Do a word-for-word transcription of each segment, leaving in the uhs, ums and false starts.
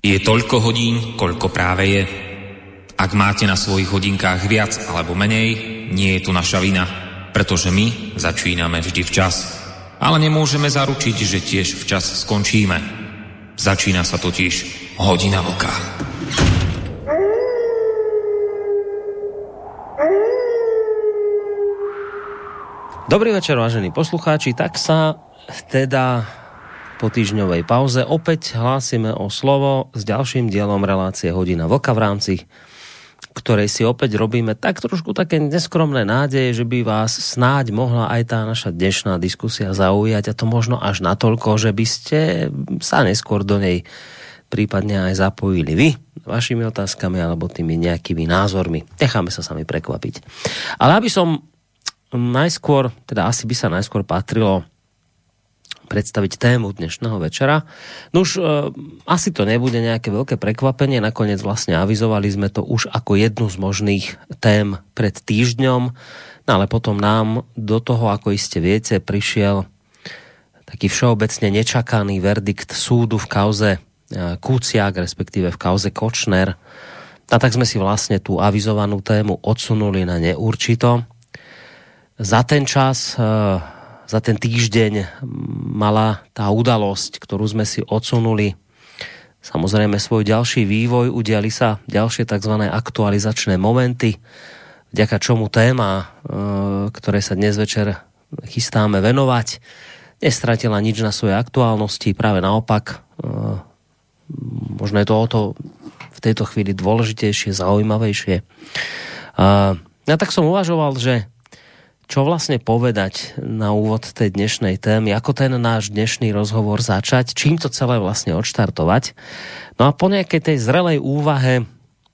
Je toľko hodín, koľko práve je. Ak máte na svojich hodinkách viac alebo menej, nie je to naša vina, pretože my začíname vždy včas. Ale nemôžeme zaručiť, že tiež včas skončíme. Začína sa totiž Hodina vlka. Dobrý večer, vážení poslucháči. Tak sa teda po týždňovej pauze opäť hlásime o slovo s ďalším dielom relácie Hodina vlka, v rámci ktorej si opäť robíme tak trošku také neskromné nádeje, že by vás snáď mohla aj tá naša dnešná diskusia zaujať, a to možno až natoľko, že by ste sa neskôr do nej prípadne aj zapojili vy vašimi otázkami alebo tými nejakými názormi. Necháme sa sami prekvapiť. Ale aby som najskôr, teda asi by sa najskôr patrilo predstaviť tému dnešného večera. No už e, asi to nebude nejaké veľké prekvapenie, nakoniec vlastne avizovali sme to už ako jednu z možných tém pred týždňom, no ale potom nám do toho, ako iste viete, prišiel taký všeobecne nečakaný verdikt súdu v kauze e, Kuciak, respektíve v kauze Kočner. A tak sme si vlastne tú avizovanú tému odsunuli na neurčito. Za ten čas... E, Za ten týždeň mala tá udalosť, ktorú sme si odsunuli, samozrejme svoj ďalší vývoj, udiali sa ďalšie tzv. Aktualizačné momenty, vďaka čomu téma, ktorej sa dnes večer chystáme venovať, nestratila nič na svojej aktuálnosti, práve naopak, možno je to o to v tejto chvíli dôležitejšie, zaujímavejšie. Ja tak som uvažoval, že čo vlastne povedať na úvod tej dnešnej témy, ako ten náš dnešný rozhovor začať, čím to celé vlastne odštartovať. No a po nejakej tej zrelej úvahe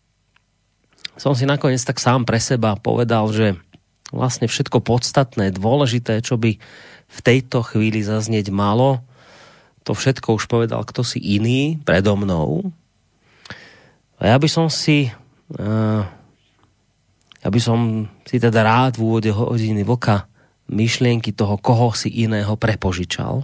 som si nakoniec tak sám pre seba povedal, že vlastne všetko podstatné, dôležité, čo by v tejto chvíli zaznieť malo, to všetko už povedal kto si iný predo mnou. A ja by som si... Uh, Ja by som si teda rád v úvode Hodiny vlka myšlienky toho koho si iného prepožičal.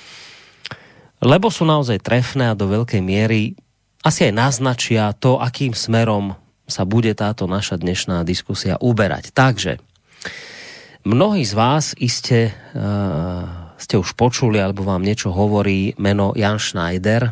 Lebo sú naozaj trefné a do veľkej miery asi aj naznačia to, akým smerom sa bude táto naša dnešná diskusia uberať. Takže mnohí z vás iste uh, ste už počuli, alebo vám niečo hovorí meno Jan Schneider.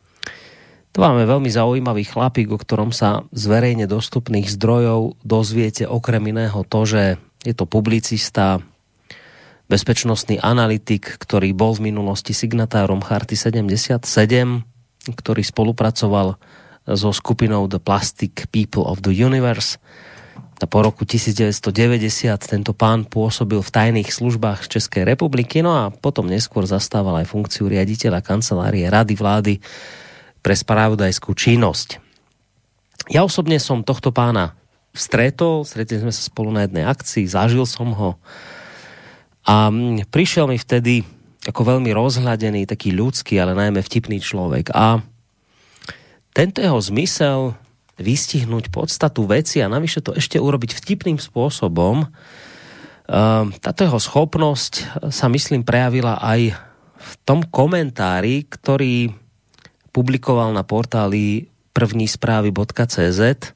To máme veľmi zaujímavý chlapík, o ktorom sa z verejne dostupných zdrojov dozviete okrem iného to, že je to publicista, bezpečnostný analytik, ktorý bol v minulosti signatárom Charty sedemdesiatsedem, ktorý spolupracoval so skupinou The Plastic People of the Universe. A po roku devätnásťstodeväťdesiat tento pán pôsobil v tajných službách Českej republiky, no a potom neskôr zastával aj funkciu riaditeľa kancelárie Rady vlády pre spravodajskú činnosť. Ja osobne som tohto pána stretol, stretli sme sa spolu na jednej akcii, zažil som ho a prišiel mi vtedy ako veľmi rozhľadený, taký ľudský, ale najmä vtipný človek. A tento jeho zmysel vystihnúť podstatu veci a navyše to ešte urobiť vtipným spôsobom, táto jeho schopnosť sa myslím prejavila aj v tom komentári, ktorý publikoval na portáli první správy bodka cé zet,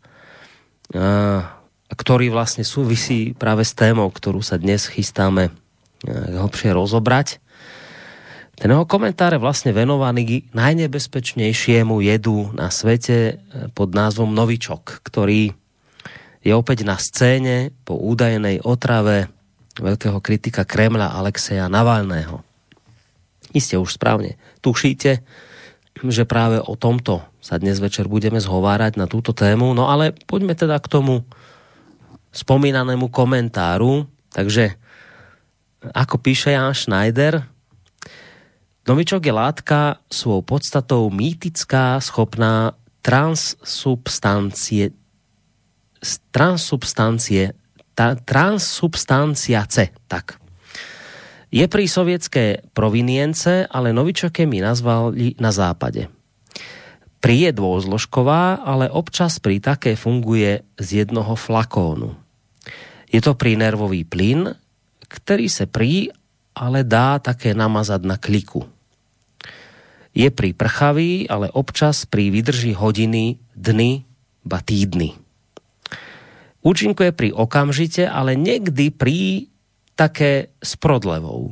ktorý vlastne súvisí práve s témou, ktorú sa dnes chystáme hlbšie rozobrať. Ten jeho komentár je vlastne venovaný najnebezpečnejšiemu jedu na svete pod názvom novičok, ktorý je opäť na scéne po údajnej otrave veľkého kritika Kremľa Alexeja Navalného. Iste už správne tušíte, že práve o tomto sa dnes večer budeme zhovárať na túto tému. No ale poďme teda k tomu spomínanému komentáru. Takže, ako píše Jan Schneider, novičok je látka svojou podstatou mýtická, schopná transsubstancie transsubstancie ta, transsubstanciace, tak. Je pri sovietské provinience, ale novičoke mi nazvali na západe. Pri je dôzložková, ale občas pri také funguje z jednoho flakónu. Je to pri nervový plyn, ktorý sa pri, ale dá také namazať na kliku. Je príprchavý, ale občas pri vydrží hodiny, dny, ba týdny. Účinkuje pri okamžite, ale niekdy pri také s prodlevou.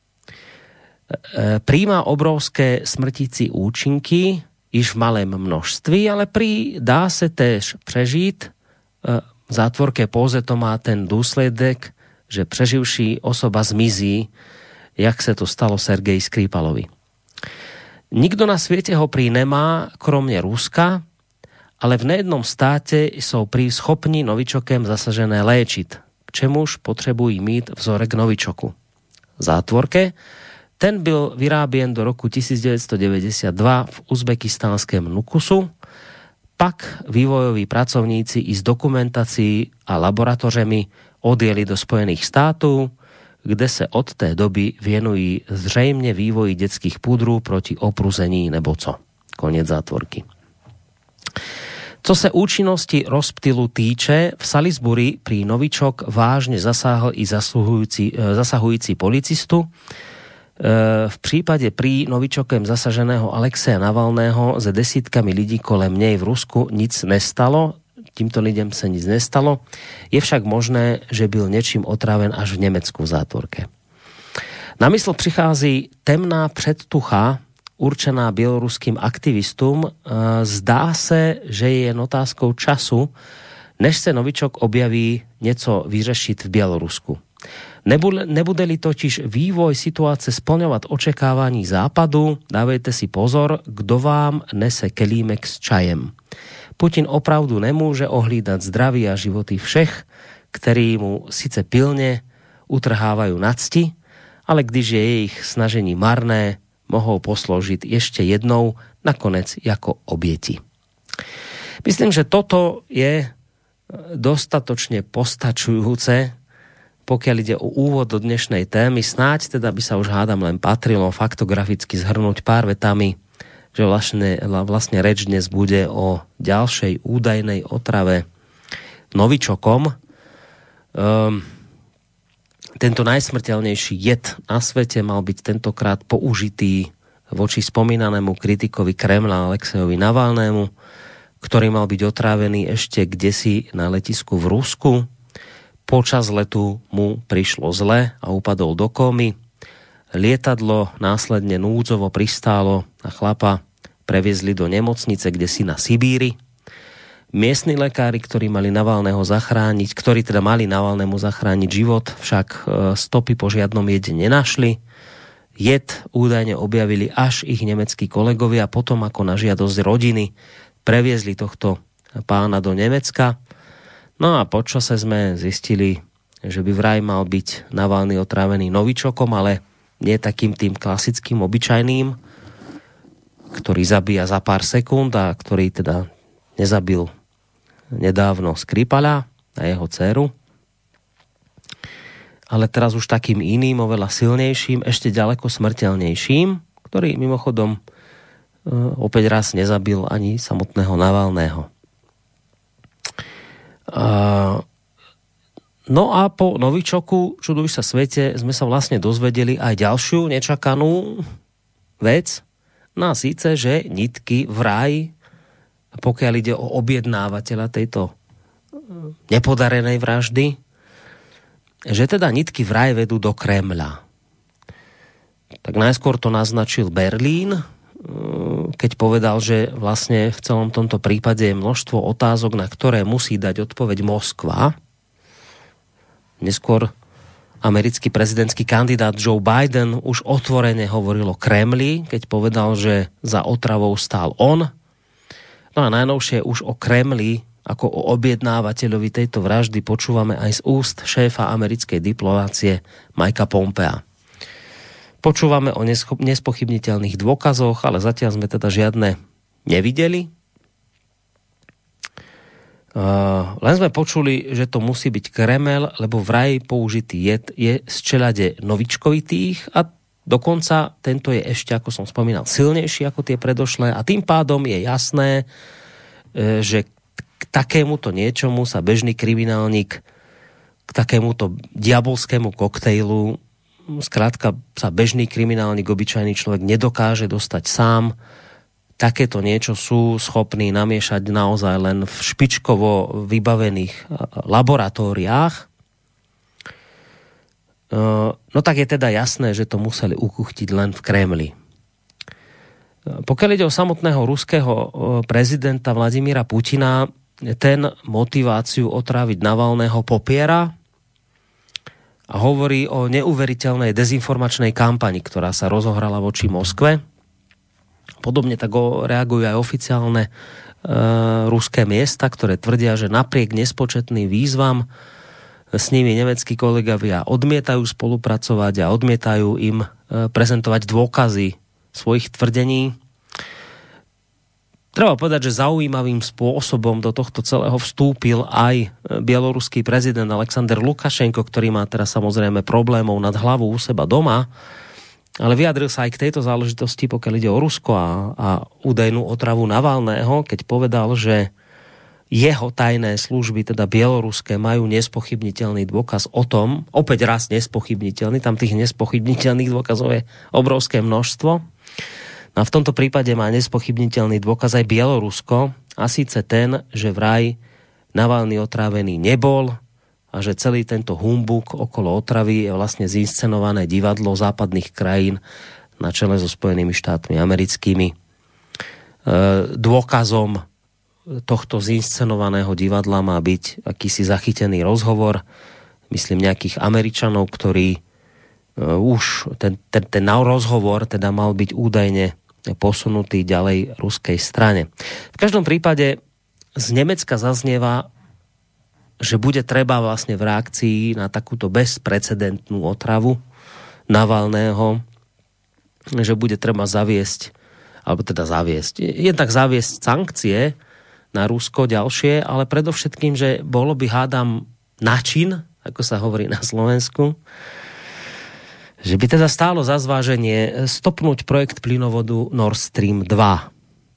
Príjma obrovské smrtící účinky, iž v malém množství, ale pri dá se též prežít. V zátvorke póze to má ten důsledek, že preživší osoba zmizí, jak se to stalo Sergeji Skripalovi. Nikdo na sviete ho prý nemá, kromne Ruska, ale v nejednom státe sú prý schopní novičokem zasažené léčiť, k čemuž potrebují mít vzorek novičoku. V zátvorke ten byl vyráběn do roku devätnásťstodeväťdesiatdva v uzbekistánském Nukusu, pak vývojoví pracovníci i s dokumentácií a laboratořemi odjeli do Spojených států, kde se od té doby věnují zřejmě vývoji detských pudrů proti opruzení nebo co. Konec zátvorky. Co se účinnosti rozptylu týče, v Salisbury pri novičok vážne zasáhl i zasahujúci, zasahujúci policistu. V prípade pri novičokem zasaženého Alexeja Navalného se desítkami lidí kolem nej v Rusku nic nestalo. Týmto lidem sa nic nestalo. Je však možné, že byl niečím otráven až v Nemecku v zátvorke. Na mysl prichází temná předtucha, určená bieloruským aktivistům. Zdá se, že je jen otázkou času, než se novičok objaví něco vyřešit v Bielorusku. Nebude-li totiž vývoj situace splňovat očekávání západu, dávejte si pozor, kdo vám nese kelímek s čajem. Putin opravdu nemôže ohlídať zdraví a životy všech, ktorí mu sice pilne utrhávajú nacti, ale když je ich snažení marné, mohou posloužiť ešte jednou, nakonec ako obieti. Myslím, že toto je dostatočne postačujúce, pokiaľ ide o úvod do dnešnej témy. Snáď teda by sa už hádam len patrilo faktograficky zhrnúť pár vetami, že vlastne, vlastne reč dnes bude o ďalšej údajnej otrave novičokom. Um, tento najsmrteľnejší jed na svete mal byť tentokrát použitý voči spomínanému kritikovi Kremla Alexejovi Navalnému, ktorý mal byť otrávený ešte kdesi na letisku v Rusku. Počas letu mu prišlo zle a upadol do kómy. Lietadlo následne núdzovo pristálo a chlapa previezli do nemocnice, kde si na Sibíri. Miestni lekári, ktorí mali Navalného zachrániť, ktorí teda mali Navalnému zachrániť život, však stopy po žiadnom jede nenašli. Jed údajne objavili až ich nemeckí kolegovia, potom ako na žiadosť rodiny previezli tohto pána do Nemecka. No a počase sme zistili, že by vraj mal byť Navalný otrávený novičokom, ale nie takým tým klasickým, obyčajným, ktorý zabíja za pár sekúnd a ktorý teda nezabil nedávno Skripala a jeho dceru. Ale teraz už takým iným, oveľa silnejším, ešte ďaleko smrteľnejším, ktorý mimochodom opäť raz nezabil ani samotného Navalného. No a po novičoku, čuduj sa svete, sme sa vlastne dozvedeli aj ďalšiu nečakanú vec. No a síce, že nitky vraj, pokiaľ ide o objednávateľa tejto nepodarenej vraždy, že teda nitky vraj vedú do Kremľa. Tak najskôr to naznačil Berlín, keď povedal, že vlastne v celom tomto prípade je množstvo otázok, na ktoré musí dať odpoveď Moskva. Neskôr americký prezidentský kandidát Joe Biden už otvorene hovoril o Kremli, keď povedal, že za otravou stál on. No a najnovšie už o Kremli ako o objednávateľovi tejto vraždy počúvame aj z úst šéfa americkej diplomácie Mikea Pompea. Počúvame o nespochybniteľných dôkazoch, ale zatiaľ sme teda žiadne nevideli. Uh, len sme počuli, že to musí byť Kremel, lebo vraj použitý jed je z čelade novičkovitých a dokonca tento je ešte, ako som spomínal, silnejší ako tie predošlé a tým pádom je jasné, že k takémuto niečomu sa bežný kriminálnik k takémuto diabolskému koktejlu skrátka sa bežný kriminálnik, obyčajný človek nedokáže dostať sám. Takéto niečo sú schopní namiešať naozaj len v špičkovo vybavených laboratóriách. No tak je teda jasné, že to museli ukuchtiť len v Kremli. Pokiaľ ide o samotného ruského prezidenta Vladimíra Putina, ten motiváciu otráviť Navalného popiera a hovorí o neuveriteľnej dezinformačnej kampani, ktorá sa rozohrala voči Moskve. Podobne tak reagujú aj oficiálne e, ruské miesta, ktoré tvrdia, že napriek nespočetným výzvam s nimi nemeckí kolegovia odmietajú spolupracovať a odmietajú im e, prezentovať dôkazy svojich tvrdení. Treba povedať, že zaujímavým spôsobom do tohto celého vstúpil aj bieloruský prezident Alexander Lukašenko, ktorý má teraz samozrejme problémov nad hlavou u seba doma, ale vyjadril sa aj k tejto záležitosti, pokiaľ ide o Rusko a, a údajnú otravu Navalného, keď povedal, že jeho tajné služby, teda bieloruské, majú nespochybniteľný dôkaz o tom, opäť raz nespochybniteľný, tam tých nespochybniteľných dôkazov je obrovské množstvo. A v tomto prípade má nespochybniteľný dôkaz aj Bielorusko, a síce ten, že vraj Navalný otrávený nebol a že celý tento humbuk okolo otravy je vlastne zinscenované divadlo západných krajín na čele so Spojenými štátmi americkými. E, dôkazom tohto zinscenovaného divadla má byť akýsi zachytený rozhovor, myslím nejakých Američanov, ktorí uh, už ten, ten, ten rozhovor teda mal byť údajne posunutý ďalej ruskej strane. V každom prípade z Nemecka zaznieva, že bude treba vlastne v reakcii na takúto bezprecedentnú otravu Navalného, že bude treba zaviesť, alebo teda zaviesť, jednak zaviesť sankcie na Rusko ďalšie, ale predovšetkým, že bolo by, hádam, način, ako sa hovorí na Slovensku, že by teda stálo za zváženie stopnúť projekt plynovodu Nord Stream dva.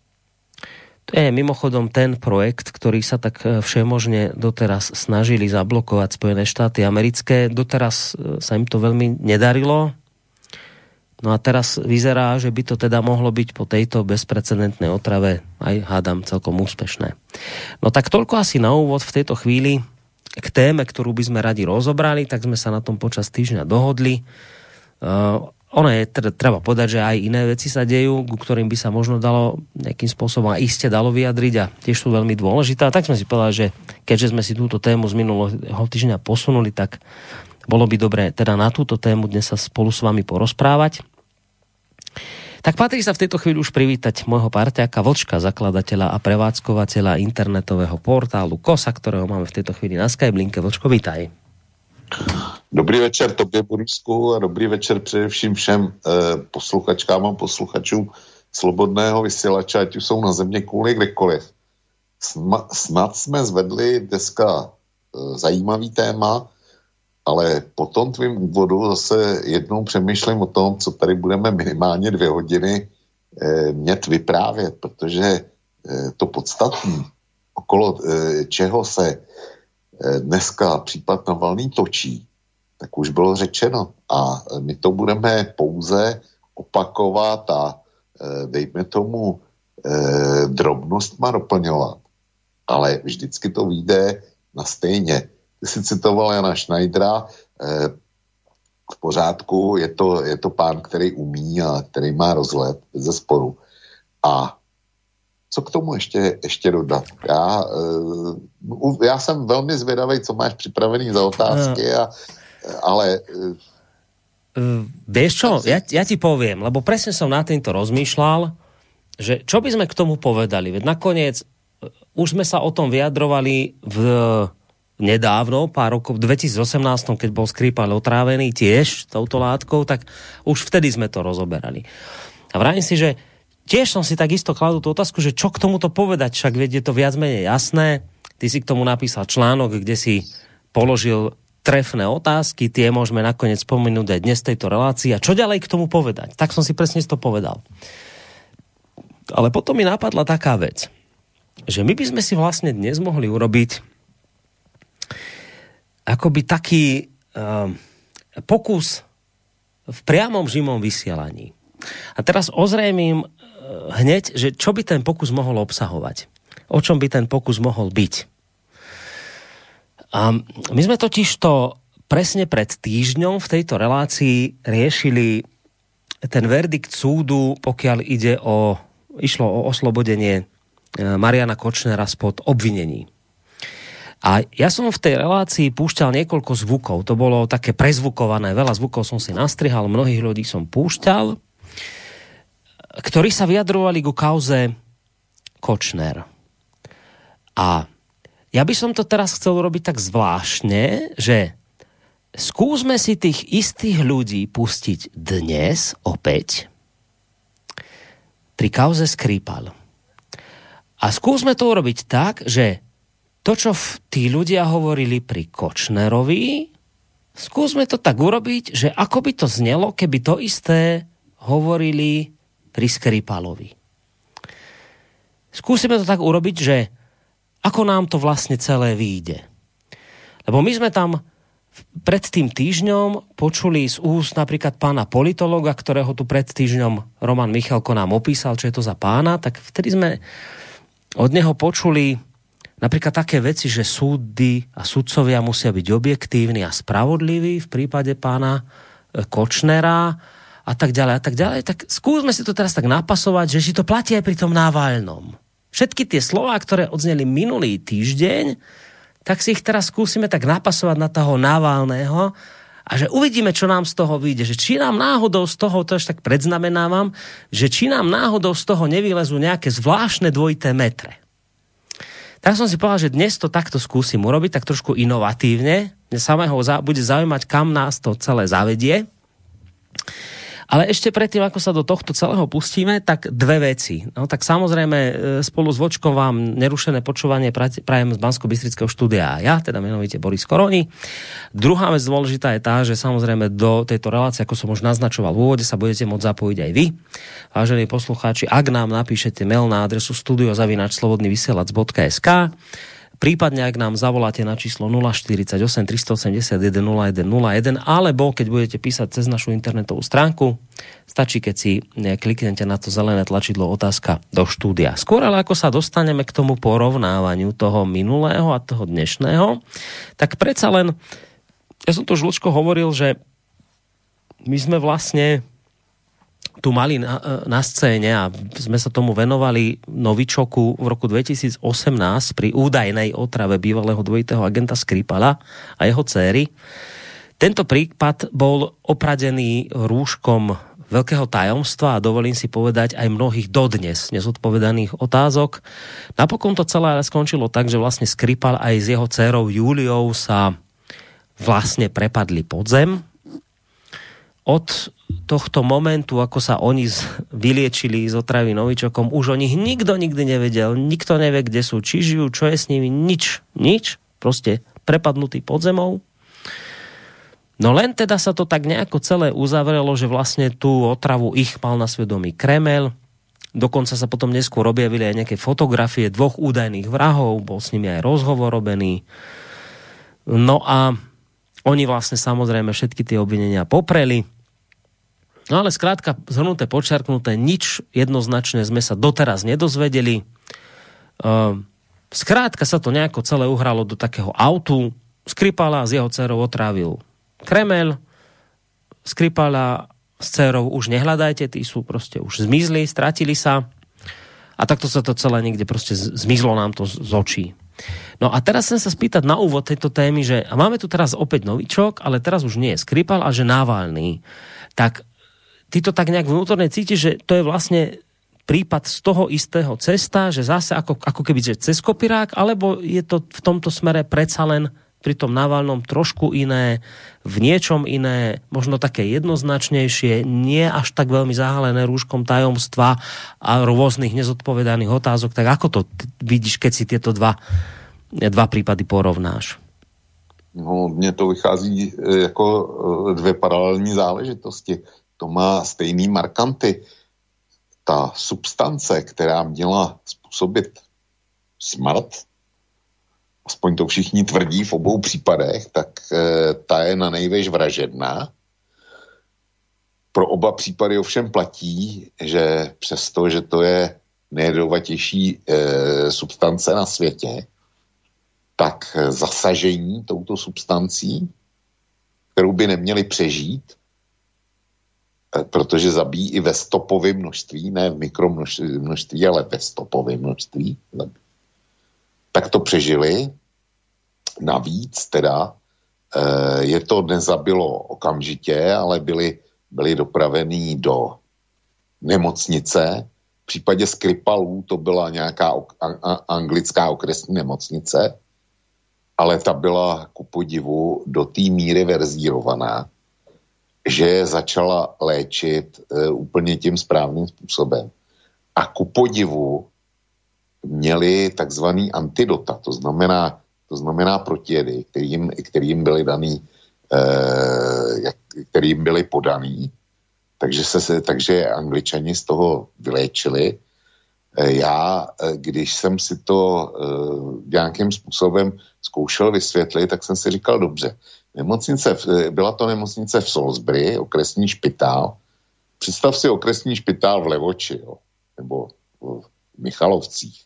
To je mimochodom ten projekt, ktorý sa tak všemožne doteraz snažili zablokovať Spojené štáty americké. Doteraz sa im to veľmi nedarilo. No a teraz vyzerá, že by to teda mohlo byť po tejto bezprecedentnej otrave aj, hádam, celkom úspešné. No tak toľko asi na úvod v tejto chvíli k téme, ktorú by sme radi rozobrali, tak sme sa na tom počas týždňa dohodli. Uh, ono je, teda, treba povedať, že aj iné veci sa dejú, ku ktorým by sa možno dalo nejakým spôsobom a iste dalo vyjadriť a tiež sú veľmi dôležité. A tak sme si povedali, že keďže sme si túto tému z minulého týždňa posunuli, tak bolo by dobré teda na túto tému dnes sa spolu s vami porozprávať. Tak patrí sa v tejto chvíli už privítať môjho parťáka Vlčka, zakladateľa a prevádzkovateľa internetového portálu Kosa, ktorého máme v tejto chvíli na Skyblinke. Vlčko, vítaj. Dobrý večer tobě, Borisku, a dobrý večer především všem eh, posluchačkám a posluchačům Slobodného vysílače, ať už jsou na země kouli kdekoliv. Sma, snad jsme zvedli dneska eh, zajímavý téma, ale po tom tvým úvodu zase jednou přemýšlím o tom, co tady budeme minimálně dvě hodiny eh, mět vyprávět, protože eh, to podstatné, okolo eh, čeho se eh, dneska případ Navalný točí, tak už bylo řečeno. A my to budeme pouze opakovat a eh, dejme tomu eh, drobnostma doplňovat. Ale vždycky to vyjde na stejně. Ty jsi citoval Jana Schneidera, eh, v pořádku, je to, je to pán, který umí a který má rozhled ze sporu. A co k tomu ještě, ještě dodat? Já, eh, já jsem velmi zvědavý, co máš připravený za otázky, a, ale... Uh, vieš čo, ja, ja ti poviem, lebo presne som na týmto rozmýšľal, že čo by sme k tomu povedali, veď nakoniec už sme sa o tom vyjadrovali v nedávno, pár rokov, v dvetisícosemnásť, keď bol Skripal otrávený tiež touto látkou, tak už vtedy sme to rozoberali. A vravím si, že tiež som si takisto kladol tú otázku, že čo k tomuto povedať, však veď je to viac menej jasné. Ty si k tomu napísal článok, kde si položil trefné otázky, tie môžeme nakoniec spomenúť aj dnes v tejto relácii. A čo ďalej k tomu povedať? Tak som si presne to povedal. Ale potom mi napadla taká vec, že my by sme si vlastne dnes mohli urobiť akoby taký um, pokus v priamom živom vysielaní. A teraz ozrejmím hneď, že čo by ten pokus mohol obsahovať. O čom by ten pokus mohol byť. A my sme totiž to presne pred týždňom v tejto relácii riešili ten verdikt súdu, pokiaľ ide o, išlo o oslobodenie Mariana Kočnera spod obvinení. A ja som v tej relácii púšťal niekoľko zvukov. To bolo také prezvukované. Veľa zvukov som si nastrihal, mnohých ľudí som púšťal, ktorí sa vyjadrovali ku kauze Kočner. A ja by som to teraz chcel robiť tak zvláštne, že skúsme si tých istých ľudí pustiť dnes opäť pri kauze Skripal. A skúsme to urobiť tak, že to, čo tí ľudia hovorili pri Kočnerovi, skúsme to tak urobiť, že ako by to znelo, keby to isté hovorili pri Skripalovi. Skúsime to tak urobiť, že ako nám to vlastne celé vyjde. Lebo my sme tam pred tým týždňom počuli z úst napríklad pána politologa, ktorého tu pred týždňom Roman Michalko nám opísal, čo je to za pána, tak vtedy sme od neho počuli napríklad také veci, že súdy a sudcovia musia byť objektívni a spravodliví v prípade pána Kočnera a tak ďalej a tak ďalej. Tak skúsme si to teraz tak napasovať, že si to platí aj pri tom Navalnom. Všetky tie slová, ktoré odzneli minulý týždeň, tak si ich teraz skúsime tak napasovať na toho Navalného a že uvidíme, čo nám z toho vyjde. Že či nám náhodou z toho, to až tak predznamenávam, že či nám náhodou z toho nevylezú nejaké zvláštne dvojité metre. Tak som si povedal, že dnes to takto skúsim urobiť, tak trošku inovatívne. Mňa samého bude zaujímať, kam nás to celé zavedie. Ale ešte predtým, ako sa do tohto celého pustíme, tak dve veci. No tak samozrejme spolu s Vočkom vám nerušené počúvanie prajem z Banskobystrického štúdia ja, teda menovite Boris Koroni. Druhá vec dôležitá je tá, že samozrejme do tejto relácie, ako som už naznačoval v úvode, sa budete môcť zapojiť aj vy. Vážení poslucháči, ak nám napíšete mail na adresu studio zavináč slobodný vysielač bodka es ká, prípadne ak nám zavoláte na číslo nula štyridsaťosem tristoosemdesiatjeden nula jeden nula jeden, alebo keď budete písať cez našu internetovú stránku, stačí, keď si kliknete na to zelené tlačidlo otázka do štúdia. Skôr ale ako sa dostaneme k tomu porovnávaniu toho minulého a toho dnešného, tak predsa len, ja som to už ľudsko hovoril, že my sme vlastne tu mali na, na scéne a sme sa tomu venovali novičoku v roku dvetisíc osemnásť pri údajnej otrave bývalého dvojitého agenta Skripala a jeho dcéry. Tento prípad bol opradený rúškom veľkého tajomstva a dovolím si povedať aj mnohých dodnes nezodpovedaných otázok. Napokon to celé skončilo tak, že vlastne Skripal aj s jeho dcérou Júliou sa vlastne prepadli pod zem. Od tohto momentu, ako sa oni vyliečili z otravy novičokom, už o nich nikto nikdy nevedel, nikto nevie, kde sú, či žijú, čo je s nimi, nič, nič, proste prepadnutý pod zemou. No len teda sa to tak nejako celé uzavrelo, že vlastne tú otravu ich mal na svedomí Kremel, dokonca sa potom neskôr objavili aj nejaké fotografie dvoch údajných vrahov, bol s nimi aj rozhovor robený. No a oni vlastne samozrejme všetky tie obvinenia popreli. No ale skrátka, zhrnuté, podčiarknuté, nič jednoznačne sme sa doteraz nedozvedeli. Skrátka sa to nejako celé uhralo do takého autu. Skripala s jeho dcerou otrávil Kremel. Skripala s dcerou už nehľadajte, tí sú proste už zmizli, stratili sa. A takto sa to celé niekde proste zmizlo nám to z očí. No a teraz chcem sa spýtať na úvod tejto témy, že a máme tu teraz opäť novičok, ale teraz už nie je Skripal, a že Navalný. Tak ty to tak nejak vnútorne cítiš, že to je vlastne prípad z toho istého cesta, že zase ako, ako keby že cez kopirák, alebo je to v tomto smere predsa len pri tom Navalnom trošku iné, v niečom iné, možno také jednoznačnejšie, nie až tak veľmi zahalené rúškom tajomstva a rôznych nezodpovedaných otázok. Tak ako to vidíš, keď si tieto dva, dva prípady porovnáš? No, mně to vychází jako dvě paralelní záležitosti. To má stejný markanty. Ta substance, která měla způsobit smrt, aspoň to všichni tvrdí v obou případech, tak e, ta je na nejvéž vražedná. Pro oba případy ovšem platí, že přesto, že to je nejjedovatější e, substance na světě, tak zasažení touto substancí, kterou by neměli přežít, e, protože zabíjí i ve stopovém množství, ne v mikromnožství, ale ve stopovém množství, tak to přežili. Navíc teda e, je to nezabilo okamžitě, ale byli, byli dopravení do nemocnice. V případě Skripalů to byla nějaká ok, a, a, anglická okresní nemocnice, ale ta byla ku podivu do té míry verzírovaná, že začala léčit e, úplně tím správným způsobem. A ku podivu měli takzvaný antidota, to znamená, to znamená protijedy, kterým, kterým byly daný, e, kterým byly podaný. Takže, se, takže Angličani z toho vyléčili. Já, když jsem si to uh, nějakým způsobem zkoušel vysvětlit, tak jsem si říkal, dobře, nemocnice, byla to nemocnice v Salisbury, okresní špitál. Představ si okresní špitál v Levoči, jo, nebo v Michalovcích.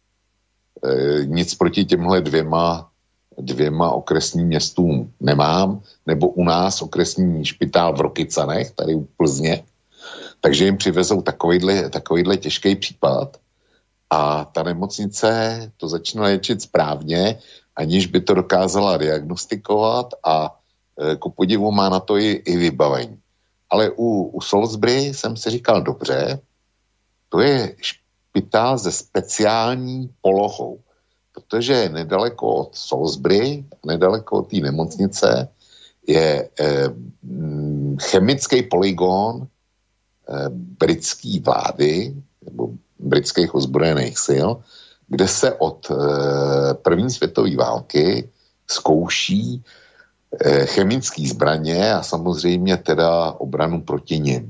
E, nic proti těmhle dvěma, dvěma okresním městům nemám, nebo u nás okresní špitál v Rokycanech, tady u Plzně, takže jim přivezou takovýhle, takovýhle těžký případ a ta nemocnice to začne léčit správně, aniž by to dokázala diagnostikovat a e, ku podivu má na to i, i vybavení. Ale u, u Salisbury jsem si říkal, dobře, to je špitál se speciální polohou, protože nedaleko od Salisbury, nedaleko od té nemocnice je eh, chemický polygon eh, britské vlády nebo britských ozbrojených sil, kde se od eh, první světové války zkouší eh, chemické zbraně a samozřejmě teda obranu proti nim.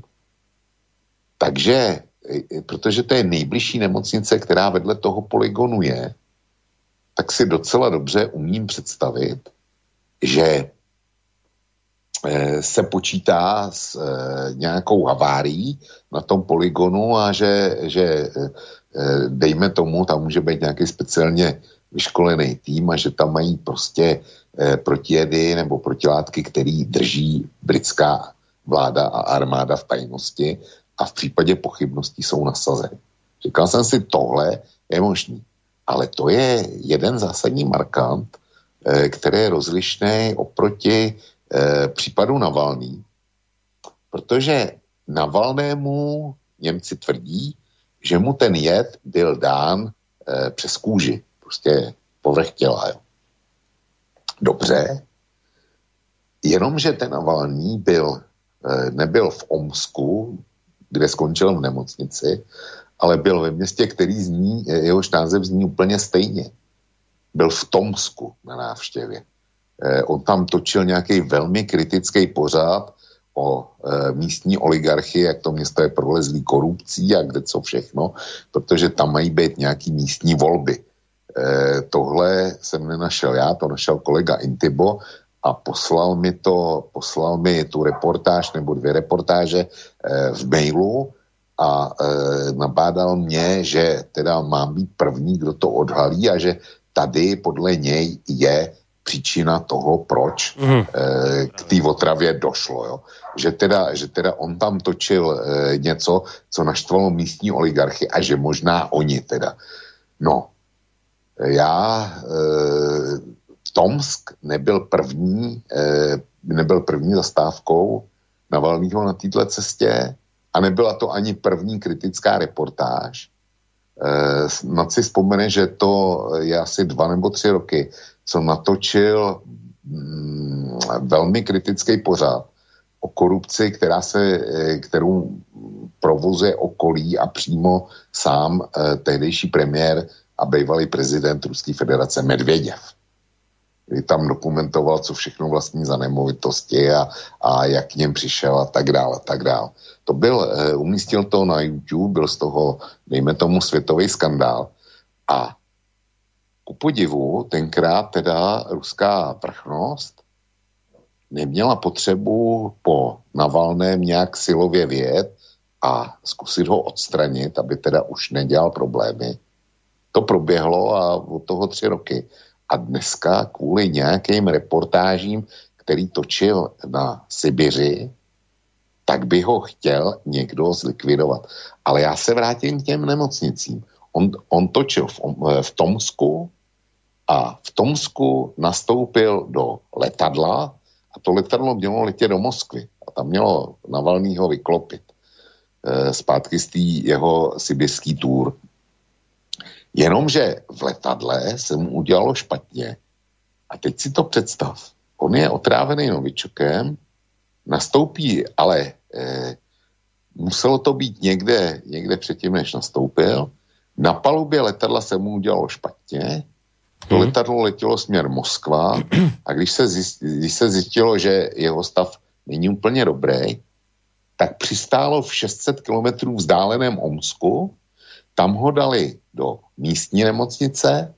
Takže, eh, protože to je nejbližší nemocnice, která vedle toho polygonu je, tak si docela dobře umím představit, že se počítá s nějakou havárií na tom polygonu a že, že dejme tomu, tam může být nějaký speciálně vyškolený tým a že tam mají prostě protijedy nebo protilátky, který drží britská vláda a armáda v tajnosti a v případě pochybností jsou nasazeny. Říkal jsem si, tohle je možný. Ale to je jeden zásadní markant, který je rozlišný oproti případu Navalný, protože Navalnému Němci tvrdí, že mu ten jed byl dán přes kůži, prostě povrch těla. Jo. Dobře, jenomže ten Navalný byl, nebyl v Omsku, kde skončil v nemocnici, ale byl ve městě, který zní, jehož název zní úplně stejně. Byl v Tomsku na návštěvě. Eh, on tam točil nějaký velmi kritický pořad o eh, místní oligarchii, jak to město je prolezlý korupcí a kde co všechno, protože tam mají být nějaký místní volby. Eh, tohle jsem nenašel já, to našel kolega Intibo a poslal mi to, poslal mi tu reportáž nebo dvě reportáže eh, v mailu, a e, nabádal mě, že teda mám být první, kdo to odhalí a že tady podle něj je příčina toho, proč mm. e, k té otravě došlo. Jo. Že, teda, že teda on tam točil e, něco, co naštvalo místní oligarchy a že možná oni teda. No, já e, Tomsk nebyl první, e, nebyl první zastávkou Navalnýho na této cestě, a nebyla to ani první kritická reportáž. E, snad si vzpomene, že to je asi dva nebo tři roky, co natočil mm, velmi kritický pořad o korupci, která se, kterou provozuje okolí a přímo sám e, tehdejší premiér a bývalý prezident Ruské federace Medvěděv. Tam dokumentoval, co všechno vlastní za nemovitosti a, a jak k něm přišel a tak dále, tak dále. To byl, umístil to na YouTube, byl z toho, dejme tomu, světový skandál. A ku podivu, tenkrát teda ruská vrchnost neměla potřebu po Navalném nějak silově vyjet a zkusit ho odstranit, aby teda už nedělal problémy. To proběhlo a od toho tři roky. A dneska kvůli nějakým reportážím, který točil na Sibiři, tak by ho chtěl někdo zlikvidovat. Ale já se vrátím k těm nemocnicím. On, on točil v, v Tomsku a v Tomsku nastoupil do letadla a to letadlo mělo letět do Moskvy. A tam mělo Navalnýho vyklopit e, zpátky z tý jeho sibirský tour. Jenomže v letadle se mu udělalo špatně. A teď si to představ. On je otrávený novičokem, nastoupí, ale e, muselo to být někde, někde předtím, než nastoupil. Na palubě letadla se mu udělalo špatně. To hmm. letadlo letělo směr Moskva a když se, zjistilo, když se zjistilo, že jeho stav není úplně dobrý, tak přistálo v šest set kilometrů vzdáleném Omsku. Tam ho dali do místní nemocnice.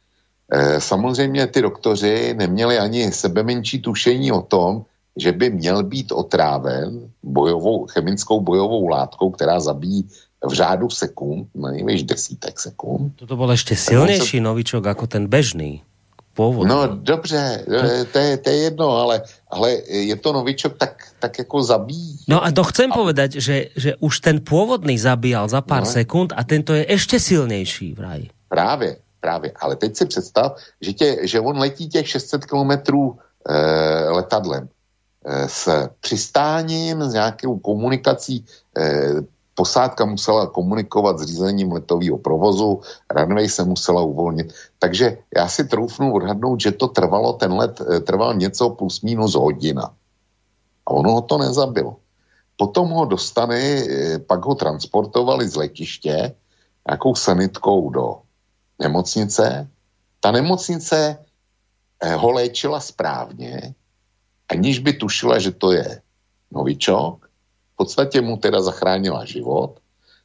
E, samozřejmě ty doktoři neměli ani sebemenší tušení o tom, že by měl být otráven bojovou, chemickou bojovou látkou, která zabíjí v řádu sekund, nejvíc desítek sekund. Toto bol ešte silnejší se... novičok ako ten bežný. Pôvodný. No dobře, to je, to je jedno, ale, ale je to novičok tak, tak jako zabíjí. No a to chcem a... povedať, že, že už ten pôvodný zabíjal za pár no. sekúnd a tento je ešte silnejší vraj. Právě, právě. Ale teď si představ, že, tě, že on letí těch šest set kilometrů e, letadlem e, s přistáním, s nějakou komunikací. E, posádka musela komunikovat s řízením letového provozu, runway se musela uvolnit. Takže já si troufnu odhadnout, že to trvalo, ten let e, trval něco plus minus hodina. A ono ho to nezabilo. Potom ho dostane, e, pak ho transportovali z letiště nějakou sanitkou do nemocnice. Ta nemocnice ho léčila správně, aniž by tušila, že to je novičok. V podstatě mu teda zachránila život.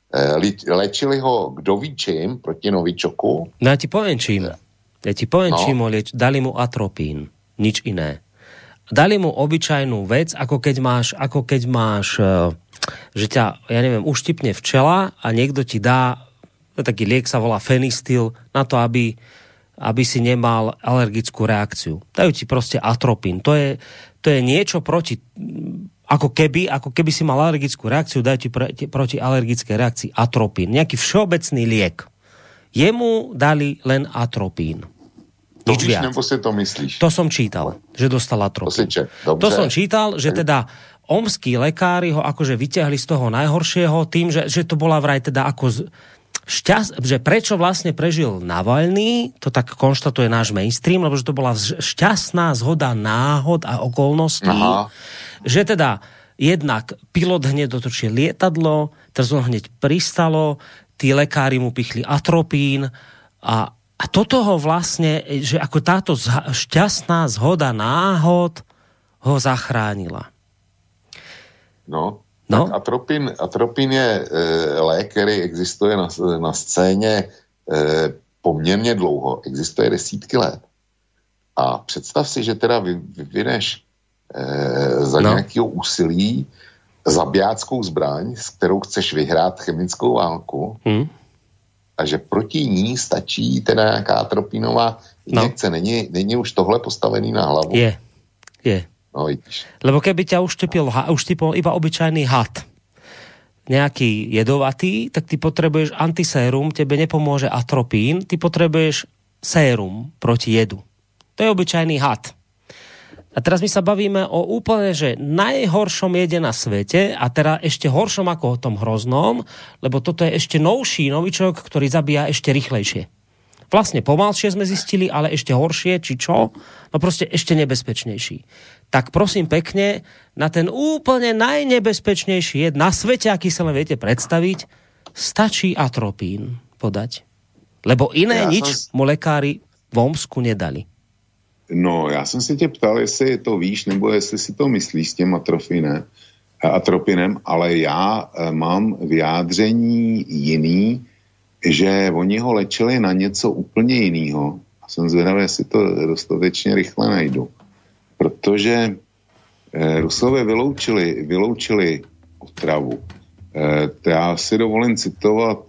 Léčili ho kdo ví čím proti novičoku. No ja ti poviem čím. Ja ti poviem no. čím ho lieč. Dali mu atropín. Nič iné. Dali mu obyčajnú vec, ako keď máš, ako keď máš, že ťa, ja neviem, uštipne včela a niekto ti dá taký liek, sa volá fenistil, na to, aby, aby si nemal alergickú reakciu. Dajú ti proste atropín. To je, to je niečo proti, ako keby, ako keby si mal alergickú reakciu, dajú ti proti, proti alergickej reakcii atropín. Nejaký všeobecný liek. Jemu dali len atropín. To víš, nebo si to myslíš? To som čítal, že dostal atropín. To, to som čítal, že teda omskí lekári ho akože vyťahli z toho najhoršieho tým, že, že to bola vraj teda ako z, šťast, že prečo vlastne prežil Navalný, to tak konštatuje náš mainstream, lebo že to bola šťastná zhoda náhod a okolností, aha. že teda jednak pilot hneď dotočil lietadlo, teraz on hneď pristalo, tí lekári mu pichli atropín a, a toto ho vlastne, že ako táto šťastná zhoda náhod ho zachránila. No, No? Atropin, atropin je e, lék, který existuje na, na scéně e, poměrně dlouho. Existuje desítky let. A představ si, že teda vy, vyvineš e, za no. nějakého úsilí zabijáckou zbraň, s kterou chceš vyhrát chemickou válku hmm. a že proti ní stačí teda nějaká atropinová injekce. No. Není, není už tohle postavený na hlavu? Je, je. No, vidíš. Lebo keby ťa uštipil, uštipil iba obyčajný had, nejaký jedovatý, tak ty potrebuješ antisérum, tebe nepomôže atropín, ty potrebuješ sérum proti jedu. To je obyčajný had. A teraz my sa bavíme o úplne, že najhoršom jede na svete a teda ešte horšom ako o tom hroznom, lebo toto je ešte novší novičok, ktorý zabíja ešte rýchlejšie. Vlastne pomalšie sme zistili, ale ešte horšie, či čo? No proste ešte nebezpečnejší. Tak prosím pekne, na ten úplne najnebezpečnejší jed na svete, aký sa len viete predstaviť, stačí atropín podať. Lebo iné ja nič som... mu lekári v Omsku nedali. No, já jsem se tě ptal, jestli to víš, nebo jestli si to myslíš s tím atropinem, atropinem, ale já mám vyjádření jiný, že oni ho léčili na něco úplně jiného. A jsem zvědavý, jestli to dostatečně rychle najdu. Protože Rusové vyloučili, vyloučili otravu. Já si dovolím citovat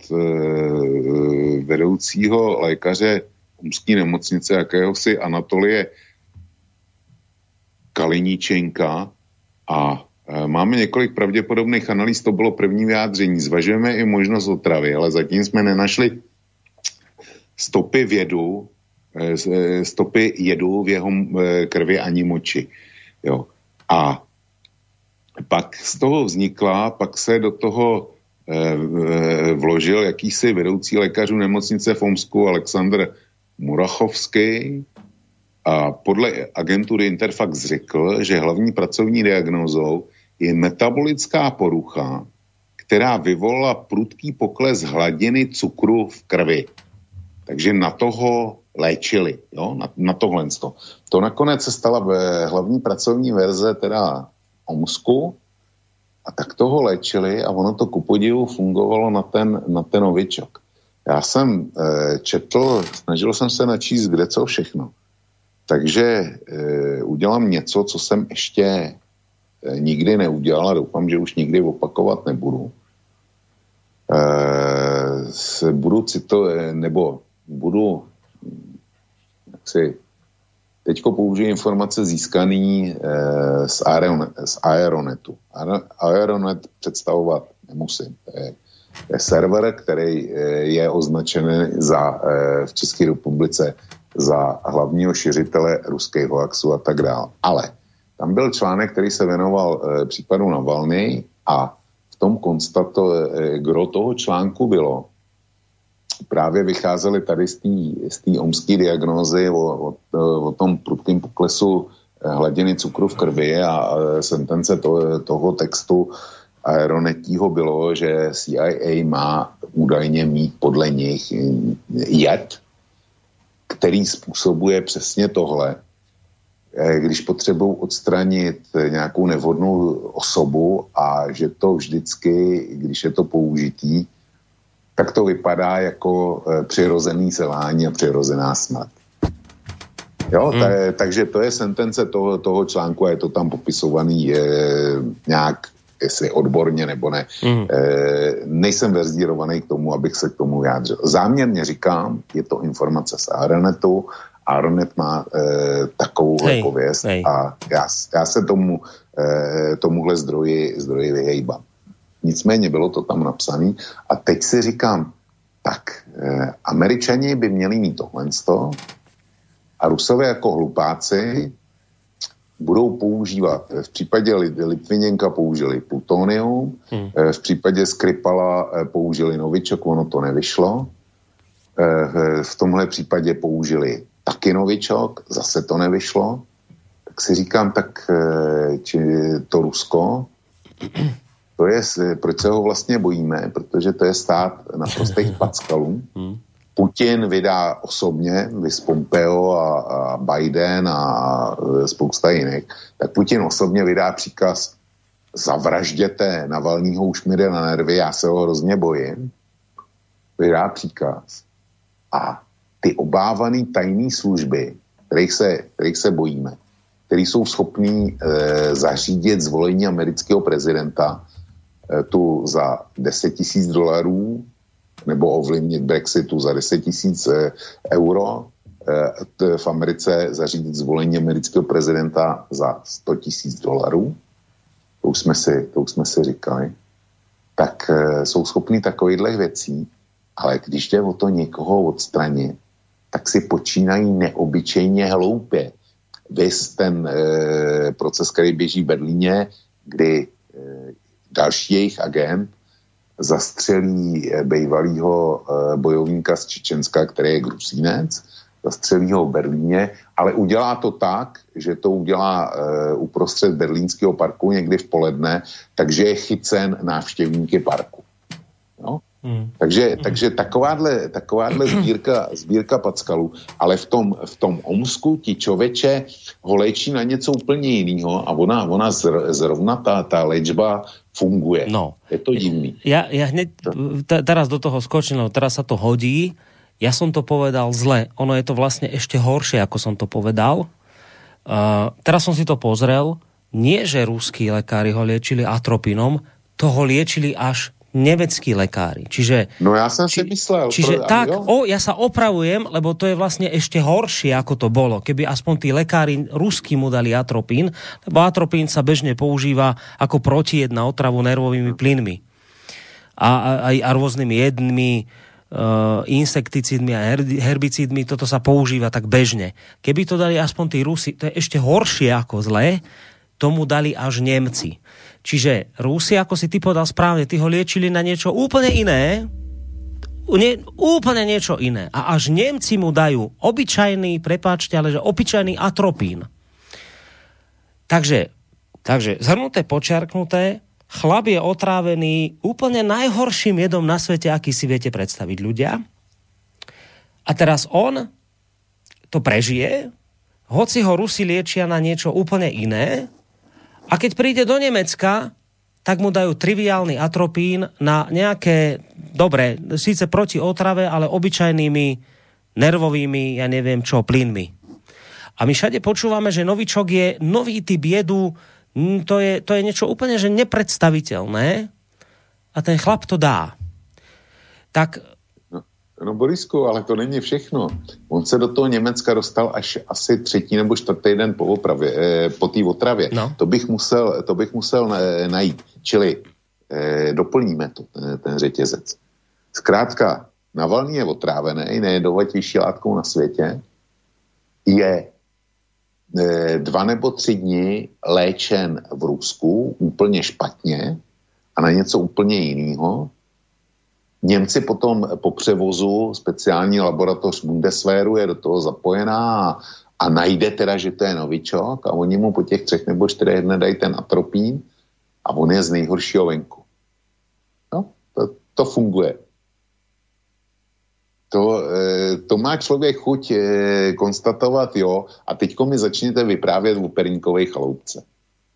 vedoucího lékaře Umské nemocnice, jakéhosi Anatolie Kaliníčenka, a máme několik pravděpodobných analýz, to bylo první vyjádření. Zvažujeme i možnost otravy, ale zatím jsme nenašli stopy v jedu, stopy jedu v jeho krvi ani moči. Jo. A pak z toho vznikla, pak se do toho eh, vložil jakýsi vedoucí lékařů nemocnice v Omsku Aleksandr Murachovský a podle agentury Interfax řekl, že hlavní pracovní diagnózou je metabolická porucha, která vyvolala prudký pokles hladiny cukru v krvi. Takže na toho léčili, jo? Na, na tohle. To nakonec se stala hlavní pracovní verze teda Omsku a tak toho léčili a ono to ku podivu fungovalo na ten, na ten novičok. Já jsem e, četl, snažil jsem se načíst kde co všechno. Takže e, udělám něco, co jsem ještě e, nikdy neudělal a doufám, že už nikdy opakovat nebudu. E, se budu citovat, nebo budu jaksi teďko použiju informace získaný e, z, Aeronet, z Aeronetu. Aeronet představovat nemusím. To je, to je server, který e, je označený za, e, v České republice za hlavního šiřitele ruského hoaxu a tak dále. Ale tam byl článek, který se věnoval e, případu Navalny a v tom konstato, e, gro toho článku bylo, právě vycházely tady z té omské diagnózy o, o, o tom prudkém poklesu hladiny cukru v krvi a sentence to, toho textu Aeronetího bylo, že C I A má údajně mít podle nich jed, který způsobuje přesně tohle. Když potřebují odstranit nějakou nevhodnou osobu a že to vždycky, když je to použitý, tak to vypadá jako e, přirozený selhání a přirozená smrt. Jo, hmm. ta, takže to je sentence toho, toho článku a je to tam popisovaný e, nějak, jestli odborně nebo ne. Hmm. E, nejsem verzírovaný k tomu, abych se k tomu vyjádřil. Záměrně říkám, je to informace z Aeronetu, Aeronet má e, takovouhle pověst a já, já se tomu, e, tomuhle zdroji, zdroji vyhejbám. Nicméně bylo to tam napsané a teď si říkám, tak eh, Američani by měli mít tohle a Rusové jako hlupáci budou používat, v případě Litviněnka použili plutonium, hmm. eh, v případě Skripala eh, použili novičok, ono to nevyšlo, eh, v tomhle případě použili taky novičok, zase to nevyšlo, tak si říkám, tak eh, či to Rusko to je, proč se ho vlastně bojíme, protože to je stát naprostých packalů. Putin vydá osobně, vys Pompeo a, a Biden a spousta jiných, tak Putin osobně vydá příkaz zavražděte Navalnýho, už mi jde na nervy, já se ho hrozně bojím. Vydá příkaz a ty obávaný tajné služby, kterých se, kterých se bojíme, který jsou schopní e, zařídit zvolení amerického prezidenta tu za deset tisíc dolarů nebo ovlivnit Brexitu za deset tisíc euro, v Americe zařídit zvolení amerického prezidenta za sto tisíc dolarů, to už jsme si, to už jsme si říkali, tak jsou schopní takovýchhle věcí, ale když jde o to někoho odstranit, tak si počínají neobyčejně hloupě. Vys ten e, proces, který běží v Berlíně, kdy e, další jejich agent zastřelí bývalýho e, bojovníka z Čečenska, který je Gruzínec, zastřelí ho v Berlíně, ale udělá to tak, že to udělá e, uprostřed berlínského parku někdy v poledne, takže je chycen návštěvníky parku. No? Hmm. Takže, takže takováhle, takováhle sbírka, sbírka packalů, ale v tom, v tom Omsku ti člověče ho léčí na něco úplně jiného a ona, ona zrovna ta, ta léčba funguje. No. Je to divný. Ja, ja hneď t- teraz do toho skočím, lebo teraz sa to hodí. Ja som to povedal zle. Ono je to vlastne ešte horšie, ako som to povedal. Uh, teraz som si to pozrel. nie že ruskí lekári ho liečili atropínom, to ho liečili až nemeckí lekári. Čiže, no ja som či, si myslel. Čiže pro, tak, o, ja sa opravujem, lebo to je vlastne ešte horšie, ako to bolo. Keby aspoň tí lekári ruskí mu dali atropín, lebo atropín sa bežne používa ako protijed na otravu nervovými plynmi. A, a, a rôznymi jedmi, uh, insekticídmi a herbicídmi, toto sa používa tak bežne. Keby to dali aspoň tí Rusi, to je ešte horšie ako zlé, tomu dali až Nemci. Čiže Rusi, ako si ty povedal správne, ty ho liečili na niečo úplne iné, nie, úplne niečo iné. A až Nemci mu dajú obyčajný, prepáčte, ale že obyčajný atropín. Takže, takže zhrnuté, počiarknuté, chlap je otrávený úplne najhorším jedom na svete, aký si viete predstaviť ľudia. A teraz on to prežije, hoci ho Rusi liečia na niečo úplne iné, a keď príde do Nemecka, tak mu dajú triviálny atropín na nejaké, dobre, síce proti otrave, ale obyčajnými nervovými, ja neviem čo, plynmi. A my všade počúvame, že novičok je nový typ jedu, to je, to je niečo úplne že nepredstaviteľné a ten chlap to dá. Tak... No Borisku, ale to není všechno. On se do toho Německa dostal až asi třetí nebo čtvrtý den po opravě, eh, po té otravě. No. To bych musel, to bych musel najít. Čili eh, doplníme to, ten, ten řetězec. Zkrátka, Navalný je otrávený, nejjedovatější látkou na světě, je eh, dva nebo tři dny léčen v Rusku úplně špatně a na něco úplně jiného. Němci potom po převozu speciální laboratoř Bundeswehru je do toho zapojená a, a najde teda, že to je novičok a oni mu po těch třech nebo čtyřech dnech dají ten atropín a on je z nejhoršího venku. No, to, to funguje. To, to má člověk chuť konstatovat, jo, a teďko mi začněte vyprávět o perníkovej chaloupce.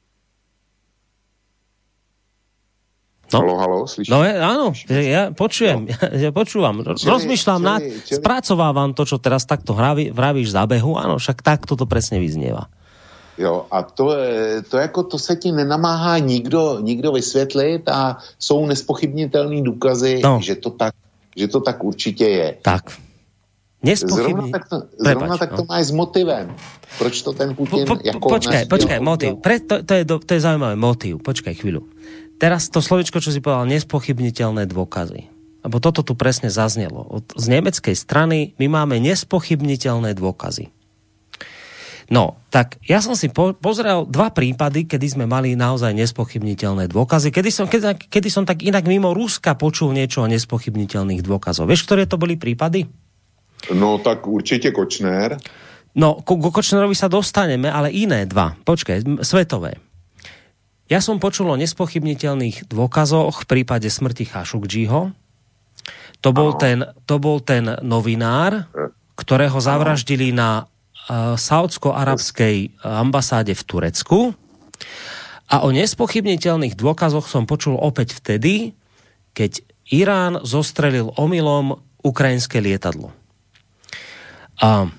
No. Halo, halo, slyšíš? No áno, ja počujem, no. ja, ja počúvam, čili, rozmýšľam, čili, nad, čili... spracovávam to, čo teraz takto hraví, vravíš za behu, áno, však takto to presne vyznieva. Jo, a to, to jako to se ti nenamáhá nikdo, nikdo vysvětlit a jsou nespochybnitelný důkazy, no. že, to tak, že to tak určitě je. Tak. Zrovna tak to, zrovna tak to no. máš s motivem. Proč to ten Putin... Po, po, jako počkaj, počkaj, motiv. Pre, to, to, je do, to je zaujímavé, motiv. Počkaj chvíľu. Teraz to slovičko, čo si povedal, nespochybniteľné dôkazy. Lebo toto tu presne zaznelo. Od, z nemeckej strany my máme nespochybniteľné dôkazy. No, tak ja som si po, pozrel dva prípady, kedy sme mali naozaj nespochybniteľné dôkazy. Kedy som, kedy, kedy som tak inak mimo Ruska počul niečo o nespochybniteľných dôkazoch. Vieš, ktoré to boli prípady? No, tak určite Kočner. No, ku, ku Kočnerovi sa dostaneme, ale iné dva. Počkaj, svetové. Ja som počul o nespochybniteľných dôkazoch v prípade smrti Chašukdžiho. To bol, ten, to bol ten novinár, ktorého zavraždili na uh, saúdsko-arabskej ambasáde v Turecku. A o nespochybniteľných dôkazoch som počul opäť vtedy, keď Irán zostrelil omylom ukrajinské lietadlo. A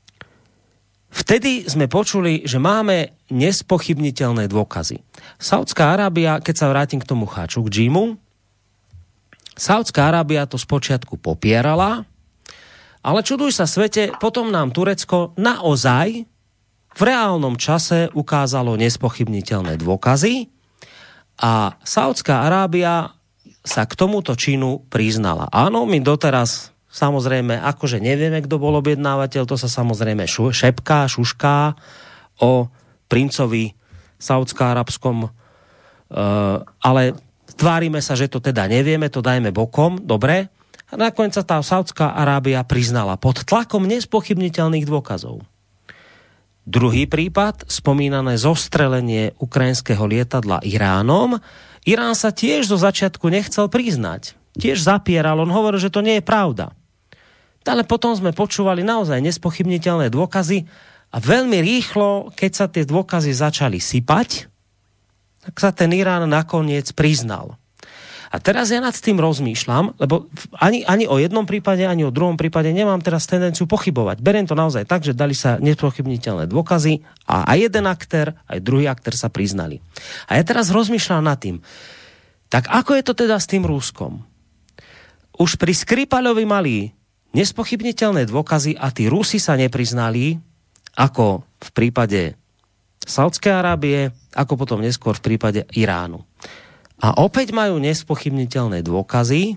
vtedy sme počuli, že máme nespochybniteľné dôkazy. Saudská Arábia, keď sa vrátim k tomu Chašukdžimu, Saudská Arábia to spočiatku popierala, ale čuduj sa svete, potom nám Turecko naozaj v reálnom čase ukázalo nespochybniteľné dôkazy a Saudská Arábia sa k tomuto činu priznala. Áno, my doteraz samozrejme, akože nevieme, kto bol objednávateľ, to sa samozrejme šu, šepká, šušká o princovi saúdsko-arabskom, uh, ale tvárime sa, že to teda nevieme, to dajme bokom, dobre. A nakoniec sa tá Saudská Arábia priznala pod tlakom nespochybniteľných dôkazov. Druhý prípad, spomínané zostrelenie ukrajinského lietadla Iránom. Irán sa tiež zo začiatku nechcel priznať. Tiež zapieral, on hovoril, že to nie je pravda. Ale potom sme počúvali naozaj nespochybniteľné dôkazy a veľmi rýchlo, keď sa tie dôkazy začali sypať, tak sa ten Irán nakoniec priznal. A teraz ja nad tým rozmýšľam, lebo ani, ani o jednom prípade, ani o druhom prípade nemám teraz tendenciu pochybovať. Beriem to naozaj tak, že dali sa nespochybniteľné dôkazy a aj jeden aktér, aj druhý aktér sa priznali. A ja teraz rozmýšľam nad tým, tak ako je to teda s tým Ruskom? Už pri Skripalovi mali nespochybniteľné dôkazy a tí Rusi sa nepriznali, ako v prípade Saudskej Arábie, ako potom neskôr v prípade Iránu. A opäť majú nespochybniteľné dôkazy.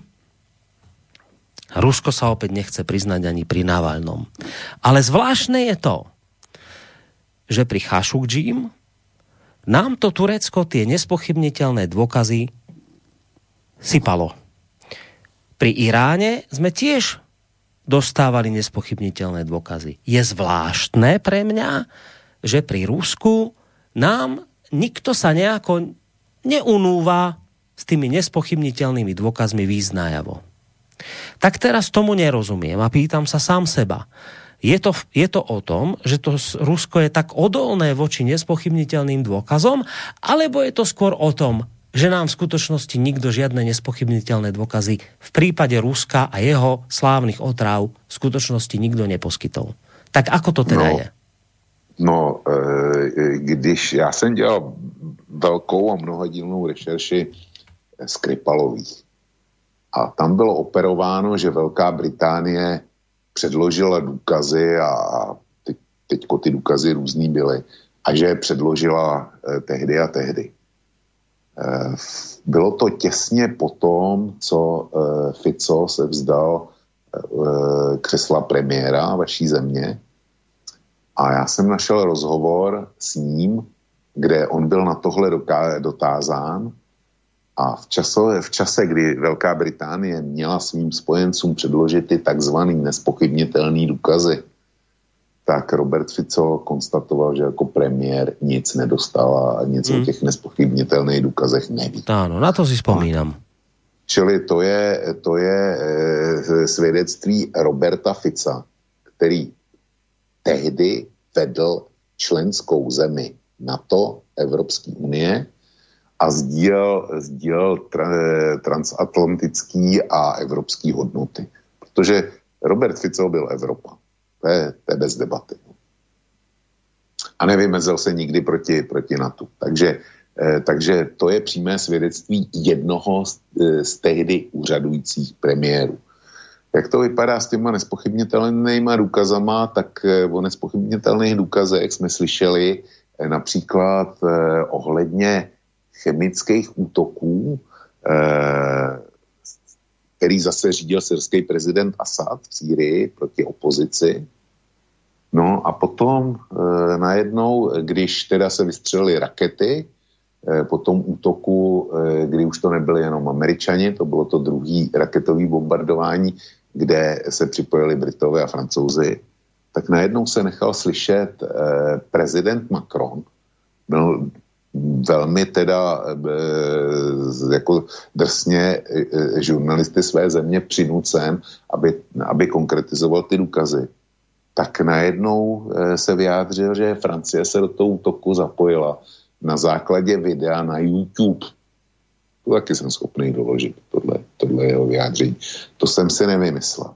Rusko sa opäť nechce priznať ani pri Navalnom. Ale zvláštne je to, že pri Chašukdžím nám to Turecko tie nespochybniteľné dôkazy sypalo. Pri Iráne sme tiež dostávali nespochybniteľné dôkazy. Je zvláštne pre mňa, že pri Rusku nám nikto sa nejako neunúva s tými nespochybniteľnými dôkazmi význajavo. Tak teraz tomu nerozumiem a pýtam sa sám seba. Je to, je to o tom, že to Rusko je tak odolné voči nespochybniteľným dôkazom, alebo je to skôr o tom, že nám v skutočnosti nikto žiadne nespochybniteľné dôkazy v prípade Ruska a jeho slávnych otráv v skutočnosti nikto neposkytol. Tak ako to teda no, je? No, e, když já jsem dělal velkou a mnohodílnou rešerši Skripalových a tam bylo operováno, že Velká Británie předložila důkazy a ty, teďko ty důkazy různý byly a že je předložila eh, tehdy a tehdy. Eh, bylo to těsně po tom, co eh, Fico se vzdal eh, křesla premiéra vaší země a já jsem našel rozhovor s ním, kde on byl na tohle doká- dotázán a v čase, v čase, kdy Velká Británie měla svým spojencům předložit ty takzvaný nespochybnitelný důkazy, tak Robert Fico konstatoval, že jako premiér nic nedostal a nic hmm. o těch nespochybnitelných důkazech neví. Áno, na to si spomínam. Čili to je, to je e, svědectví Roberta Fica, který tehdy vedl členskou zemi NATO, Evropské unie a sdílel, sdílel tra, transatlantický a evropský hodnoty. Protože Robert Fico byl Evropa. To je, to je bez debaty. A nevymezil se nikdy proti, proti NATO. Takže, eh, takže to je přímé svědectví jednoho z, z tehdy úřadujících premiérů. Jak to vypadá s těma nespochybnitelnýma důkazama, tak eh, o nespochybnitelných důkazech jsme slyšeli eh, například eh, ohledně chemických útoků, eh, který zase řídil syrský prezident Asad v Sýrii proti opozici. No a potom e, najednou, když teda se vystřelily rakety, e, po tom útoku, e, kdy už to nebyly jenom Američani, to bylo to druhý raketový bombardování, kde se připojili Britové a Francouzi, tak najednou se nechal slyšet e, prezident Macron, byl velmi teda e, jako drsně e, žurnalisty své země přinucen, aby, aby konkretizoval ty důkazy. Tak najednou e, se vyjádřil, že Francie se do toho útoku zapojila na základě videa na YouTube. To taky jsem schopný doložit, tohle, tohle jeho vyjádření. To jsem si nevymyslel.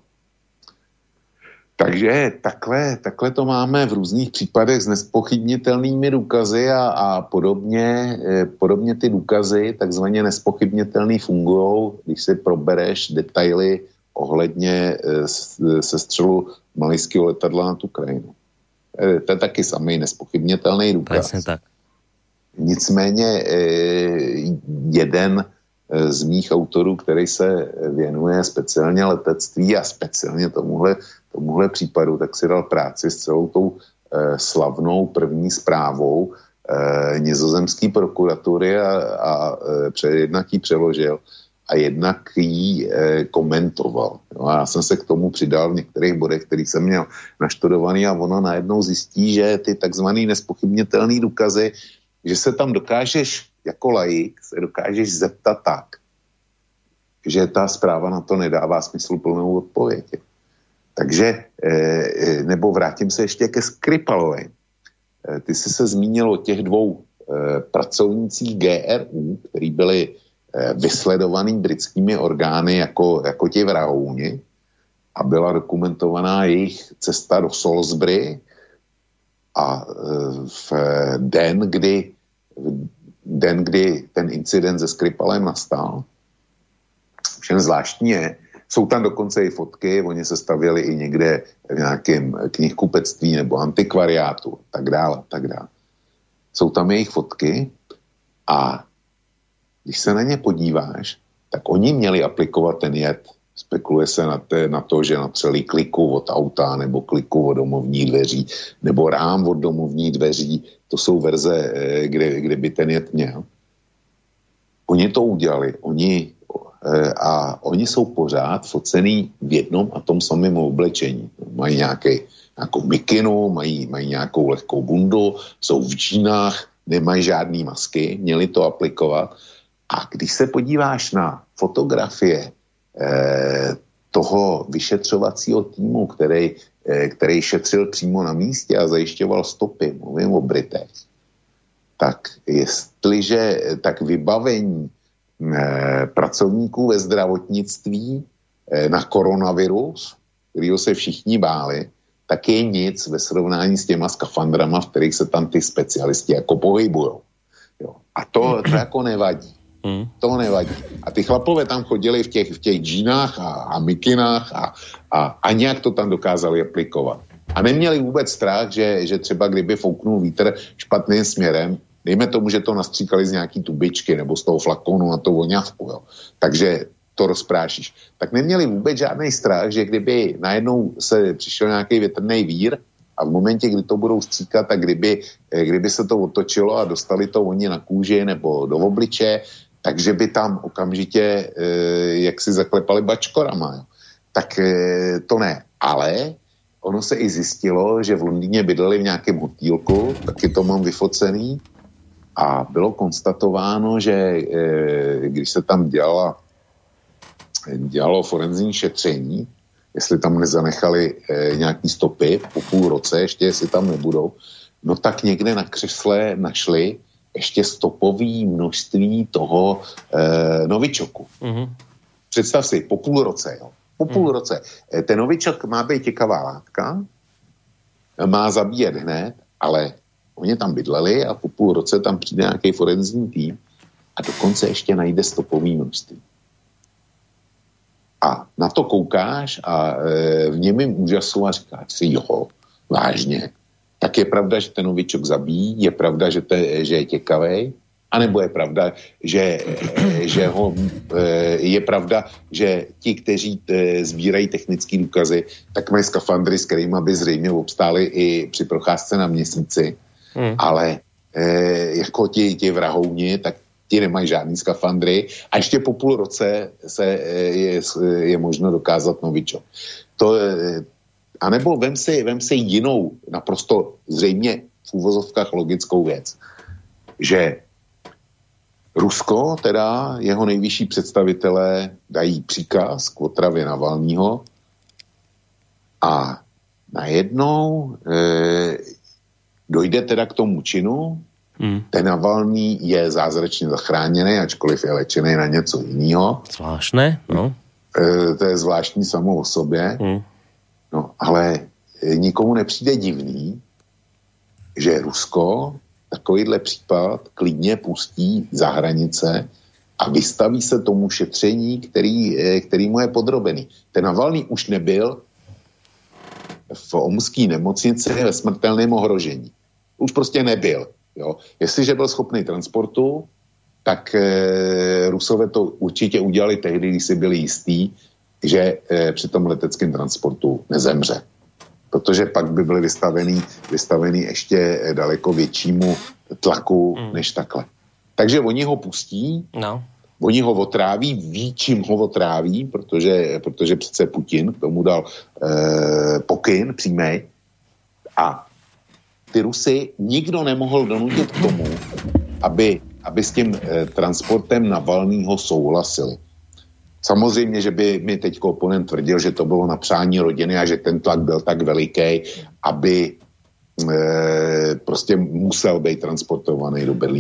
Takže takhle, takhle to máme v různých případech s nespochybnitelnými důkazy a, a podobně, eh, podobně ty důkazy takzvaně nespochybnitelný fungujou, když si probereš detaily ohledně eh, sestřelu malajského letadla nad Ukrajinu. Eh, to je taky samý nespochybnitelný důkaz. Presne tak. Nicméně eh, jeden z mých autorů, který se věnuje speciálně letectví a speciálně tomuhle, tomuhle případu, tak si dal práci s celou tou eh, slavnou první zprávou eh, nizozemské prokuratury a, a eh, jednak ji přeložil a jednak ji eh, komentoval. No a já jsem se k tomu přidal v některých bodech, který jsem měl naštudovaný a ono najednou zjistí, že ty takzvaný nespochybnitelný důkazy, že se tam dokážeš jako laik se dokážeš zeptat tak, že ta zpráva na to nedává smysluplnou odpověď. Takže, e, nebo vrátím se ještě ke Skripalovi. E, ty jsi se zmínil o těch dvou e, pracovnících G R U, který byli vysledovaný britskými orgány jako, jako ti vrahouni a byla dokumentovaná jejich cesta do Salisbury a v den, kdy, den, kdy ten incident se Skripalem nastal. Všem zvláštní je, jsou tam dokonce i fotky, oni se stavěli i někde v nějakém knihkupectví nebo antikvariátu, tak dále, tak dále. Jsou tam jejich fotky a když se na ně podíváš, tak oni měli aplikovat ten jed. Spekuluje se na, te, na to, že natřeli kliku od auta nebo kliku od domovních dveří nebo rám od domovních dveří. To jsou verze, kde, kde by ten jed měl. Oni to udělali. Oni, a oni jsou pořád focený v jednom a tom samém oblečení. Mají nějaký, nějakou mikinu, mají, mají nějakou lehkou bundu, jsou v džínách, nemají žádný masky, měli to aplikovat. A když se podíváš na fotografie eh, toho vyšetřovacího týmu, který, eh, který šetřil přímo na místě a zajišťoval stopy, mluvím o Britech, tak jestliže tak vybavení eh, pracovníků ve zdravotnictví eh, na koronavirus, kterýho se všichni báli, tak je nic ve srovnání s těma skafandrama, v kterých se tam ty specialisti jako pohybujou. Jo. A to, to jako nevadí. Hmm. To nevadí. A ty chlapové tam chodili v těch, v těch džínách a, a mikinách a, a, a nějak to tam dokázali aplikovat. A neměli vůbec strach, že, že třeba kdyby fouknul vítr špatným směrem, dejme tomu, že to nastříkali z nějaký tubičky nebo z toho flakonu na to voňavku, jo. Takže to rozprášíš. Tak neměli vůbec žádný strach, že kdyby najednou se přišel nějaký větrný vír a v momentě, kdy to budou stříkat, tak kdyby, kdyby se to otočilo a dostali to oni na kůži nebo do obliče, takže by tam okamžitě e, jak si zaklepali bačkorama. Jo. Tak e, to ne. Ale ono se i zjistilo, že v Londýně bydleli v nějakém hotýlku, taky to mám vyfocený, a bylo konstatováno, že e, když se tam dělala, dělalo forenzní šetření, jestli tam nezanechali e, nějaký stopy po půl roce, ještě jestli tam nebudou, no tak někde na křesle našli ještě stopový množství toho e, novičoku. Mm-hmm. Představ si, po půl roce, jo. Po půl mm. roce. E, ten novičok má být těkavá látka, má zabíjet hned, ale oni tam bydleli a po půl roce tam přijde nějaký forenzní tým a dokonce ještě najde stopový množství. A na to koukáš a e, v němým úžasu a říkáš si, jo, vážně. Tak je pravda, že ten novičok zabíjí, je pravda, že, te, že je těkavej, anebo je pravda, že, že ho, je pravda, že ti, kteří sbírají technické důkazy, tak mají skafandry, s kterými by zřejmě obstáli i při procházce na měsíci, hmm. ale jako ti, ti vrahouni, tak ti nemají žádný skafandry a ještě po půl roce se je, je možno dokázat novičok. To A nebo vem si, vem si jinou, naprosto zřejmě v úvozovkách logickou věc, že Rusko, teda jeho nejvyšší představitelé dají příkaz k otravě Navalnýho a najednou e, dojde teda k tomu činu, hmm. ten Navalný je zázračně zachráněný, ačkoliv je léčený na něco jiného. Zvláštné, no. E, to je zvláštní samo o sobě. Hmm. No, ale nikomu nepřijde divný, že Rusko takovýhle případ klidně pustí za hranice a vystaví se tomu šetření, který, který mu je podrobený. Ten Navalný už nebyl v omské nemocnici ve smrtelném ohrožení. Už prostě nebyl. Jo. Jestliže byl schopný transportu, tak e, Rusové to určitě udělali tehdy, když si byli jistí, že e, při tom leteckém transportu nezemře. Protože pak by byli vystavený, vystavený ještě daleko většímu tlaku mm. než takhle. Takže oni ho pustí, no. Oni ho otráví, ví, čím ho otráví, protože, protože přece Putin k tomu dal e, pokyn přímej a ty Rusy nikdo nemohl donutit k tomu, aby, aby s tím e, transportem Navalnýho souhlasili. Samozřejmě, že by mi teď oponent tvrdil, že to bylo na přání rodiny a že ten tlak byl tak veliký, aby e, prostě musel být transportovaný do Berlína.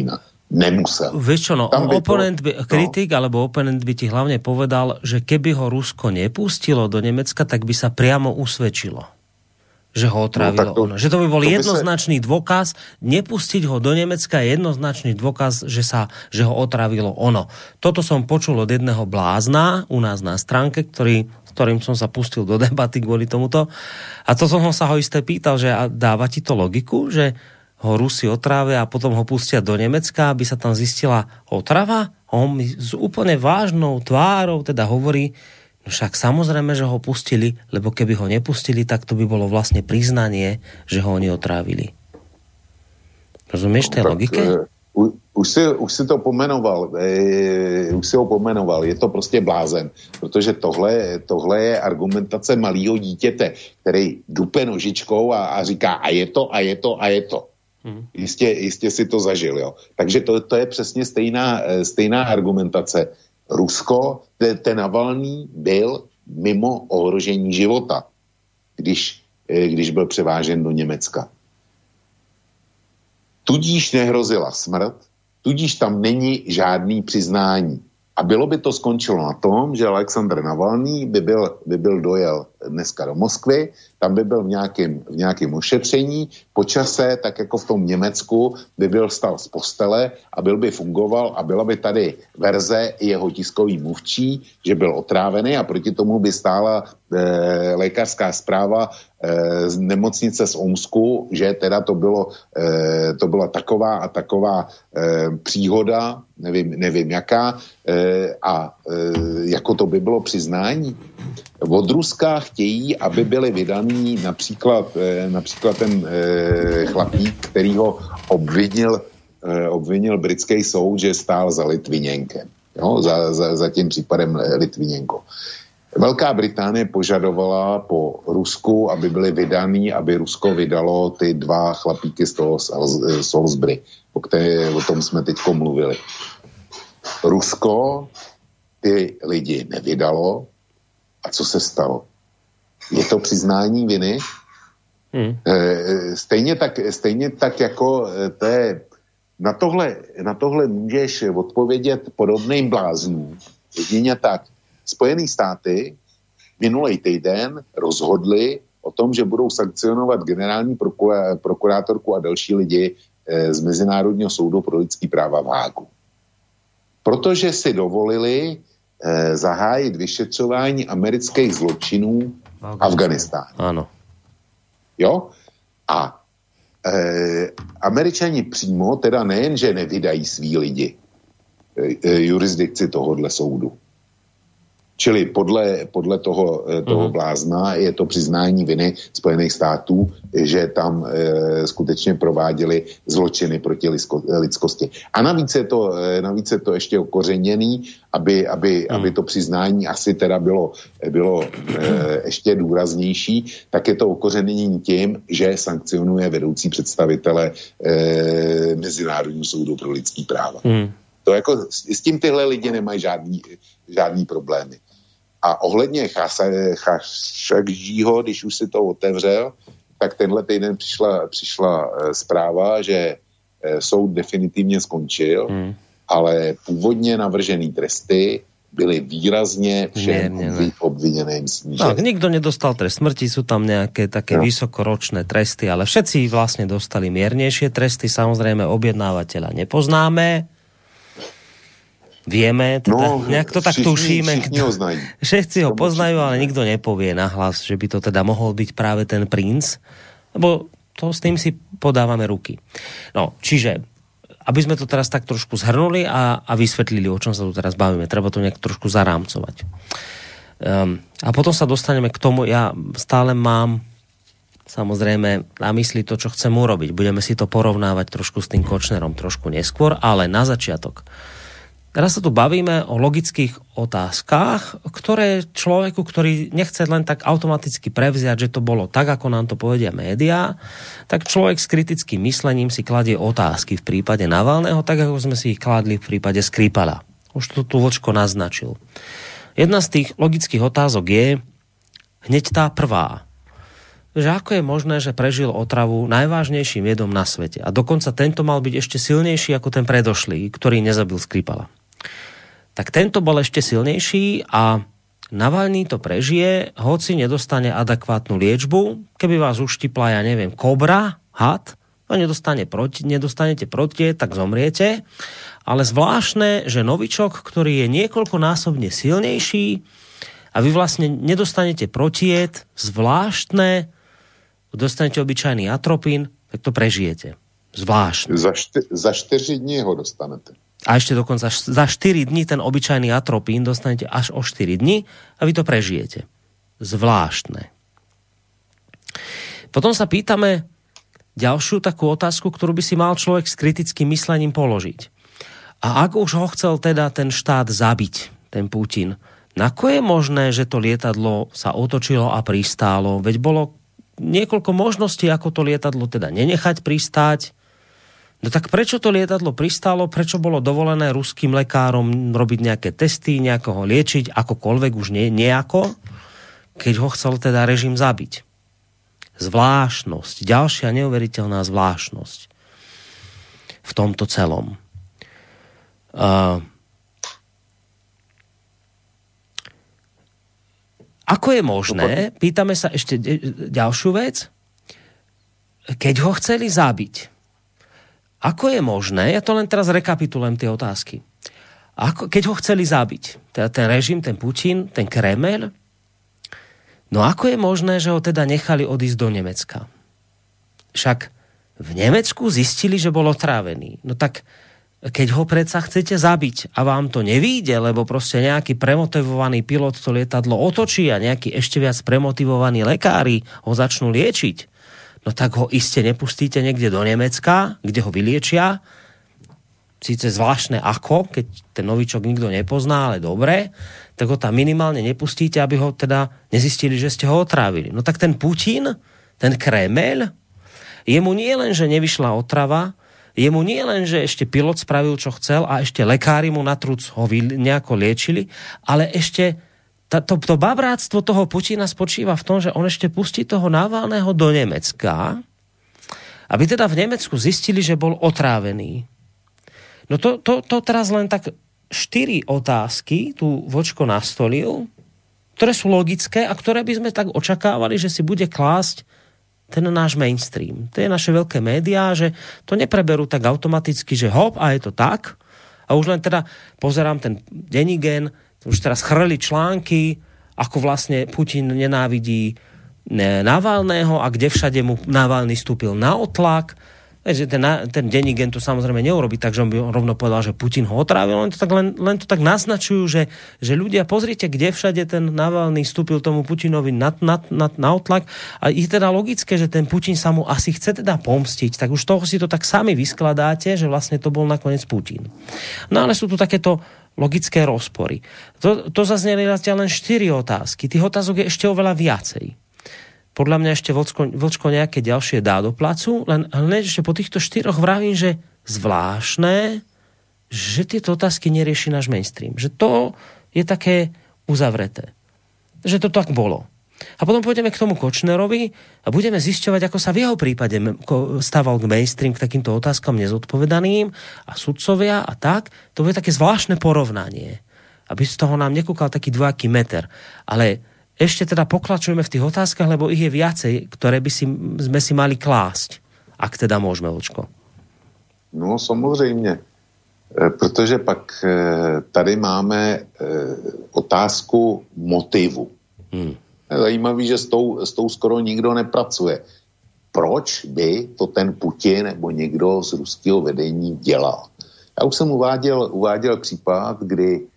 Nemusel. Vieš čo, no, by oponent by, no. kritik alebo oponent by ti hlavne povedal, že keby ho Rusko nepustilo do Nemecka, tak by sa priamo usvedčilo, že ho otrávilo no, to, ono. Že to by bol to jednoznačný by sa... dôkaz, nepustiť ho do Nemecka je jednoznačný dôkaz, že, sa, že ho otrávilo ono. Toto som počul od jedného blázna u nás na stránke, ktorý, s ktorým som sa pustil do debaty kvôli tomuto. A to som sa ho isté pýtal, že dáva ti to logiku, že ho Rusi otrávia a potom ho pustia do Nemecka, aby sa tam zistila otrava? On mi s úplne vážnou tvárou teda hovorí, no však samozrejme, že ho pustili, lebo keby ho nepustili, tak to by bolo vlastne priznanie, že ho oni otrávili. Rozumieš tej no, logike? Uh, už, si, už si to pomenoval, e, už si ho pomenoval, je to prostě blázen, protože tohle, tohle je argumentace malého dítěte, který dupe nožičkou a, a říká a je to, a je to, a je to. Hmm. Jistě, jistě si to zažil, jo. Takže to, to je přesně stejná, stejná argumentace. Rusko, ten, ten Navalný byl mimo ohrožení života, když, když byl převážen do Německa. Tudíž nehrozila smrt, tudíž tam není žádný přiznání. A bylo by to skončilo na tom, že Alexandr Navalný by byl, by byl dojel dneska do Moskvy, tam by byl v nějakém, v nějakém ošetření, po čase, tak jako v tom Německu, by byl vstal z postele a byl by fungoval a byla by tady verze jeho tiskový mluvčí, že byl otrávený a proti tomu by stála e, lékařská zpráva e, z nemocnice z Omsku, že teda to bylo, e, to byla taková a taková e, příhoda, nevím, nevím jaká, e, a e, jako to by bylo přiznání. Od Ruska chtějí, aby byli vydaný například, e, například ten e, chlapík, který ho obvinil, e, obvinil britský soud, že stál za Litviněnkem. Jo, za, za, za tím případem Litviněnko. Velká Británie požadovala po Rusku, aby byly vydaný, aby Rusko vydalo ty dva chlapíky z toho Salisbury, o, které, o tom jsme teďko mluvili. Rusko ty lidi nevydalo. A co se stalo? Je to přiznání viny? Hmm. Stejně, tak, stejně tak jako té, na, tohle, na tohle můžeš odpovědět podobným bláznům. Jedině tak. Spojené státy minulý týden rozhodli o tom, že budou sankcionovat generální prokurátorku a další lidi z Mezinárodního soudu pro lidský práva v Hágu. Protože si dovolili eh, zahájit vyšetřování amerických zločinů v Afganistánu. Ano. Jo? A eh, Američani přímo, teda nejen, že nevydají svý lidi eh, jurisdikci tohohle soudu. Čili podle, podle toho, toho blázna je to přiznání viny Spojených států, že tam e, skutečně prováděli zločiny proti lidsko, lidskosti. A navíc je to, navíc je to ještě okořeněný, aby, aby, hmm. aby to přiznání asi teda bylo, bylo e, ještě důraznější, tak je to okořenění tím, že sankcionuje vedoucí představitele e, Mezinárodního soudu pro lidský práva. Hmm. To jako, s tím tyhle lidi nemají žádný, žádný problémy. A ohledně Chashoggiho, když už si to otevřel, tak tenhle týden přišla, přišla zpráva, že soud definitivně skončil, hmm. ale původně navržený tresty byly výrazně všem obviněným snížené. Tak, nikto nedostal trest smrti, sú tam nejaké také no. vysokoročné tresty, ale všetci vlastne dostali miernejšie tresty, samozrejme objednávateľa nepoznáme. Vieme, teda, no, nejak to tak tušíme. Všetci ho poznajú, ale nikto nepovie nahlas, že by to teda mohol byť práve ten princ, lebo to s tým si podávame ruky. No, čiže, aby sme to teraz tak trošku zhrnuli a, a vysvetlili, o čom sa tu teraz bavíme, treba to nejak trošku zarámcovať. Um, a potom sa dostaneme k tomu, ja stále mám samozrejme na mysli to, čo chcem urobiť. Budeme si to porovnávať trošku s tým Kočnerom trošku neskôr, ale na začiatok. Teraz sa tu bavíme o logických otázkach, ktoré človeku, ktorý nechce len tak automaticky prevziať, že to bolo tak, ako nám to povedia médiá, tak človek s kritickým myslením si kladie otázky v prípade Navalného, tak ako sme si ich kladli v prípade Skripala. Už to tu Vočko že ako je možné, že prežil otravu najvážnejším jedom na svete. A dokonca tento mal byť ešte silnejší ako ten predošlý, ktorý nezabil Skripala. Tak tento bol ešte silnejší a Navalný to prežije, hoci nedostane adekvátnu liečbu. Keby vás uštipla, ja neviem, kobra, had, no nedostane proti, nedostanete proti, tak zomriete. Ale zvláštne, že novičok, ktorý je niekoľkonásobne silnejší a vy vlastne nedostanete protied, zvláštne, dostanete obyčajný atropín, tak to prežijete. Zvláštne. Za, šty- za štyri dní ho dostanete. A ešte dokonca za štyri dní ten obyčajný atropín dostanete až o štyri dní a vy to prežijete. Zvláštne. Potom sa pýtame ďalšiu takú otázku, ktorú by si mal človek s kritickým myslením položiť. A ak už ho chcel teda ten štát zabiť, ten Putin, nako je možné, že to lietadlo sa otočilo a pristálo? Veď bolo niekoľko možností, ako to lietadlo teda nenechať pristáť. No tak prečo to lietadlo pristálo? Prečo bolo dovolené ruským lekárom robiť nejaké testy, nejako ho liečiť, akokoľvek už nie, nejako, keď ho chcel teda režim zabiť? Zvláštnosť, ďalšia neuveriteľná zvláštnosť v tomto celom. Uh, ako je možné, pýtame sa ešte ďalšiu vec, keď ho chceli zabiť, ako je možné, ja to len teraz rekapitulujem tie otázky, ako, keď ho chceli zabiť, teda ten režim, ten Putin, ten Kreml, no ako je možné, že ho teda nechali odísť do Nemecka? Však v Nemecku zistili, že bol otrávený. No tak keď ho predsa chcete zabiť a vám to nevíde, lebo proste nejaký premotivovaný pilot to lietadlo otočí a nejaký ešte viac premotivovaní lekári ho začnú liečiť, no tak ho iste nepustíte niekde do Nemecka, kde ho vyliečia. Síce zvláštne ako, keď ten novičok nikto nepozná, ale dobre, tak ho tam minimálne nepustíte, aby ho teda nezistili, že ste ho otrávili. No tak ten Putin, ten Kreml, jemu nie len, že nevyšla otrava, jemu nie len, že ešte pilot spravil, čo chcel a ešte lekári mu na truc ho nejako liečili, ale ešte tá, to, to babráctvo toho Putina spočíva v tom, že on ešte pustí toho Navalného do Nemecka, aby teda v Nemecku zistili, že bol otrávený. No to, to, to teraz len tak štyri otázky tu Vočko nastolil, ktoré sú logické a ktoré by sme tak očakávali, že si bude klásť ten náš mainstream. To je naše veľké médiá, že to nepreberú tak automaticky, že hop, a je to tak. A už len teda pozerám ten Denigen, už teraz chrli články, ako vlastne Putin nenávidí Navalného a kde všade mu Navalný vstúpil na otlak. Ten, ten Denigen to samozrejme neurobi, takže on by rovno povedal, že Putin ho otrávil, len to tak, len, len to tak naznačujú, že, že ľudia, pozrite, kde všade ten Navalný vstúpil tomu Putinovi na, na, na, na otlak a je teda logické, že ten Putin sa mu asi chce teda pomstiť, tak už toho si to tak sami vyskladáte, že vlastne to bol nakoniec Putin. No ale sú tu takéto logické rozpory. To, to zazneli len štyri otázky, tých otázok je ešte oveľa viacej. Podľa mňa ešte Vlčko, Vlčko nejaké ďalšie dá do placu, len, len ešte po týchto štyroch vravím, že zvláštne, že tieto otázky nerieši náš mainstream. Že to je také uzavreté. Že to tak bolo. A potom pôjdeme k tomu Kočnerovi a budeme zisťovať, ako sa v jeho prípade stával k mainstream k takýmto otázkam nezodpovedaným a sudcovia a tak. To bude také zvláštne porovnanie. Aby z toho nám nekúkal taký dvojaký meter. Ale ešte teda pokračujeme v tých otázkach, lebo ich je viacej, ktoré by si, sme si mali klásť. Ak teda môžeme, Vočko. No samozřejmě. Protože pak tady máme otázku motivu. Hmm. Je zajímavý, že s tou, s tou skoro nikdo nepracuje. Proč by to ten Putin nebo někdo z ruského vedení dělal? Já už jsem uváděl, uváděl případ, kdy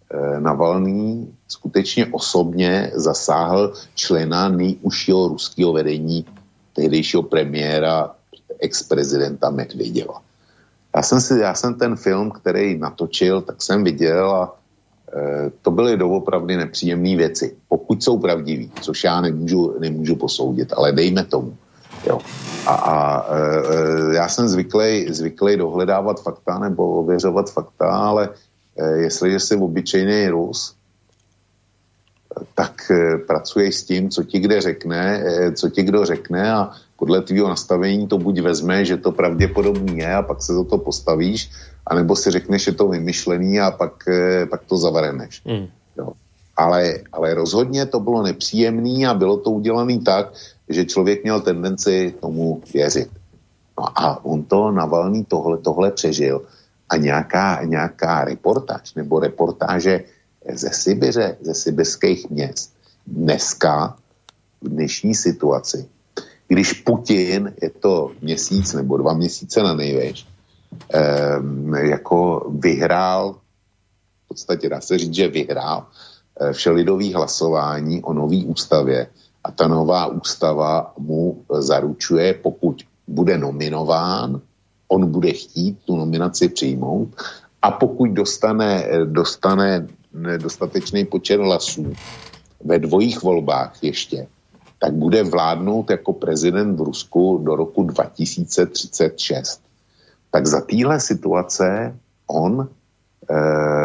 Navalný skutečně osobně zasáhl člena nejužšího ruského vedení, tehdejšího premiéra, ex-prezidenta Medvedeva. Já jsem, si, já jsem ten film, který natočil, tak jsem viděl a e, to byly doopravdy nepříjemné věci. Pokud jsou pravdiví, což já nemůžu, nemůžu posoudit, ale dejme tomu. Jo. A, a e, já jsem zvyklý, zvyklý dohledávat fakta nebo ověřovat fakta, ale jestliže si obyčejný Rus tak e, pracuješ s tím, co ti kde řekne, e, co ti kdo řekne a podle tvýho nastavení to buď vezme, že to pravděpodobný je a pak se za to postavíš, anebo si řekneš, že to vymyšlený a pak, e, pak to zavareneš. Mm. Jo. Ale, ale rozhodně to bylo nepříjemný a bylo to udělané tak, že člověk měl tendenci tomu věřit. No a on to Navalný tohle, tohle přežil a nějaká, nějaká reportáž nebo reportáže ze Sibiře, ze sibirských měst dneska v dnešní situaci, když Putin, je to měsíc nebo dva měsíce na největš, eh, jako vyhrál, v podstatě dá se říct, že vyhrál eh, všelidový hlasování o nový ústavě a ta nová ústava mu zaručuje, pokud bude nominován, on bude chtít tu nominaci přijmout a pokud dostane, dostane dostatečný počet hlasů ve dvojích volbách ještě, tak bude vládnout jako prezident v Rusku do roku dva tisíce třicet šest. Tak za téhle situace on e,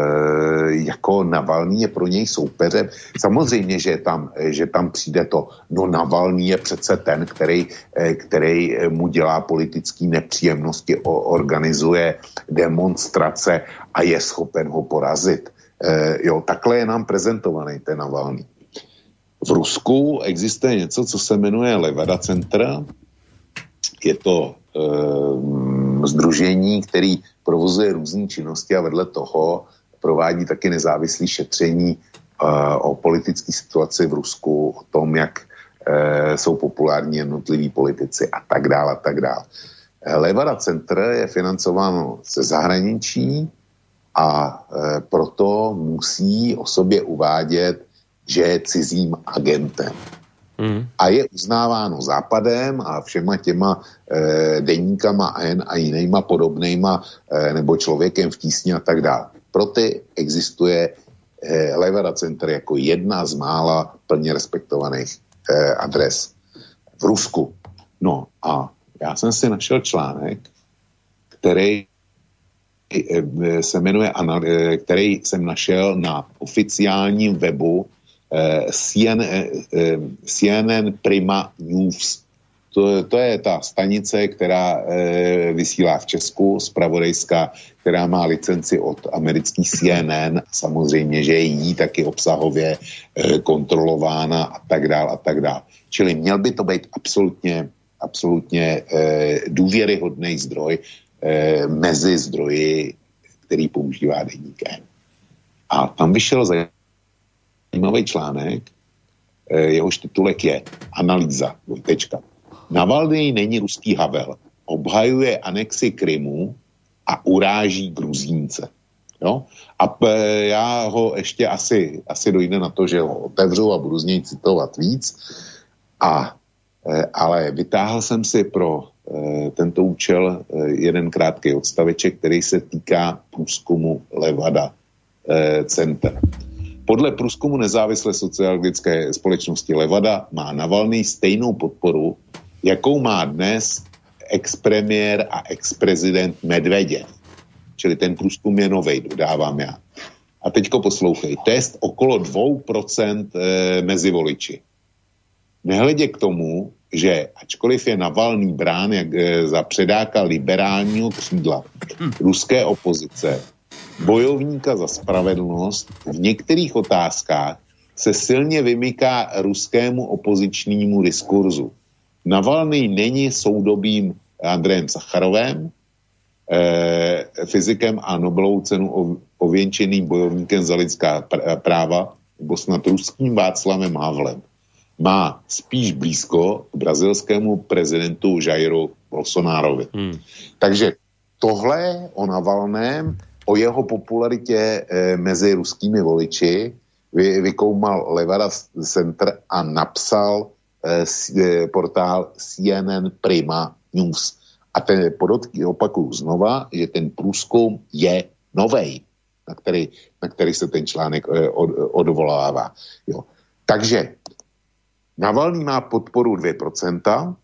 jako Navalný je pro něj soupeřem. Samozřejmě, že tam, že tam přijde to, no Navalný je přece ten, který, který mu dělá politické nepříjemnosti, organizuje demonstrace a je schopen ho porazit. E, jo, takhle je nám prezentovaný ten Navalný. V Rusku existuje něco, co se jmenuje Levada Center. Je to e, sdružení, který provozuje různé činnosti a vedle toho provádí taky nezávislé šetření e, o politické situaci v Rusku, o tom, jak e, jsou populární jednotliví politici a tak dále a tak dále. Levada Center je financováno ze zahraničí a e, proto musí o sobě uvádět, že je cizím agentem. Mm. A je uznáváno Západem a všema těma e, deníkama N a jinýma podobnejma e, nebo člověkem v tísni a tak dále. Proto existuje e, Levada Center jako jedna z mála plně respektovaných e, adres v Rusku. No a já jsem si našel článek, který se jmenuje, který jsem našel na oficiálním webu C N N Prima News. To, to je ta stanice, která e, vysílá v Česku, zpravodajská, která má licenci od amerických C N N. Samozřejmě, že je jí taky obsahově e, kontrolována a tak dál a tak dál. Čili měl by to být absolutně, absolutně e, důvěryhodný zdroj e, mezi zdroji, který používá deník N. A tam vyšel zajímavý článek, e, jehož titulek je Analýza, dvojtečka. Navalný není ruský Havel. Obhajuje anexi Krymu a uráží Gruzínce. Jo? A p- já ho ještě asi, asi dojde na to, že ho otevřu a budu z něj citovat víc. A, e, ale vytáhl jsem si pro e, tento účel e, jeden krátký odstaveček, který se týká průzkumu Levada e, Center. Podle průzkumu nezávislé sociologické společnosti Levada má Navalný stejnou podporu, jakou má dnes ex-premiér a ex-prezident Medveděv. Čili ten průzkum je novej, dodávám já. A teďko poslouchej. Test okolo dvě procenta e, mezi voliči. Nehledě k tomu, že ačkoliv je Navalný brán jak, e, za předáka liberálního křídla ruské opozice, bojovníka za spravedlnost, v některých otázkách se silně vymyká ruskému opozičnímu diskurzu. Navalný není soudobým Andrejem Sacharovem, eh, fyzikem a Nobelovou cenu ověnčeným bojovníkem za lidská práva, nebo snad ruským Václavem Havlem. Má spíš blízko k brazilskému prezidentu Jairu Bolsonarovi. Hmm. Takže tohle o Navalném, o jeho popularitě eh, mezi ruskými voliči vy, vykoumal Levada Center a napsal portál C N N Prima News. A ten podotky opakuju znova, že ten průzkum je novej, na který, na který se ten článek od, odvolává. Jo. Takže Navalný má podporu dvě procenta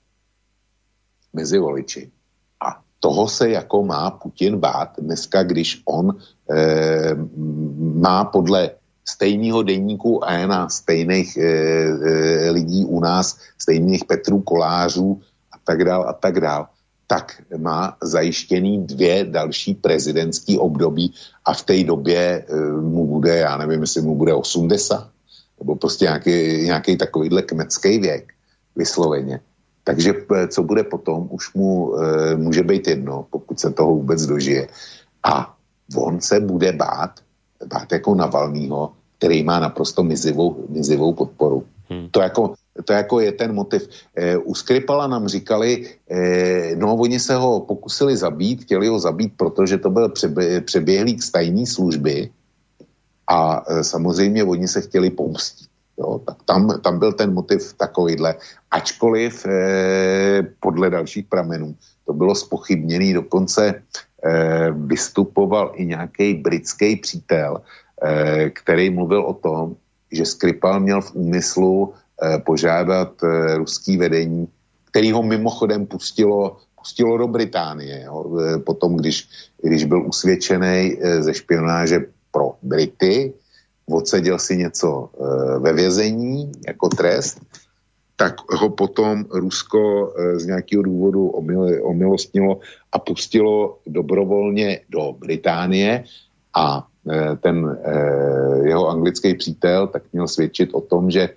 mezi voliči. A toho se jako má Putin bát dneska, když on e, má podle stejného deníku a na stejných e, e, lidí u nás, stejných Petrů Kolářů a tak dál a tak dál, tak má zajištěný dvě další prezidentský období a v té době e, mu bude, já nevím, jestli mu bude osmdesát, nebo prostě nějaký, nějaký takovýhle kmecký věk vysloveně. Takže co bude potom, už mu e, může být jedno, pokud se toho vůbec dožije. A on se bude bát, bát jako Navalnýho, který má naprosto mizivou, mizivou podporu. Hmm. To, jako, to jako je ten motiv. E, u Skripala nám říkali, e, no oni se ho pokusili zabít, chtěli ho zabít, protože to byl přebě, přeběhlík z tajné služby a e, samozřejmě oni se chtěli pomstit. Jo, tak tam, tam byl ten motiv takovýhle. Ačkoliv e, podle dalších pramenů to bylo zpochybněný, dokonce e, vystupoval i nějaký britský přítel, e, který mluvil o tom, že Skripal měl v úmyslu e, požádat e, ruský vedení, který ho mimochodem pustilo, pustilo do Británie. Jo, e, potom, když, když byl usvědčený e, ze špionáže pro Brity, odseděl si něco e, ve vězení jako trest, tak ho potom Rusko e, z nějakého důvodu omil, omilostnilo a pustilo dobrovolně do Británie a e, ten e, jeho anglický přítel tak měl svědčit o tom, že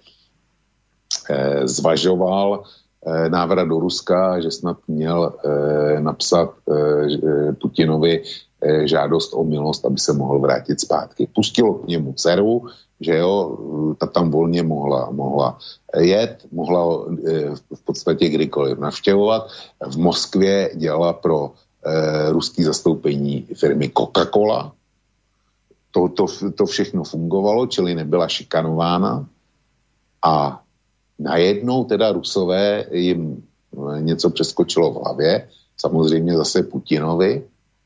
e, zvažoval e, návrat do Ruska, že snad měl e, napsat e, Putinovi e, žádost o milost, aby se mohl vrátit zpátky. Pustilo k němu dceru, že jo, ta tam volně mohla, mohla jet, mohla e, v podstatě kdykoliv navštěvovat. V Moskvě dělala pro e, ruský zastoupení firmy Coca-Cola. To, to, to všechno fungovalo, čili nebyla šikanována. A najednou teda Rusové jim něco přeskočilo v hlavě, samozřejmě zase Putinovi,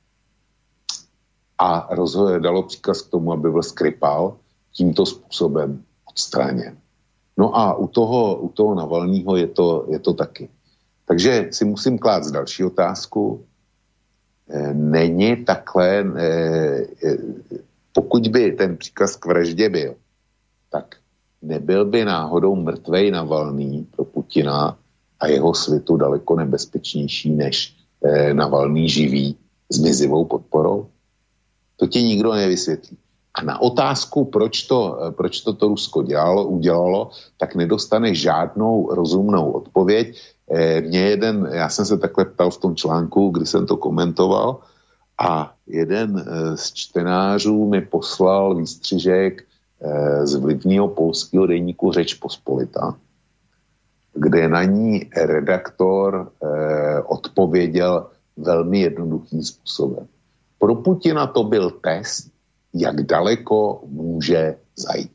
a rozhodl, dalo příkaz k tomu, aby byl Skripal tímto způsobem odstraněn. No a u toho, u toho Navalnýho je to, je to taky. Takže si musím klást další otázku. Není takhle, pokud by ten příkaz k vraždě byl, tak nebyl by náhodou mrtvej Navalný pro Putina a jeho svitu daleko nebezpečnější než Navalný živý s mizivou podporou? To ti nikdo nevysvětlí. A na otázku, proč to, proč to, to Rusko dělalo, udělalo, tak nedostane žádnou rozumnou odpověď. E, mě jeden, já jsem se takhle ptal v tom článku, kdy jsem to komentoval, a jeden e, z čtenářů mi poslal výstřižek e, z vlivného polského deníku Řeč Pospolita, kde na ní redaktor e, odpověděl velmi jednoduchým způsobem. Pro Putina to byl test, jak daleko může zajít.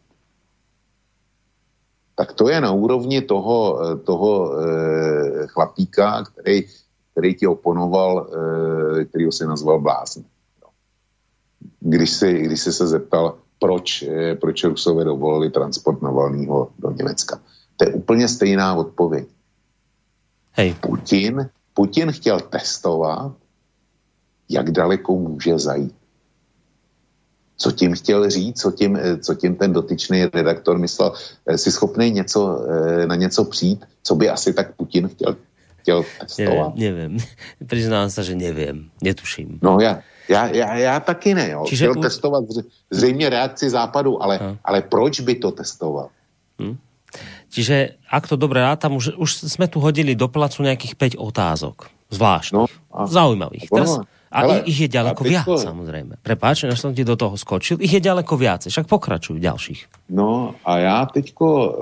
Tak to je na úrovni toho, toho e, chlapíka, který, který ti oponoval, e, kterýho si nazval blázn. Když si, když si se zeptal, proč, e, proč Rusové dovolili transport Navalnýho do Německa. To je úplně stejná odpověď. Hej. Putin, Putin chtěl testovat, jak daleko může zajít. Co tím chtěl říct, co tím, co tím ten dotyčný redaktor myslel, si schopný něco, na něco přijít, co by asi tak Putin chtěl, chtěl testovat? Nevím, nevím. Přiznám se, že nevím, netuším. No já, já, já, já taky ne, jo. Čiže chtěl u... testovat zřejmě reakci západu, ale, no. ale proč by to testoval? Hm. Čiže, ak to dobre rátam, už, už sme tu hodili do placu nejakých päť otázok. Zvláštnych. No, a... Zaujímavých. Teraz... A ale, ich je ďaleko viac, to... samozrejme. Prepáč, než som ti do toho skočil. Ich je ďaleko viac, však pokračujú ďalších. No a já teďko e,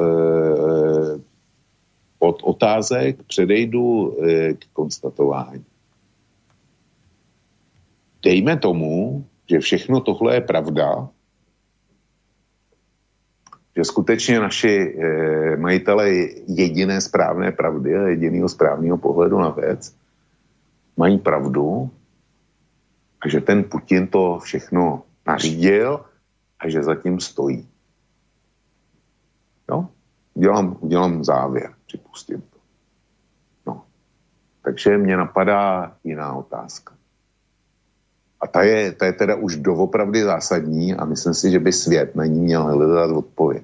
od otázek předejdu e, k konstatování. Dejme tomu, že všechno tohle je pravda, že skutečně naši e, majitele jediné správné pravdy a jediného správného pohledu na věc mají pravdu, a že ten Putin to všechno nařídil a že zatím stojí. No, udělám, udělám závěr, připustím to. No, takže mě napadá jiná otázka. A ta je, ta je teda už doopravdy zásadní a myslím si, že by svět na ní měl hledat odpověď.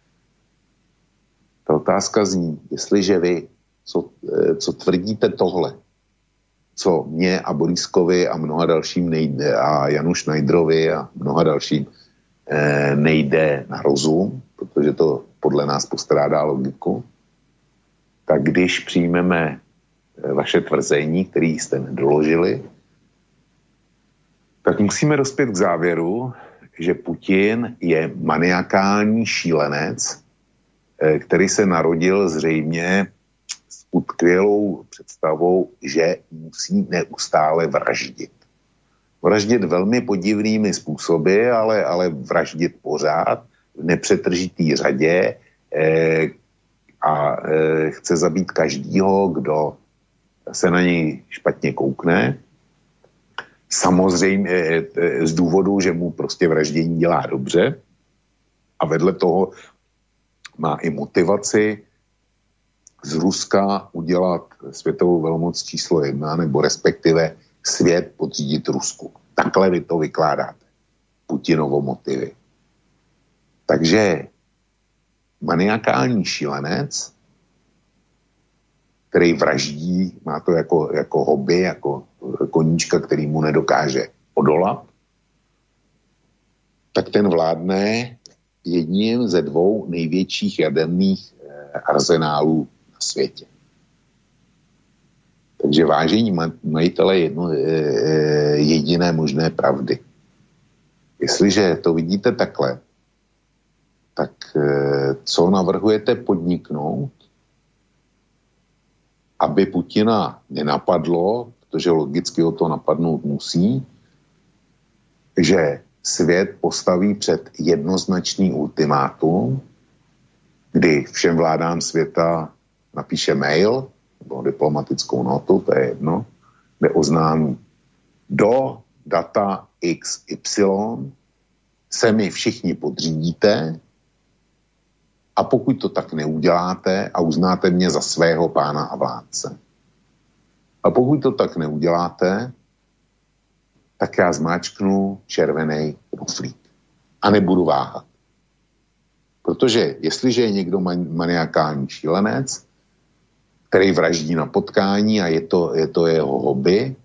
Ta otázka zní, jestliže vy, co, co tvrdíte tohle, co mě a Borískovi a mnoha dalším nejde, a Janu Šnajdrovi a mnoha dalším eh, nejde na rozum, protože to podle nás postrádá logiku, tak když přijmeme vaše tvrzení, které jste nedoložili, tak musíme dospět k závěru, že Putin je maniakální šílenec, který se narodil zřejmě s utkvělou představou, že musí neustále vraždit. Vraždit velmi podivnými způsoby, ale, ale vraždit pořád v nepřetržitý řadě eh, a eh, chce zabít každýho, kdo se na něj špatně koukne. Samozřejmě eh, z důvodu, že mu prostě vraždění dělá dobře a vedle toho má i motivaci z Ruska udělat světovou velmoc číslo jedna, nebo respektive svět podřídit Rusku. Takhle vy to vykládáte. Putinovo motivy. Takže maniakální šílenec, který vraždí, má to jako, jako hobby, jako koníčka, který mu nedokáže odolat, tak ten vládne jedním ze dvou největších jaderných arzenálů na světě. Takže vážení majitele jedno, jediné možné pravdy. Jestliže to vidíte takhle, tak co navrhujete podniknout, aby Putina nenapadlo, protože logicky ho to napadnout musí, že svět postaví před jednoznačný ultimátum, kdy všem vládám světa napíše mail nebo diplomatickou notu, to je jedno, kde oznámí do data iks ypsilon se mi všichni podřídíte a pokud to tak neuděláte a uznáte mě za svého pána a vládce. A pokud to tak neuděláte, tak já zmáčknu červený knoflík. A nebudu váhat. Protože jestliže je někdo maniakální šílenec, který vraždí na potkání a je to, je to jeho hobby,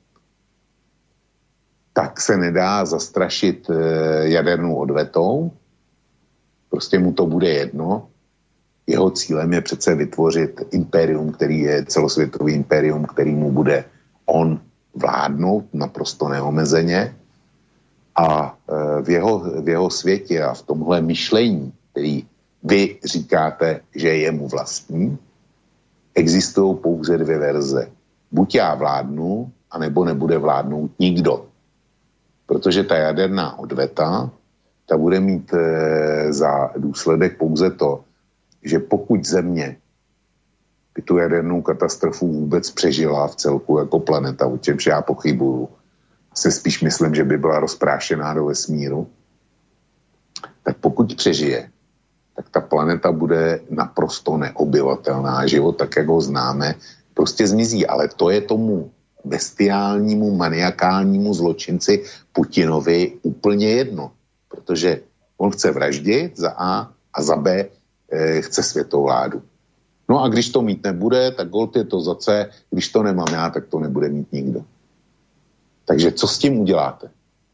tak se nedá zastrašit jadernou odvetou. Prostě mu to bude jedno. Jeho cílem je přece vytvořit impérium, který je celosvětový impérium, který mu bude on vládnout naprosto neomezeně a v jeho, v jeho světě a v tomhle myšlení, který vy říkáte, že je mu vlastní, existují pouze dvě verze. Buď já vládnu, anebo nebude vládnout nikdo. Protože ta jaderná odveta, ta bude mít e, za důsledek pouze to, že pokud země by tu jadernou katastrofu vůbec přežila v celku jako planeta, o čemž já pochybuju, se spíš myslím, že by byla rozprášená do vesmíru, tak pokud přežije, tak ta planeta bude naprosto neobyvatelná. Život, tak jak ho známe, prostě zmizí. Ale to je tomu bestiálnímu, maniakálnímu zločinci Putinovi úplně jedno. Protože on chce vraždit za A a za B e, chce světovládu. No a když to mít nebude, tak holt je to za C. Když to nemám já, tak to nebude mít nikdo. Takže co s tím uděláte?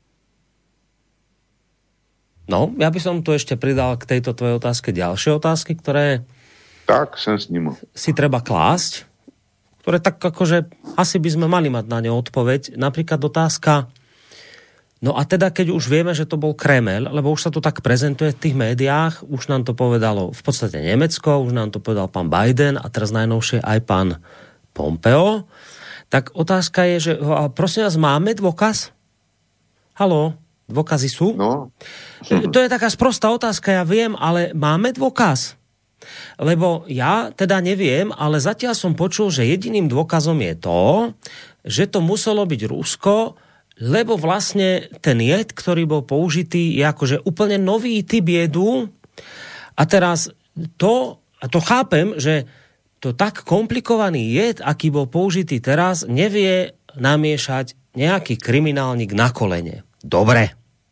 No, ja by som tu ešte pridal k tejto tvojej otázke ďalšie otázky, ktoré tak, som s ním. si treba klásť, ktoré tak akože asi by sme mali mať na ne odpoveď. Napríklad otázka, no a teda keď už vieme, že to bol Kreml, lebo už sa to tak prezentuje v tých médiách, už nám to povedalo v podstate Nemecko, už nám to povedal pán Biden a teraz najnovšie aj pán Pompeo, tak otázka je, že prosím vás, máme dôkaz? Haló? Dôkazy sú? No. To je taká sprostá otázka, ja viem, ale máme dôkaz? Lebo ja teda neviem, ale zatiaľ som počul, že jediným dôkazom je to, že to muselo byť Rusko, lebo vlastne ten jed, ktorý bol použitý, je akože úplne nový typ jedu. A teraz to, a to chápem, že to tak komplikovaný jed, aký bol použitý teraz, nevie namiešať nejaký kriminálnik na kolene. Dobre.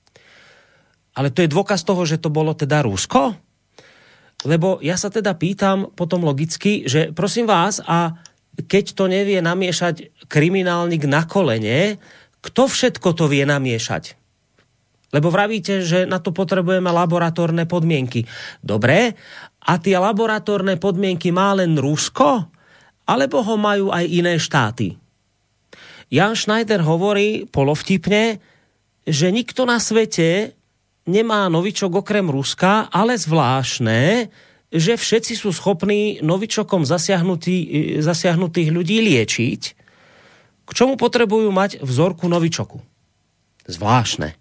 Ale to je dôkaz toho, že to bolo teda Rusko? Lebo ja sa teda pýtam potom logicky, že prosím vás, a keď to nevie namiešať kriminálnik na kolene, kto všetko to vie namiešať? Lebo vravíte, že na to potrebujeme laboratórne podmienky. Dobre, a tie laboratórne podmienky má len Rusko? Alebo ho majú aj iné štáty? Jan Schneider hovorí polovtipne, že nikto na svete nemá novičok okrem Ruska, ale zvláštne, že všetci sú schopní novičokom zasiahnutý, zasiahnutých ľudí liečiť. K čomu potrebujú mať vzorku novičoku? Zvláštne.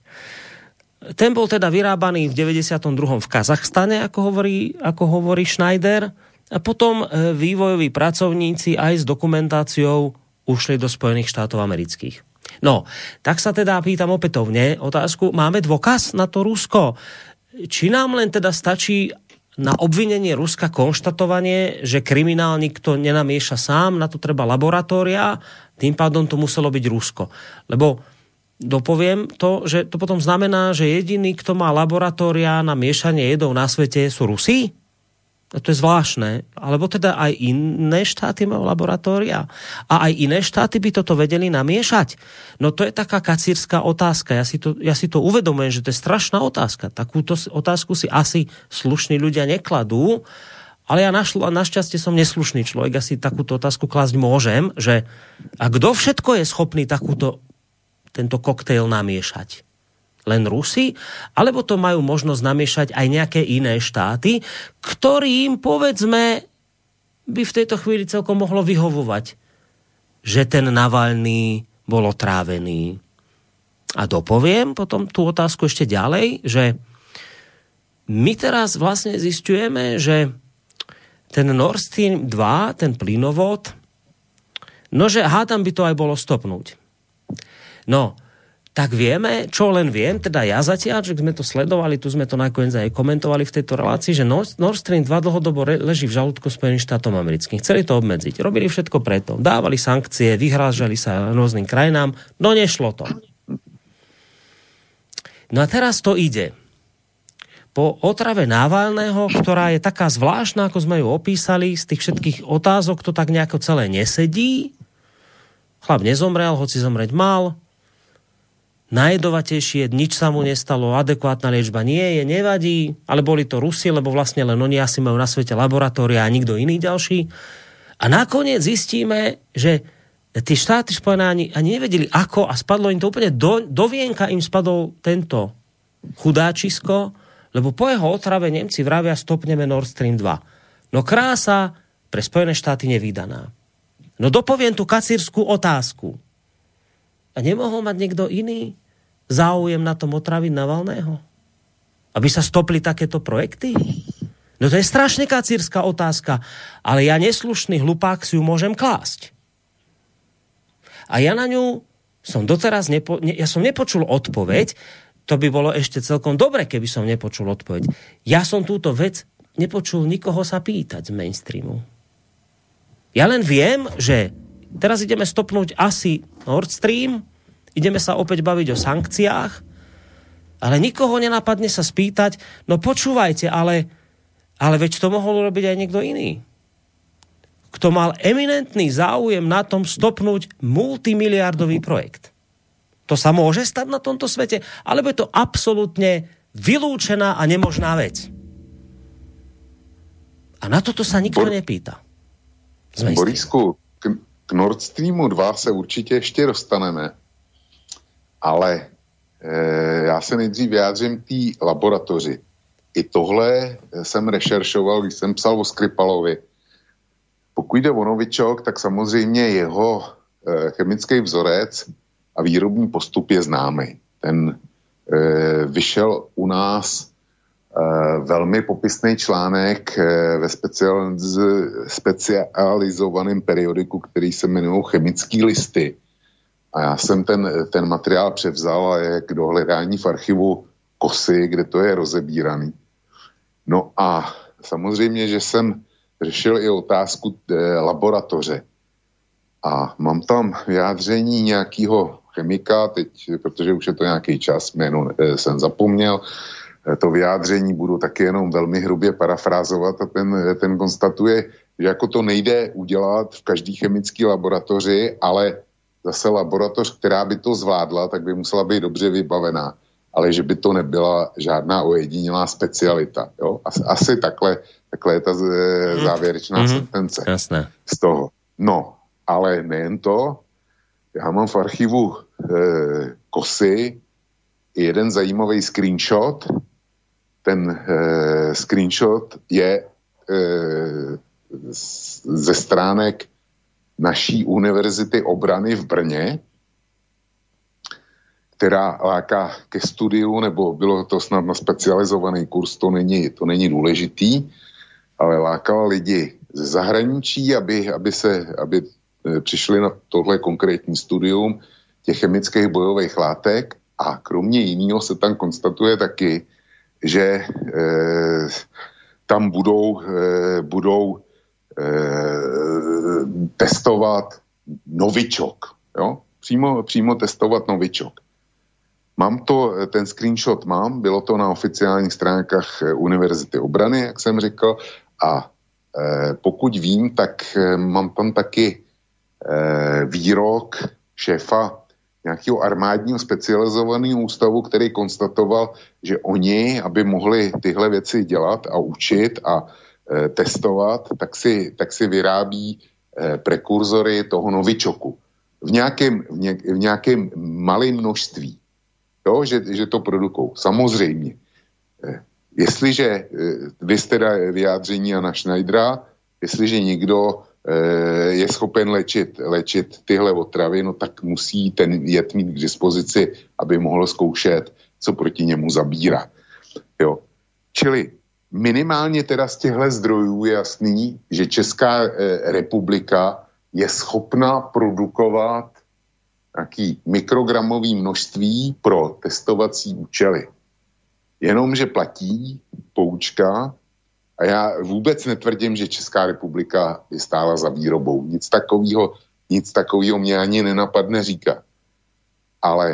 Ten bol teda vyrábaný v deväťdesiatom druhom v Kazachstane, ako hovorí, ako hovorí Schneider. A potom vývojoví pracovníci aj s dokumentáciou ušli do Spojených štátov amerických. No, tak sa teda pýtam opätovne otázku, máme dôkaz na to Rusko? Či nám len teda stačí na obvinenie Ruska konštatovanie, že kriminálnik to nenamieša sám, na to treba laboratória, tým pádom to muselo byť Rusko. Lebo dopoviem to, že to potom znamená, že jediný, kto má laboratória na miešanie jedov na svete, sú Rusi? A to je zvláštne. Alebo teda aj iné štáty majú laboratória. A aj iné štáty by toto vedeli namiešať. No to je taká kacírska otázka. Ja si to, ja si to uvedomujem, že to je strašná otázka. Takúto otázku si asi slušní ľudia nekladú. Ale ja našl, našťastie som neslušný človek. Ja si takúto otázku klásť môžem, že a kto všetko je schopný takúto, tento koktejl namiešať? Len Rusi, alebo to majú možnosť namiešať aj nejaké iné štáty, ktorým, povedzme, by v tejto chvíli celkom mohlo vyhovovať, že ten Navalný bol otrávený. A dopoviem potom tú otázku ešte ďalej, že my teraz vlastne zisťujeme, že ten Nord Stream dva, ten plynovod, no že hádam by to aj bolo stopnúť. No, tak vieme, čo len viem, teda ja zatiaľ, že sme to sledovali, tu sme to nakoniec aj komentovali v tejto relácii, že Nord Stream dva dlhodobo leží v žalúdku Spojených štátov amerických. Chceli to obmedziť, robili všetko preto, dávali sankcie, vyhrážali sa rôznym krajinám, no nešlo to. No a teraz to ide. Po otrave Navalného, ktorá je taká zvláštna, ako sme ju opísali, z tých všetkých otázok to tak nejako celé nesedí. Chlap nezomrel, hoci zomreť mal. Najjedovatejšie, nič sa mu nestalo, adekvátna liečba nie je, nevadí, ale boli to Rusi, lebo vlastne len oni asi majú na svete laboratória a nikto iný ďalší. A nakoniec zistíme, že tí štáty Spojené ani, ani nevedeli ako a spadlo im to úplne do, do vienka, im spadol tento chudáčisko, lebo po jeho otrave Nemci vravia stopneme Nord Stream dva. No krása pre Spojené štáty nevídaná. No dopoviem tú kacírskú otázku. A nemohol mať niekto iný záujem na tom otraviť Navalného? Aby sa stopli takéto projekty? No to je strašne kacírska otázka, ale ja neslušný hlupák si ju môžem klásť. A ja na ňu som doteraz nepo, ne, ja som nepočul odpoveď, to by bolo ešte celkom dobre, keby som nepočul odpoveď. Ja som túto vec nepočul nikoho sa pýtať z mainstreamu. Ja len viem, že teraz ideme stopnúť asi Nord Stream, ideme sa opäť baviť o sankciách, ale nikoho nenapadne sa spýtať, no počúvajte, ale, ale veď to mohol robiť aj niekto iný. Kto mal eminentný záujem na tom stopnúť multimiliardový projekt. To sa môže stať na tomto svete, alebo je to absolútne vylúčená a nemožná vec. A na toto sa nikto Bor- nepýta. Borisku, k, k Nord Streamu dva se určitě ještě dostaneme. Ale e, já se nejdřív vyjádřím té laboratoři. I tohle jsem rešeršoval, když jsem psal o Skripalovi. Pokud jde o novičok, tak samozřejmě jeho e, chemický vzorec a výrobní postup je známý. Ten e, vyšel u nás e, velmi popisný článek e, ve specializ, specializovaném periodiku, který se jmenuje Chemický listy. A já jsem ten, ten materiál převzal a je k dohledání v archivu Kosy, kde to je rozebíraný. No a samozřejmě, že jsem řešil i otázku e, laboratoře. A mám tam vyjádření nějakého chemika, teď, protože už je to nějaký čas, jméno jsem zapomněl, to vyjádření budu taky jenom velmi hrubě parafrázovat a ten, ten konstatuje, že jako to nejde udělat v každé chemické laboratoři, ale zase laboratoř, která by to zvládla, tak by musela být dobře vybavená, ale že by to nebyla žádná ojedinělá specialita. Jo? Asi, asi takhle, takhle je ta závěrečná mm-hmm. sentence Jasné. z toho. No, ale nejen to, já mám v archivu e, Kosy jeden zajímavý screenshot. Ten e, screenshot je e, ze stránek naší univerzity obrany v Brně, která láká ke studiu, nebo bylo to snad na specializovaný kurz, to není, to není důležitý, ale lákala lidi ze zahraničí, aby, aby, se, aby přišli na tohle konkrétní studium těch chemických bojových látek a kromě jiného se tam konstatuje taky, že e, tam budou, e, budou e, testovat novičok. Jo? Přímo, přímo testovat novičok. Mám to, ten screenshot mám, bylo to na oficiálních stránkách Univerzity obrany, jak jsem řekl, a e, pokud vím, tak e, mám tam taky e, výrok šéfa nějakého armádního specializovaného ústavu, který konstatoval, že oni, aby mohli tyhle věci dělat a učit a e, testovat, tak si, tak si vyrábí e, prekurzory toho novičoku. V nějakém, v, něk, v nějakém malém množství. Jo, že, že to produkují. Samozřejmě. E, jestliže e, vy jste vyjádření Jana Schneidera, jestliže někdo je schopen léčit, léčit tyhle otravy, no tak musí ten jed mít k dispozici, aby mohl zkoušet, co proti němu zabírá. Jo. Čili minimálně teda z těchto zdrojů je jasný, že Česká republika je schopna produkovat nějaký mikrogramový množství pro testovací účely. Jenomže platí poučka. A já vůbec netvrdím, že Česká republika je stála za výrobou. Nic takového, nic takového mě ani nenapadne říkat. Ale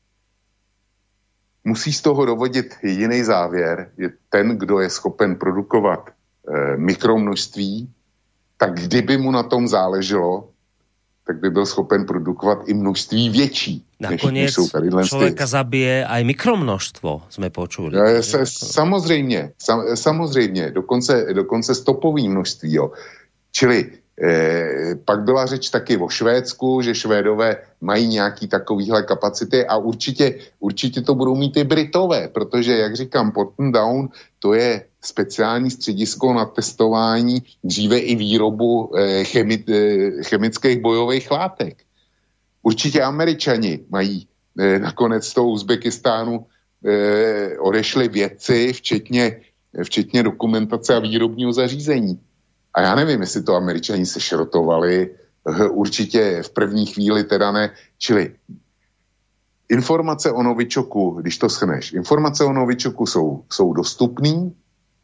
musí z toho dovodit jediný závěr, že ten, kdo je schopen produkovat e, mikromnožství, tak kdyby mu na tom záleželo, tak by byl schopen produkovat i množství větší. Nakoniec člověka zabije aj mikromnožstvo, jsme počuli. Se, samozřejmě, sam, samozřejmě, dokonce, dokonce stopový množství. Jo. Čili eh, pak byla řeč taky o Švédsku, že Švédové mají nějaký takovýhle kapacity a určitě, určitě to budou mít i Britové, protože, jak říkám, Porton Down, to je speciální středisko na testování, dříve i výrobu eh, chemi, eh, chemických bojových látek. Určitě Američani mají eh, nakonec z toho Uzbekistánu eh, odešli vědci, včetně, včetně dokumentace a výrobního zařízení. A já nevím, jestli to Američani sešrotovali, eh, určitě v první chvíli teda ne. Čili informace o novičoku, když to schneš, informace o novičoku jsou, jsou dostupný,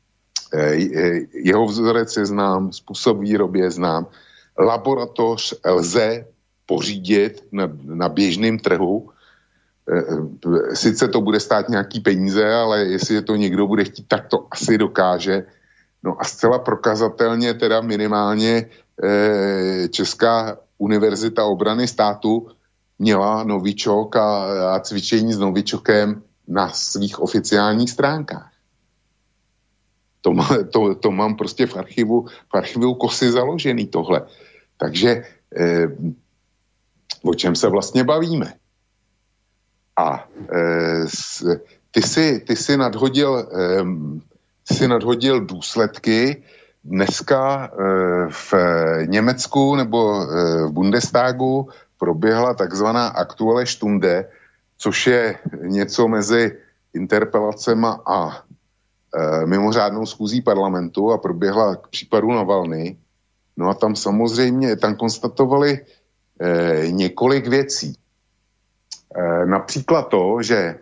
jeho vzorec je znám, způsob výroby je znám, laboratoř lze pořídit na, na běžném trhu, sice to bude stát nějaký peníze, ale jestli to někdo bude chtít, tak to asi dokáže. No a zcela prokazatelně teda minimálně Česká univerzita obrany státu měla novičok a, a cvičení s novičokem na svých oficiálních stránkách. To, má, to, to mám prostě v archivu, v archivu Kosy založený tohle. Takže eh, o čem se vlastně bavíme? A eh, ty, si, ty, si nadhodil, eh, ty si nadhodil důsledky. Dneska eh, v Německu nebo eh, v Bundestagu proběhla takzvaná Aktuelle Stunde, což je něco mezi interpelacema a e, mimořádnou schůzí parlamentu a proběhla k případu Navalny. No a tam samozřejmě, tam konstatovali e, několik věcí. E, například to, že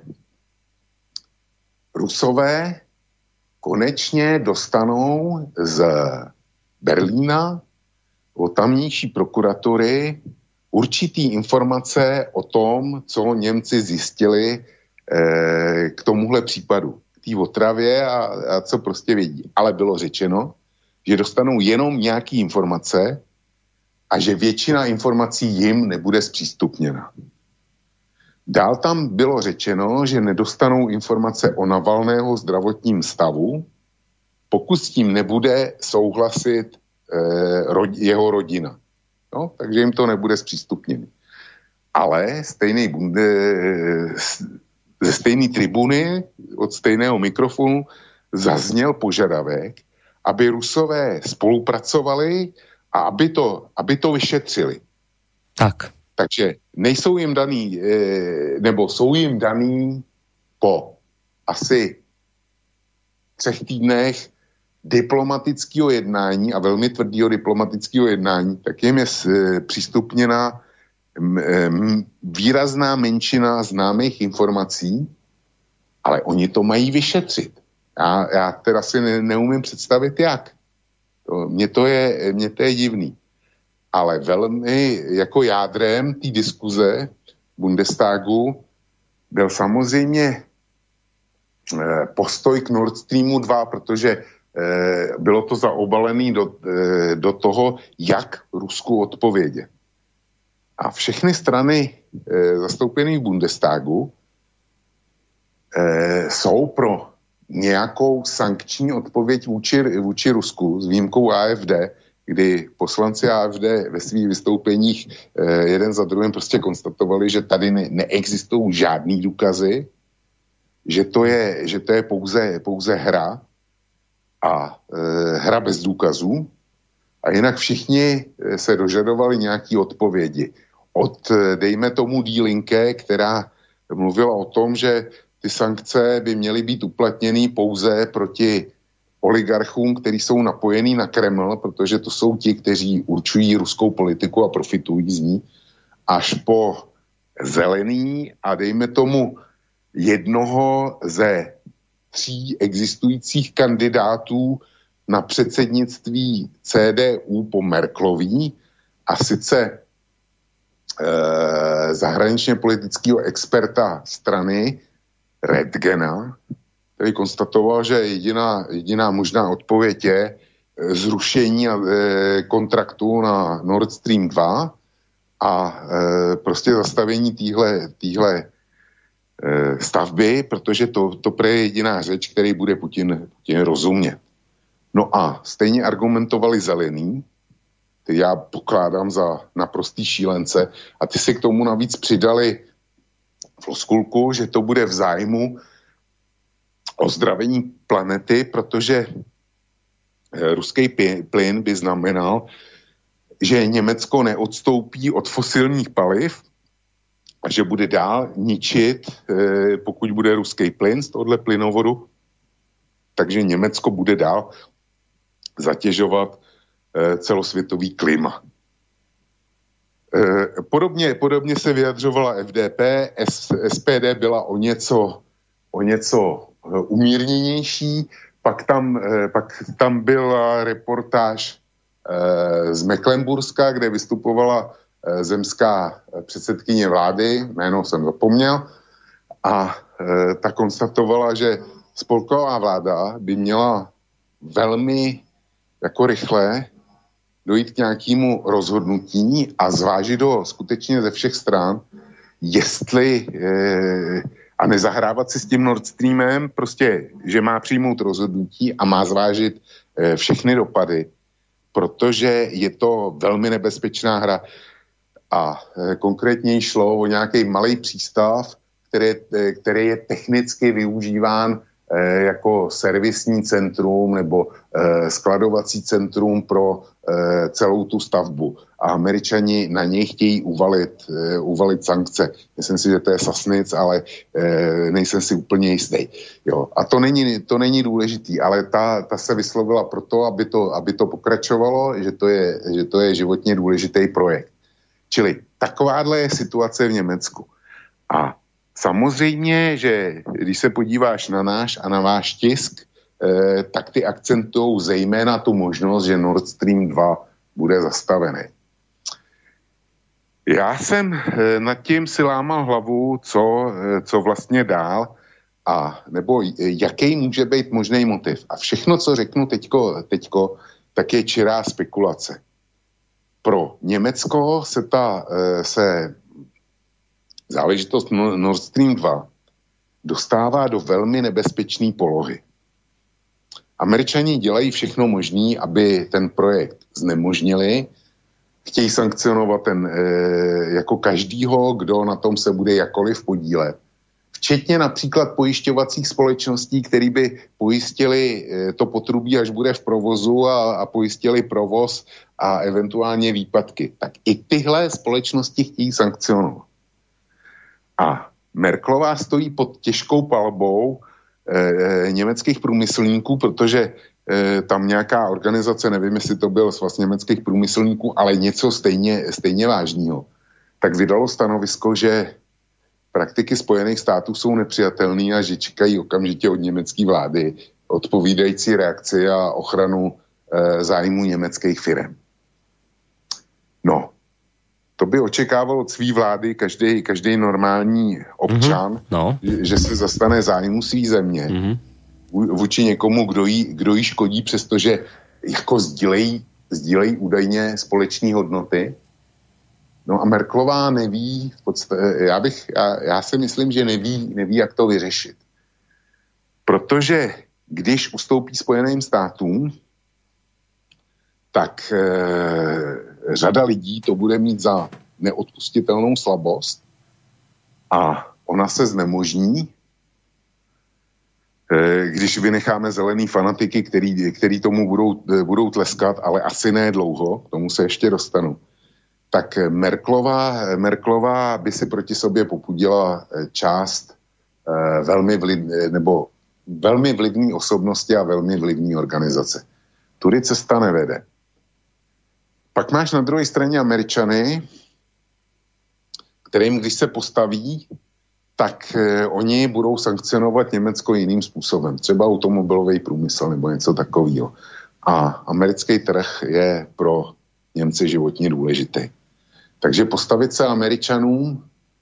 Rusové konečně dostanou z Berlína od tamnější prokuratury určitý informace o tom, co Němci zjistili eh, k tomuhle případu, k té otravě a, a co prostě vědí. Ale bylo řečeno, že dostanou jenom nějaké informace a že většina informací jim nebude zpřístupněna. Dál tam bylo řečeno, že nedostanou informace o Navalného zdravotním stavu, pokud s tím nebude souhlasit eh, rod, jeho rodina. No, takže jim to nebude zpřístupněno. Ale stejný bunde, ze stejné tribuny, od stejného mikrofonu zazněl požadavek, aby Rusové spolupracovali a aby to, aby to vyšetřili. Tak. Takže nejsou jim daný, nebo jsou jim daný po asi třech týdnech diplomatického jednání a velmi tvrdého diplomatického jednání, tak jim je přístupněna výrazná menšina známých informací, ale oni to mají vyšetřit. Já, já teda si ne, neumím představit, jak. To, mně, to je, mně to je divný. Ale velmi jako jádrem té diskuze Bundestagu byl samozřejmě postoj k Nord Streamu dva, protože bylo to zaobalené do, do toho, jak Rusku odpovědět. A všechny strany zastoupené v Bundestagu jsou pro nějakou sankční odpověď vůči, vůči Rusku s výjimkou A F D, kdy poslanci A F D ve svých vystoupeních jeden za druhým prostě konstatovali, že tady ne, neexistují žádný důkazy, že to je, že to je pouze, pouze hra a e, hra bez důkazů. A jinak všichni se dožadovali nějaký odpovědi. Od, dejme tomu, Die Linke, která mluvila o tom, že ty sankce by měly být uplatněny pouze proti oligarchům, kteří jsou napojení na Kreml, protože to jsou ti, kteří určují ruskou politiku a profitují z ní, až po zelený a dejme tomu jednoho ze tří existujících kandidátů na předsednictví C D U po Merklový, a sice e, zahraničně politického experta strany Redgena, který konstatoval, že jediná, jediná možná odpověď je zrušení e, kontraktu na Nord Stream dva a e, prostě zastavení téhle e, stavby, protože to, to pre je jediná řeč, který bude Putin, Putin rozumět. No a stejně argumentovali zelený, který já pokládám za naprostý šílence, a ty si k tomu navíc přidali floskulku, že to bude v zájmu ozdravení planety, protože ruský plyn by znamenal, že Německo neodstoupí od fosilních paliv a že bude dál ničit, pokud bude ruský plyn z tohohle plynovodu, takže Německo bude dál zatěžovat celosvětový klima. Podobně, podobně se vyjadřovala F D P, S P D byla o něco, o něco umírněnější, pak tam, pak tam byla reportáž z Mecklenburska, kde vystupovala zemská předsedkyně vlády, jméno jsem zapomněl, a ta konstatovala, že spolková vláda by měla velmi jako rychle dojít k nějakému rozhodnutí a zvážit ho skutečně ze všech stran, jestli eh, a nezahrávat si s tím Nord Streamem, prostě, že má přijmout rozhodnutí a má zvážit eh, všechny dopady, protože je to velmi nebezpečná hra. A eh, konkrétně šlo o nějaký malý přístav, který, eh, který je technicky využíván eh, jako servisní centrum nebo eh, skladovací centrum pro eh, celou tu stavbu. A Američani na něj chtějí uvalit, eh, uvalit sankce. Myslím si, že to je Sasnic, ale eh, nejsem si úplně jistý. Jo. A to není, to není důležitý, ale ta, ta se vyslovila proto, aby to, aby to pokračovalo, že to, je, že to je životně důležitý projekt. Čili takováhle je situace v Německu. A samozřejmě, že když se podíváš na náš a na váš tisk, eh, tak ty akcentují zejména tu možnost, že Nord Stream dva bude zastavený. Já jsem nad tím si lámal hlavu, co, co vlastně dál, a nebo jaký může být možný motiv. A všechno, co řeknu teďko, teďko tak je čirá spekulace. Pro Německo se ta se záležitost Nord Stream dva dostává do velmi nebezpečné polohy. Američani dělají všechno možné, aby ten projekt znemožnili, chtějí sankcionovat ten, e, jako každýho, kdo na tom se bude jakkoliv podílet. Včetně například pojišťovacích společností, které by pojistili e, to potrubí, až bude v provozu a, a pojistili provoz a eventuálně výpadky. Tak i tyhle společnosti chtějí sankcionovat. A Merkelová stojí pod těžkou palbou e, německých průmyslníků, protože e, tam nějaká organizace, nevím, jestli to byl svaz německých průmyslníků, ale něco stejně, stejně vážného, tak vydalo stanovisko, že praktiky Spojených států jsou nepřijatelné a že čekají okamžitě od německé vlády odpovídající reakci a ochranu e, zájmu německých firem. No, to by očekával od svý vlády každý, každý normální občan, mm-hmm. no. že, že se zastane zájmu svý země mm-hmm. vůči někomu, kdo jí, kdo jí škodí, přestože jako sdílejí, sdílejí údajně společné hodnoty. No a Merkelová neví, v podstatě, já, bych, já, já si myslím, že neví, neví, jak to vyřešit. Protože když ustoupí Spojeným státům, tak e, řada lidí to bude mít za neodpustitelnou slabost a ona se znemožní, e, když vynecháme zelený fanatiky, který, který tomu budou, budou tleskat, ale asi ne dlouho, k tomu se ještě dostanu. Tak Merkelová, Merkelová by si proti sobě popudila část e, velmi vliv, nebo velmi vlivné osobnosti a velmi vlivné organizace. Tudy cesta nevede. Pak máš na druhé straně Američany, kterým, když se postaví, tak eh, oni budou sankcionovat Německo jiným způsobem. Třeba automobilový průmysl nebo něco takového. A americký trh je pro Němce životně důležitý. Takže postavit se Američanům,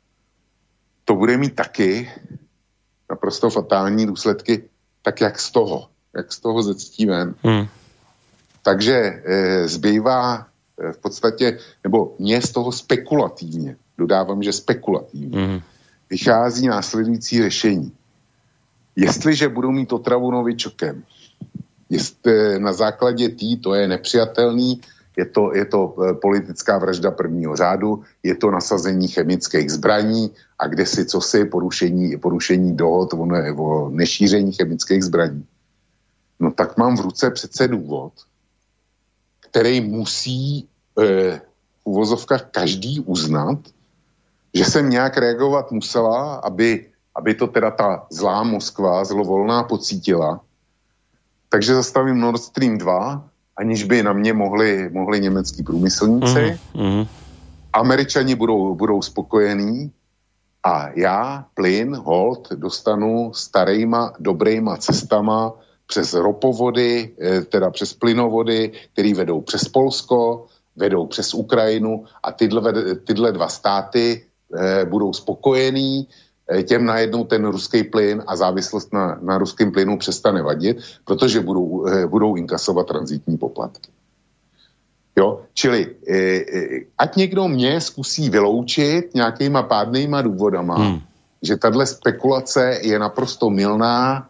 to bude mít taky naprosto fatální důsledky, tak jak z toho. Jak z toho zectí ven. Hmm. Takže e, zbývá e, v podstatě, nebo mě z toho spekulativně, dodávám, že spekulativně, hmm. vychází následující řešení. Jestliže budou mít otravu novičokem, jestli na základě tý, to je nepřijatelný, je to, je to politická vražda prvního řádu, je to nasazení chemických zbraní a kdesi cosi porušení, porušení dohod o, ne, o nešíření chemických zbraní. No tak mám v ruce přece důvod, který musí e, v uvozovkách každý uznat, že jsem nějak reagovat musela, aby, aby to teda ta zlá Moskva, zlovolná pocítila. Takže zastavím Nord Stream dva, aniž by na mě mohli, mohli německý průmyslníci. Mm-hmm. Američani budou, budou spokojení a já plyn, hold, dostanu starýma, dobrýma cestama přes ropovody, teda přes plynovody, které vedou přes Polsko, vedou přes Ukrajinu a tyhle, tyhle dva státy eh, budou spokojení, eh, těm najednou ten ruský plyn a závislost na, na ruském plynu přestane vadit, protože budou, eh, budou inkasovat tranzitní poplatky. Jo, čili eh, eh, ať někdo mě zkusí vyloučit nějakýma pádnýma důvodama, hmm. že tahle spekulace je naprosto mylná,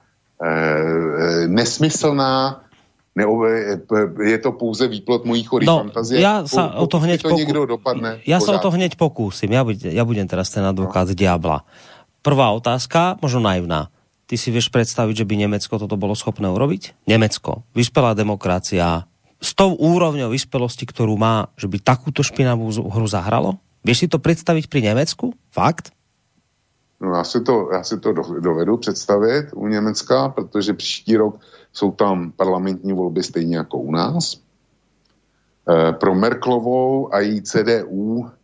E, nesmyslná, neove, je to pouze výplod mojich chorých no, fantazie. Ja sa o to hneď to poku... dopadne, ja sa o to hneď pokúsim. Ja, budem, ja budem teraz ten advokát no. diabla. Prvá otázka, možno naivná. Ty si vieš predstaviť, že by Nemecko toto bolo schopné urobiť? Nemecko, vyspelá demokracia, s tou úrovňou vyspelosti, ktorú má, že by takúto špinavú hru zahralo? Vieš si to predstaviť pri Nemecku? Fakt? No já si to, já si to dovedu představit u Německa, protože příští rok jsou tam parlamentní volby stejně jako u nás. E, pro Merkelovou a její C D U e,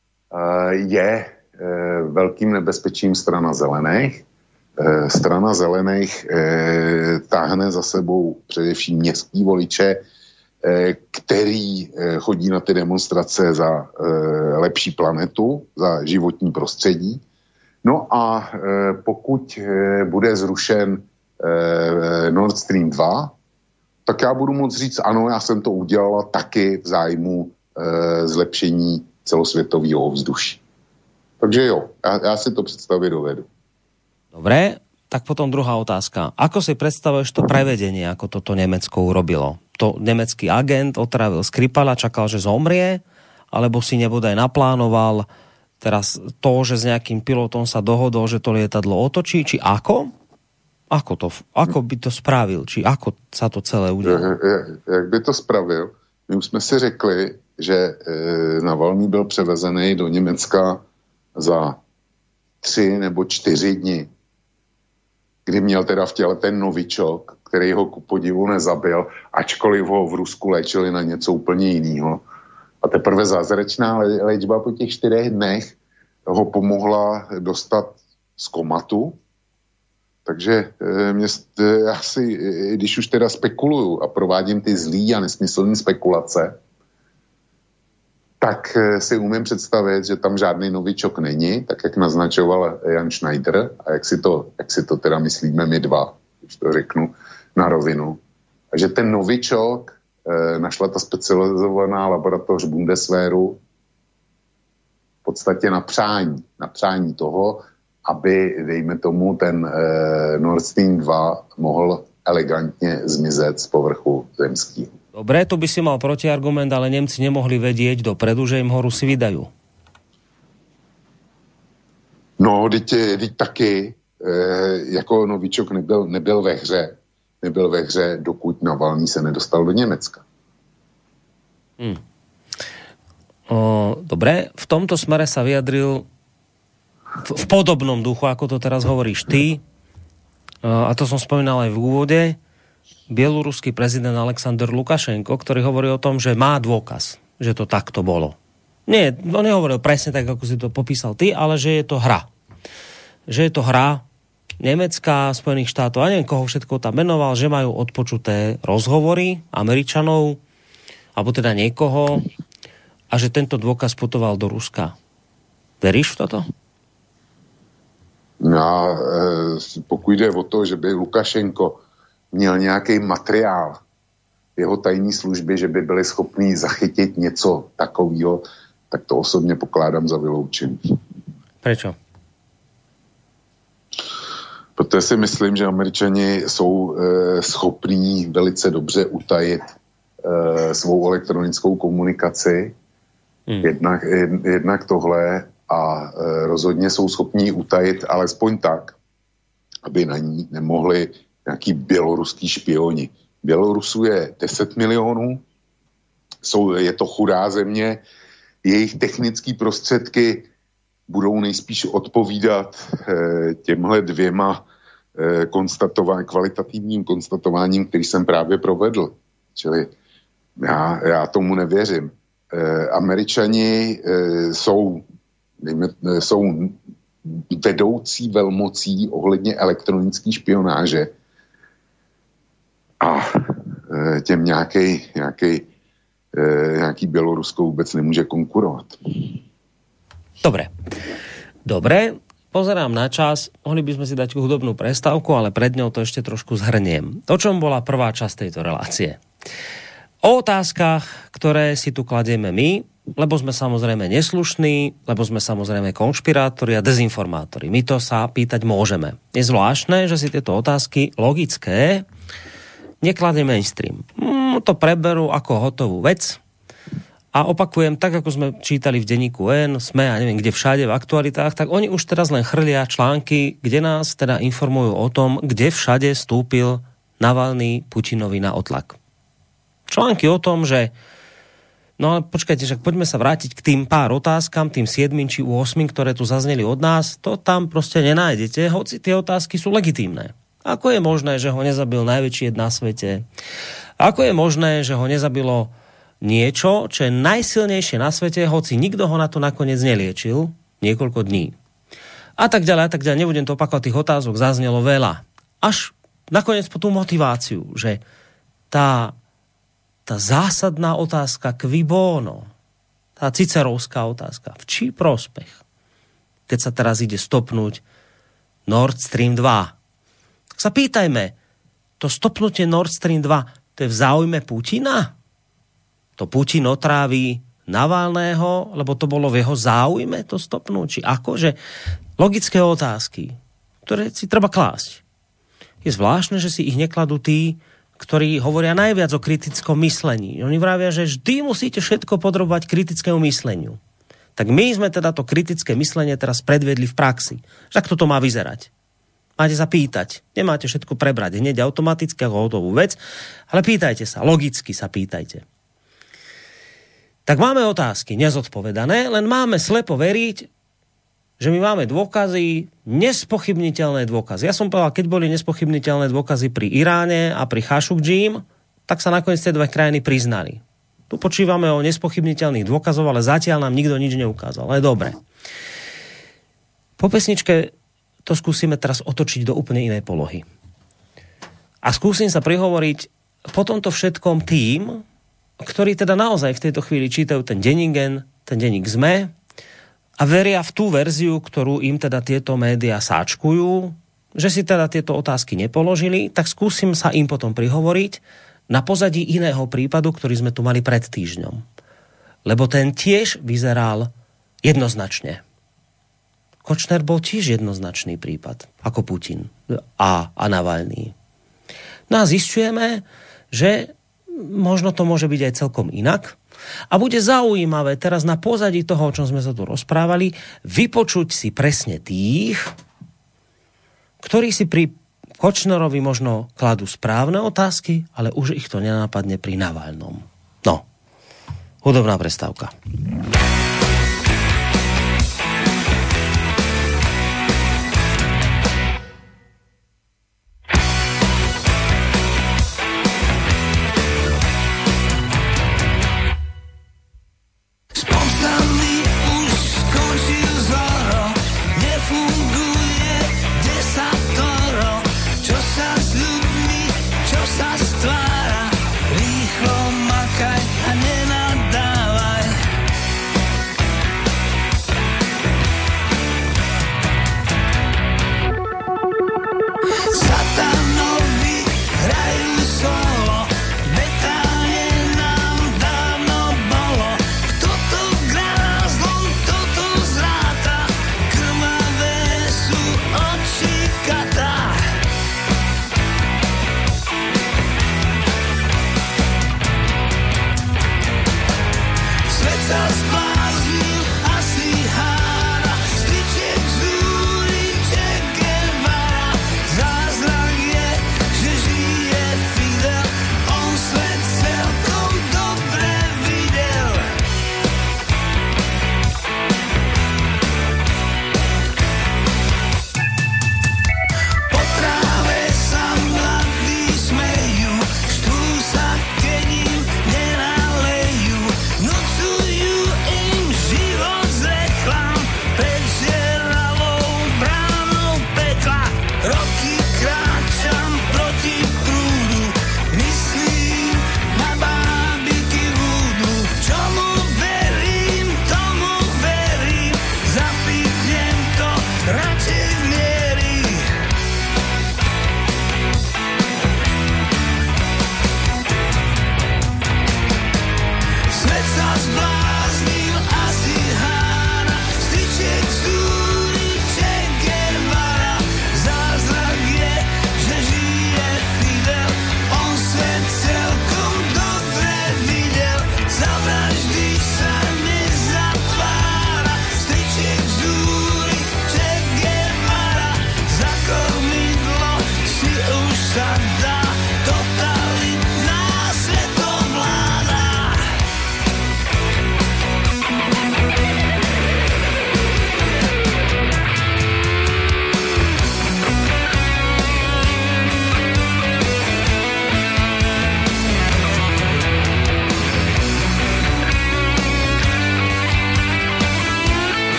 je e, velkým nebezpečím strana zelených. E, strana zelených e, táhne za sebou především městský voliče, e, který chodí na ty demonstrace za lepší planetu, za životní prostředí. No a pokud bude zrušen Nord Stream dva, tak já budu moct říct, ano, já jsem to udělala taky v zájmu zlepšení celosvětového ovzduší. Takže jo, já, já si to představit dovedu. Dobre, tak potom druhá otázka. Ako si predstavuješ to prevedenie, ako toto Nemecko urobilo? To nemecký agent otravil Skripala, čakal, že zomrie, alebo si nebodaj naplánoval teraz to, že s nejakým pilotom sa dohodol, že to lietadlo otočí, či ako? Ako to, ako by to spravil? Či ako sa to celé udělalo? Jak by to spravil? My už jsme si řekli, že Navalný byl převezený do Německa za tři nebo čtyři dny, kdy měl teda v těle ten novičok, který ho ku podivu nezabil, ačkoliv ho v Rusku léčili na něco úplně jiného. A teprve zázračná léčba po těch čtyřech dnech ho pomohla dostat z komatu. Takže mě, já si, když už teda spekuluju a provádím ty zlý a nesmyslné spekulace, tak si umím představit, že tam žádný novičok není, tak jak naznačoval Jan Schneider a jak si to, jak si to teda myslíme my dva, když to řeknu na rovinu. A že ten novičok e, našla ta specializovaná laboratoř Bundeswehru v podstatě na přání, na přání toho, aby, dejme tomu, ten e, Nord Stream dva mohl elegantně zmizet z povrchu zemského. Dobre, tu by si mal protiargument, ale Nemci nemohli vedieť dopredu, že im ho Rusi vydajú. No, teď, teď taky, e, jako novičok nebyl, nebyl ve hře. Nebyl ve hře, dokud Navalný se nedostal do Německa. Hmm. O, dobre, v tomto smere sa vyjadril v, v podobnom duchu, ako to teraz hovoríš ty, a to som spomínal aj v úvode, bieloruský prezident Alexander Lukašenko, ktorý hovorí o tom, že má dôkaz, že to takto bolo. Nie, on nehovoril presne tak, ako si to popísal ty, ale že je to hra. Že je to hra Nemecka, Spojených štátov, a neviem, koho všetko tam menoval, že majú odpočuté rozhovory Američanov, alebo teda niekoho, a že tento dôkaz putoval do Ruska. Veríš v toto? No, pokud jde o to, že by Lukašenko měl nějaký materiál jeho tajné služby, že by byli schopní zachytit něco takového, tak to osobně pokládám za vyloučení. Prečo? Protože si myslím, že Američani jsou e, schopní velice dobře utajit e, svou elektronickou komunikaci. Hmm. Jednak, jed, jednak tohle a e, rozhodně jsou schopní utajit alespoň tak, aby na ní nemohli nějaký běloruský špioni. Bělorusů je deset milionů, jsou, je to chudá země, jejich technické prostředky budou nejspíš odpovídat eh, těmhle dvěma eh, konstatování, kvalitativním konstatováním, který jsem právě provedl. Čili já, já tomu nevěřím. Eh, Američani eh, jsou, dejme, jsou vedoucí velmocí ohledně elektronické špionáže a e, těm nějaký, nějaký, e, nějaký Bělorusko vůbec nemůže konkurovat. Dobre. Dobre, pozerám na čas. Mohli by sme si dať hudobnú prestávku, ale pred ňou to ešte trošku zhrniem. O čom bola prvá časť tejto relácie? O otázkach, ktoré si tu kladieme my, lebo sme samozrejme neslušní, lebo sme samozrejme konšpirátori a dezinformátori. My to sa pýtať môžeme. Je zvláštne, že si tieto otázky logické nekladie mainstream. Mm, to preberú ako hotovú vec a opakujem, tak ako sme čítali v denníku N, sme a neviem kde všade v aktualitách, tak oni už teraz len chrlia články, kde nás teda informujú o tom, kde všade stúpil Navalný Putinovi na otlak. Články o tom, že no ale počkajte, že poďme sa vrátiť k tým pár otázkam, tým siedmim či osmim, ktoré tu zazneli od nás, to tam proste nenájdete, hoci tie otázky sú legitímne. Ako je možné, že ho nezabil najväčší jed na svete? Ako je možné, že ho nezabilo niečo, čo je najsilnejšie na svete, hoci nikto ho na to nakoniec neliečil niekoľko dní? A tak ďalej, a tak ďalej. Nebudem to opakovať, tých otázok zaznelo veľa. Až nakoniec po tú motiváciu, že tá tá zásadná otázka qui bono, tá cicerovská otázka, v čí prospech, keď sa teraz ide stopnúť Nord Stream dva. Tak sa pýtajme, to stopnutie Nord Stream dva, to je v záujme Putina? To Putin otráví Navalného, lebo to bolo v jeho záujme to stopnúť? Či akože logické otázky, ktoré si treba klásť. Je zvláštne, že si ich nekladú tí, ktorí hovoria najviac o kritickom myslení. Oni vravia, že vždy musíte všetko podrobovať kritickému mysleniu. Tak my sme teda to kritické myslenie teraz predvedli v praxi. Že ako to má vyzerať? Máte sa pýtať. Nemáte všetko prebrať hneď automaticky ako hotovú vec, ale pýtajte sa, logicky sa pýtajte. Tak máme otázky nezodpovedané, len máme slepo veriť, že my máme dôkazy, nespochybniteľné dôkazy. Ja som povedal, keď boli nespochybniteľné dôkazy pri Iráne a pri Khashoggjim, tak sa nakoniec tie dve krajiny priznali. Tu počívame o nespochybniteľných dôkazov, ale zatiaľ nám nikto nič neukázal. Ale dobre. Po pesničke to skúsime teraz otočiť do úplne inej polohy. A skúsim sa prihovoriť po tomto všetkom tým, ktorí teda naozaj v tejto chvíli čítajú ten denník, ten denník es em e a veria v tú verziu, ktorú im teda tieto médiá sáčkujú, že si teda tieto otázky nepoložili, tak skúsim sa im potom prihovoriť na pozadí iného prípadu, ktorý sme tu mali pred týždňom. Lebo ten tiež vyzeral jednoznačne. Kočner bol tiež jednoznačný prípad, ako Putin a, a Navalný. No a zisťujeme, že možno to môže byť aj celkom inak. A bude zaujímavé teraz na pozadí toho, o čom sme sa tu rozprávali, vypočuť si presne tých, ktorí si pri Kočnerovi možno kladú správne otázky, ale už ich to nenápadne pri Navalnom. No, hudobná prestávka. You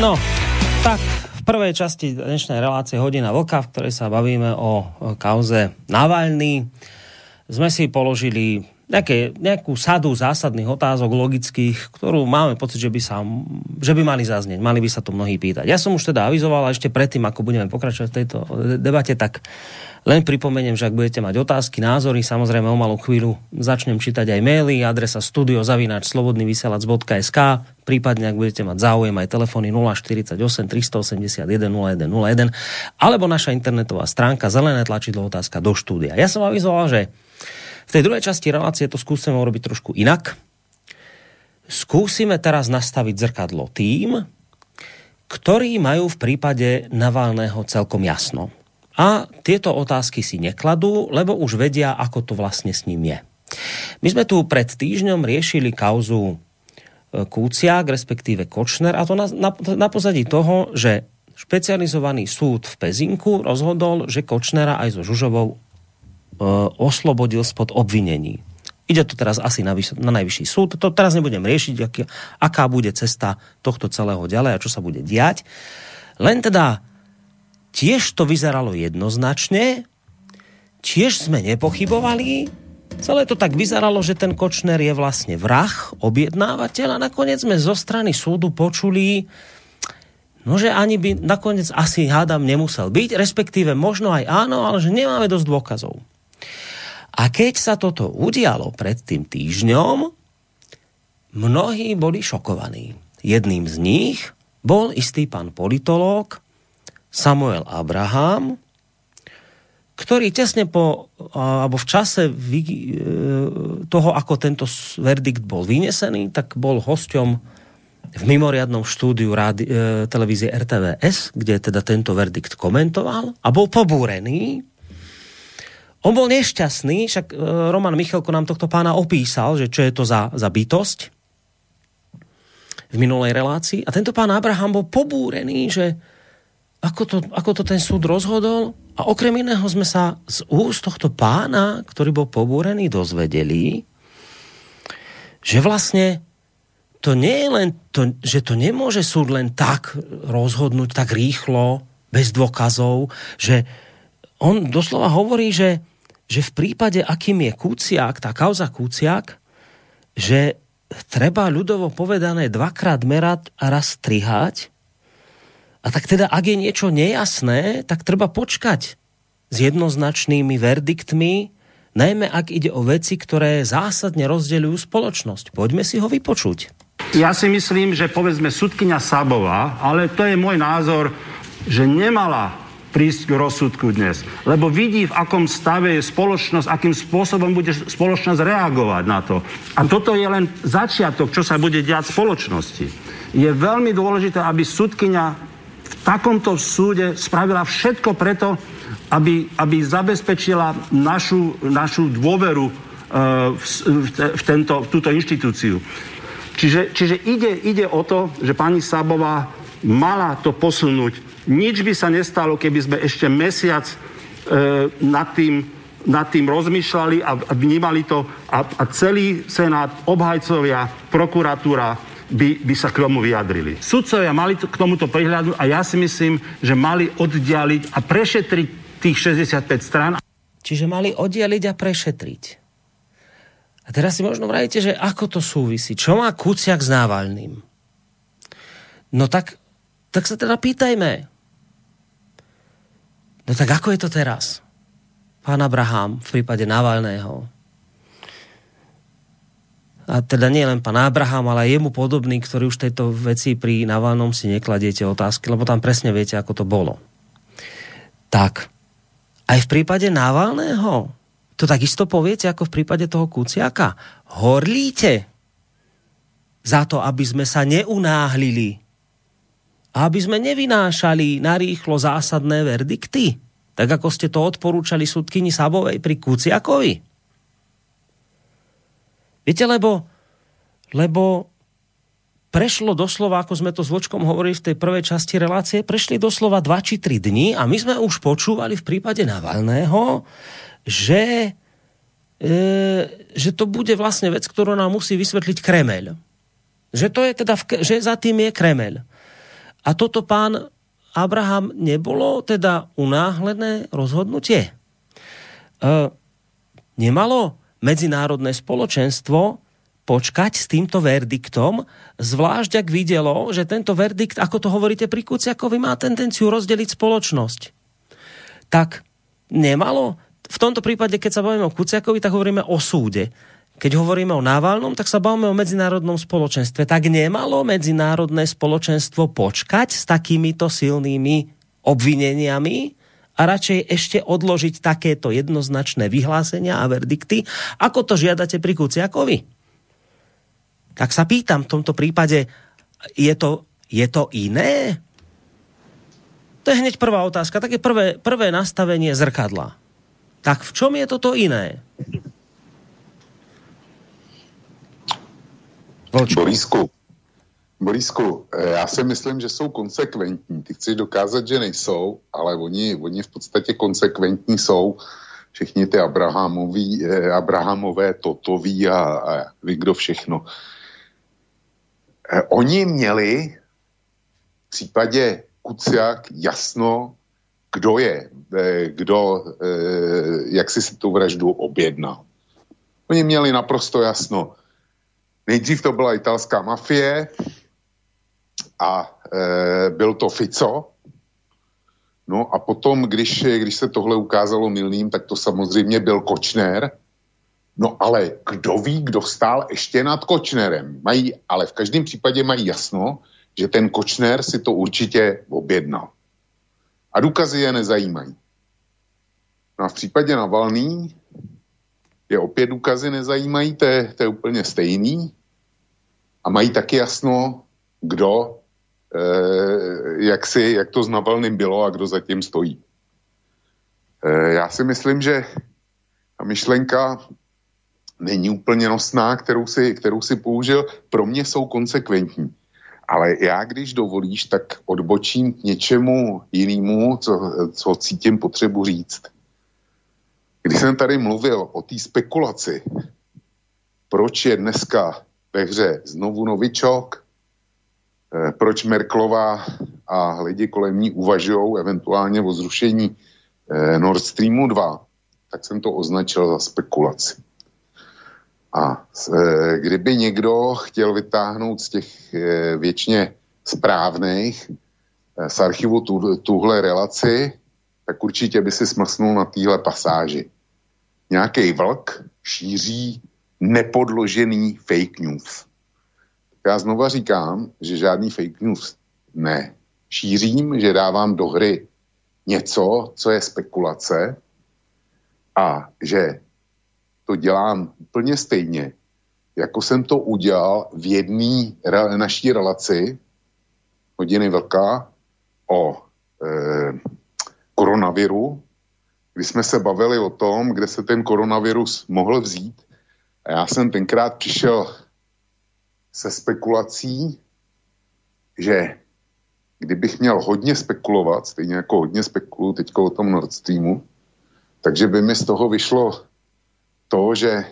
No, tak v prvej časti dnešnej relácie Hodina vlka, v ktorej sa bavíme o kauze Navalny, sme si položili nejaké, nejakú sadu zásadných otázok logických, ktorú máme pocit, že by, sa, že by mali zaznieť. Mali by sa tu mnohí pýtať. Ja som už teda avizoval, a ešte predtým, ako budeme pokračovať v tejto debate, tak len pripomeniem, že ak budete mať otázky, názory, samozrejme o malú chvíľu začnem čítať aj maily, adresa studio zavináč slobodnyvysielac bodka es ká, prípadne ak budete mať záujem aj telefóny nula štyridsaťosem tristoosemdesiatjeden nula jeden nula jeden alebo naša internetová stránka zelené tlačidlo otázka do štúdia. Ja som avizoval, že v tej druhej časti relácie to skúsime urobiť trošku inak. Skúsime teraz nastaviť zrkadlo tým, ktorí majú v prípade Navalného celkom jasno. A tieto otázky si nekladú, lebo už vedia, ako to vlastne s ním je. My sme tu pred týždňom riešili kauzu Kuciak, respektíve Kočner, a to na, na, na pozadí toho, že špecializovaný súd v Pezinku rozhodol, že Kočnera aj so Žužovou e, oslobodil spod obvinení. Ide to teraz asi na, na najvyšší súd. To teraz nebudem riešiť, aký, aká bude cesta tohto celého ďalej a čo sa bude diať. Len teda tiež to vyzeralo jednoznačne, tiež sme nepochybovali, celé to tak vyzeralo, že ten Kočner je vlastne vrah, objednávateľ, a nakoniec sme zo strany súdu počuli, no že ani by nakoniec asi hádam nemusel byť, respektíve možno aj áno, ale že nemáme dosť dôkazov. A keď sa toto udialo pred tým týždňom, mnohí boli šokovaní. Jedným z nich bol istý pán politológ Samuel Abraham, ktorý tesne po, alebo v čase toho, ako tento verdikt bol vynesený, tak bol hosťom v mimoriadnom štúdiu rádi, televízie er té vé es, kde teda tento verdikt komentoval a bol pobúrený. On bol nešťastný, však Roman Michalko nám tohto pána opísal, že čo je to za, za bytosť v minulej relácii. A tento pán Abraham bol pobúrený, že Ako to, ako to ten súd rozhodol. A okrem iného sme sa z úst tohto pána, ktorý bol pobúrený, dozvedeli, že vlastne to nie je len to, že to nemôže súd len tak rozhodnúť, tak rýchlo, bez dôkazov, že on doslova hovorí, že, že v prípade, akým je Kuciak, tá kauza Kuciak, že treba ľudovo povedané dvakrát merať a raz strihať. A tak teda, ak je niečo nejasné, tak treba počkať s jednoznačnými verdiktmi, najmä ak ide o veci, ktoré zásadne rozdeľujú spoločnosť. Poďme si ho vypočuť. Ja si myslím, že povedzme sudkyňa Sabová, ale to je môj názor, že nemala prísť k rozsudku dnes, lebo vidí, v akom stave je spoločnosť, akým spôsobom bude spoločnosť reagovať na to. A toto je len začiatok, čo sa bude diať v spoločnosti. Je veľmi dôležité, aby sudkyňa v takomto súde spravila všetko preto, aby, aby zabezpečila našu, našu dôveru uh, v, v, tento, v túto inštitúciu. Čiže, čiže ide, ide o to, že pani Sabová mala to posunúť. Nič by sa nestalo, keby sme ešte mesiac uh, nad tým, nad tým rozmýšľali a, a vnímali to a, a celý senát, obhajcovia, prokuratúra By, by sa k tomu vyjadrili. Sudcovia mali k tomuto prihľadnúť a ja si myslím, že mali oddialiť a prešetriť tých šesťdesiatpäť strán. Čiže mali oddialiť a prešetriť. A teraz si možno vravíte, že ako to súvisí? Čo má Kuciak s Navalným? No tak, tak sa teda pýtajme. No tak ako je to teraz? Pán Abraham v prípade Navalného. A teda nie len pán Abraham, ale aj jemu podobný, ktorý už tejto veci pri Navalnom si nekladiete otázky, lebo tam presne viete, ako to bolo. Tak, aj v prípade Navalného to takisto poviete, ako v prípade toho Kuciaka. Horlíte za to, aby sme sa neunáhlili a aby sme nevynášali narýchlo zásadné verdikty, tak ako ste to odporúčali sudkyni Sabovej pri Kuciakovi. Viete, lebo, lebo prešlo doslova, ako sme to s Vlčkom hovorili v tej prvej časti relácie, prešli doslova dva či tri dni a my sme už počúvali v prípade Navalného, že, e, že to bude vlastne vec, ktorú nám musí vysvetliť Kremeľ. Že to je teda, v, že za tým je Kremeľ. A toto, pán Abraham, nebolo teda unáhlené rozhodnutie? E, nemalo medzinárodné spoločenstvo počkať s týmto verdiktom, zvlášť ak videlo, že tento verdikt, ako to hovoríte pri Kuciakovi, má tendenciu rozdeliť spoločnosť. Tak nemalo? V tomto prípade, keď sa bavíme o Kuciakovi, tak hovoríme o súde. Keď hovoríme o Navalnom, tak sa bavíme o medzinárodnom spoločenstve. Tak nemalo medzinárodné spoločenstvo počkať s takýmito silnými obvineniami a radšej ešte odložiť takéto jednoznačné vyhlásenia a verdikty, ako to žiadate pri Kuciakovi? Tak sa pýtam, v tomto prípade, je to, je to iné? To je hneď prvá otázka, také prvé, prvé nastavenie zrkadla. Tak v čom je toto iné? Volčko. Borisku, Borisku, já si myslím, že jsou konsekventní. Ty chceš dokázat, že nejsou, ale oni, oni v podstatě konsekventní jsou. Všichni ty Abrahamoví, eh, Abrahamové, Totoví a, a ví kdo všechno. Eh, oni měli v případě Kuciak jasno, kdo je, eh, kdo, eh, jak si si tu vraždu objednal. Oni měli naprosto jasno. Nejdřív to byla italská mafie a e, byl to Fico. No a potom, když, když se tohle ukázalo mylným, tak to samozřejmě byl Kočner. No ale kdo ví, kdo stál ještě nad Kočnerem? Mají, ale v každém případě mají jasno, že ten Kočner si to určitě objednal. A důkazy je nezajímají. No a v případě Navalný je opět důkazy nezajímají, to je, to je úplně stejný. A mají taky jasno, kdo, eh, jak, si, jak to s Navalným bylo a kdo zatím stojí. Eh, já si myslím, že ta myšlenka není úplně nosná, kterou si, kterou si použil. Pro mě jsou konsekventní. Ale já, když dovolíš, tak odbočím k něčemu jinému, co, co cítím potřebu říct. Když jsem tady mluvil o té spekulaci, proč je dneska ve hře znovu novičok, eh, proč Merkelová a lidi kolem ní uvažují eventuálně o zrušení eh, Nord Streamu dva, tak jsem to označil za spekulaci. A eh, kdyby někdo chtěl vytáhnout z těch eh, věčně správných eh, z archivu tu, tuhle relaci, tak určitě by si smlsnul na téhle pasáži. Nějaký vlk šíří nepodložený fake news. Já znova říkám, že žádný fake news ne. Šířím, že dávám do hry něco, co je spekulace a že to dělám úplně stejně, jako jsem to udělal v jedné re, naší relaci Hodiny vlka o e, koronaviru, kdy jsme se bavili o tom, kde se ten koronavirus mohl vzít. A já jsem tenkrát přišel se spekulací, že kdybych měl hodně spekulovat, stejně jako hodně spekuluju teďko o tom Nord Streamu, takže by mi z toho vyšlo to, že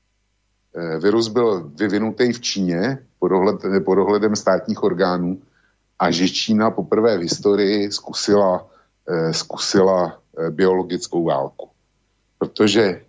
virus byl vyvinutý v Číně pod, ohled, pod ohledem státních orgánů a že Čína poprvé v historii zkusila, zkusila biologickou válku. Protože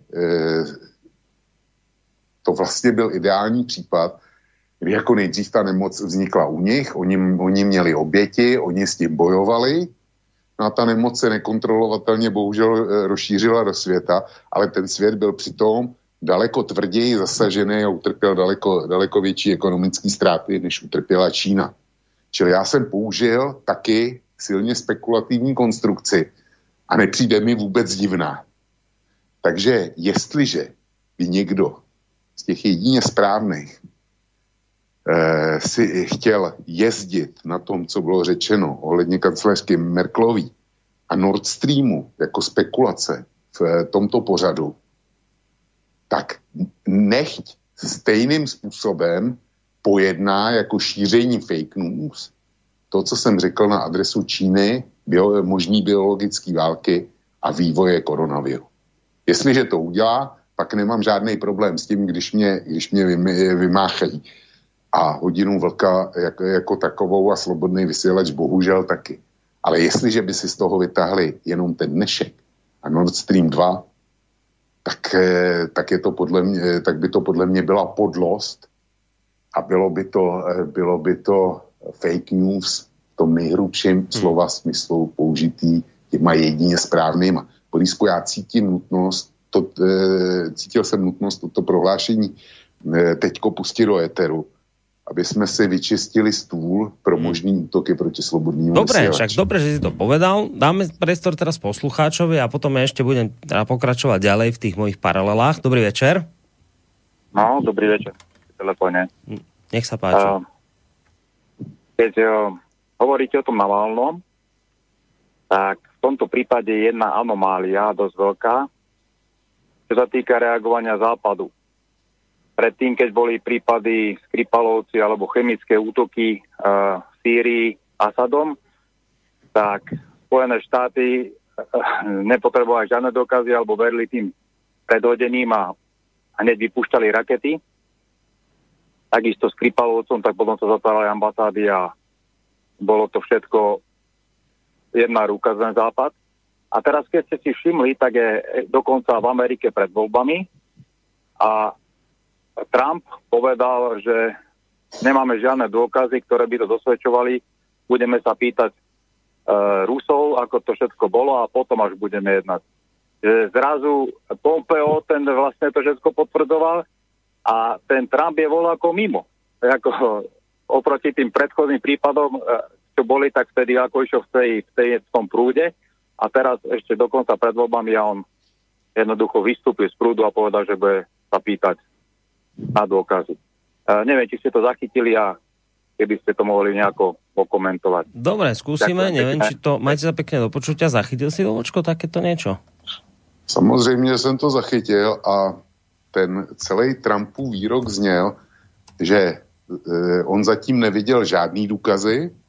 to vlastně byl ideální případ, kdy jako nejdřív ta nemoc vznikla u nich, oni, oni měli oběti, oni s tím bojovali, no a ta nemoc se nekontrolovatelně bohužel rozšířila do světa, ale ten svět byl přitom daleko tvrději zasažený a utrpěl daleko, daleko větší ekonomické ztráty, než utrpěla Čína. Čili já jsem použil taky silně spekulativní konstrukci a nepřijde mi vůbec divná. Takže jestliže by někdo z těch jedině správných eh, si chtěl jezdit na tom, co bylo řečeno ohledně kancléřky Merkelový a Nord Streamu jako spekulace v eh, tomto pořadu, tak nechť stejným způsobem pojedná jako šíření fake news to, co jsem řekl na adresu Číny, bio, možný biologické války a vývoje koronaviru. Jestliže to udělá, pak nemám žádný problém s tím, když mě, když mě vymáchají. a Hodinu vlka jako, jako takovou a Slobodný vysílač bohužel taky. Ale jestliže by si z toho vytáhli jenom ten dnešek a Nord Stream dva, tak, tak, je to podle mě, tak by to podle mě byla podlost a bylo by to, bylo by to fake news v tom nejhrubším hmm. slova smyslu použitý těma jedině správnýma. Borisku, já cítím nutnost, to, cítil jsem nutnost toto prohlášení teďko pustit do éteru, aby sme si vyčistili stůl pro možný útoky proti slobodnému Dobre, však dobre, že si to povedal. Dáme priestor teraz poslucháčovi a potom ja ešte budem teda pokračovať ďalej v tých mojich paralelách. Dobrý večer. No, dobrý večer. Telefóne. Nech sa páči. Uh, keď uh, hovoríte o tom Navalnom, tak v tomto prípade je jedna anomália dosť veľká, čo sa týka reagovania Západu. Predtým, keď boli prípady Skripalovci alebo chemické útoky uh, v Sýrii Asadom, tak Spojené štáty uh, nepotrebovali žiadne dôkazy alebo verili tým predhodeným a hneď vypúšťali rakety. Takisto s Skripalovcom, tak potom sa zatvárali ambasády a bolo to všetko jedna ruka za Západ. A teraz, keď ste si všimli, tak je dokonca v Amerike pred voľbami a Trump povedal, že nemáme žiadne dôkazy, ktoré by to dosvedčovali. Budeme sa pýtať e, Rusov, ako to všetko bolo a potom až budeme jednať. Že zrazu Pompeo ten vlastne to všetko potvrdzoval a ten Trump je voľa ako mimo. Ako, oproti tým predchodným prípadom, čo boli, tak vtedy ako išiel v, tej, v, tej, v tom prúde a teraz ešte dokonca pred voľbami a on jednoducho vystúpil z prúdu a povedal, že bude sa pýtať na dôkazy. Uh, neviem, či ste to zachytili a keby ste to mohli nejako pokomentovať. Dobre, skúsime, Ďakujem, neviem, či to majte sa pekne do počutia. Zachytil si, Vlčko, takéto niečo? Samozřejmě jsem to zachytil a ten celý Trumpův výrok zněl, že e, on zatím neviděl žádný důkazy e,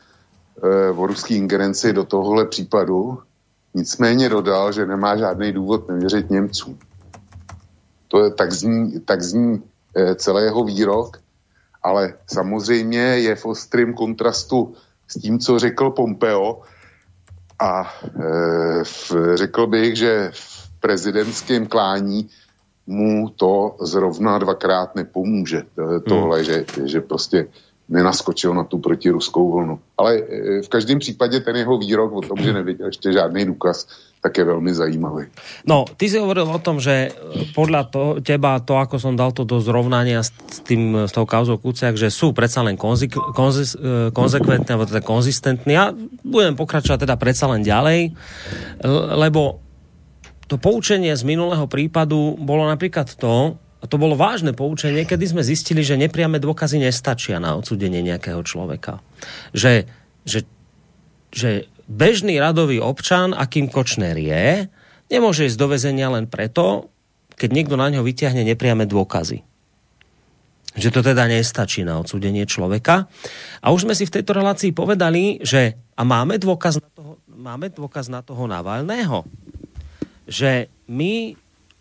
o ruský ingerenci do tohohle případu, nicméně dodal, že nemá žádný důvod nevěřit Němcům. To je, tak zní, tak zní e, celý jeho výrok, ale samozřejmě je v ostrém kontrastu s tím, co řekl Pompeo a e, v, řekl bych, že v prezidentském klání mu to zrovna dvakrát nepomůže. Tohle, hmm. že, že prostě nenaskočil na tu protiruskou vlnu. Ale v každém případě ten jeho výrok o tom, že neviděl ještě žádný důkaz, tak je veľmi zajímavý. No, ty si hovoril o tom, že podľa to, teba to, ako som dal to do zrovnania s, tým, s tou kauzou Kuciak, že sú predsa len konzi, konzi, konzekventní, alebo teda konzistentní. Ja budem pokračovať teda predsa len ďalej, lebo to poučenie z minulého prípadu bolo napríklad to, a to bolo vážne poučenie, kedy sme zistili, že nepriame dôkazy nestačia na odsúdenie nejakého človeka. Že, že, že bežný radový občan, akým Kočner je, nemôže ísť do väzenia len preto, keď niekto na ňo vyťahne nepriame dôkazy. Že to teda nestačí na odsúdenie človeka. A už sme si v tejto relácii povedali, že a máme dôkaz na toho, máme dôkaz na toho Navalného, že my e,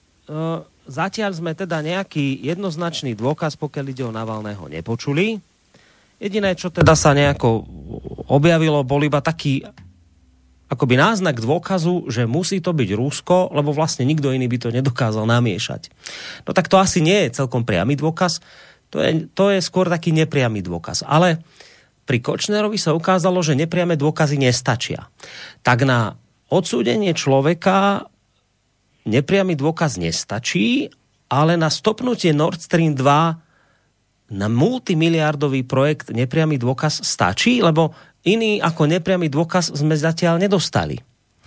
zatiaľ sme teda nejaký jednoznačný dôkaz, pokiaľ ide o Navalného, nepočuli. Jediné, čo teda sa nejako objavilo, bol iba taký akoby náznak dôkazu, že musí to byť Rusko, lebo vlastne nikto iný by to nedokázal namiešať. No tak to asi nie je celkom priamy dôkaz, to je, to je skôr taký nepriamy dôkaz. Ale pri Kočnerovi sa ukázalo, že nepriame dôkazy nestačia. Tak na odsúdenie človeka nepriamy dôkaz nestačí, ale na stopnutie Nord Stream dva na multimiliardový projekt nepriamy dôkaz stačí, lebo iný ako nepriamy dôkaz sme zatiaľ nedostali.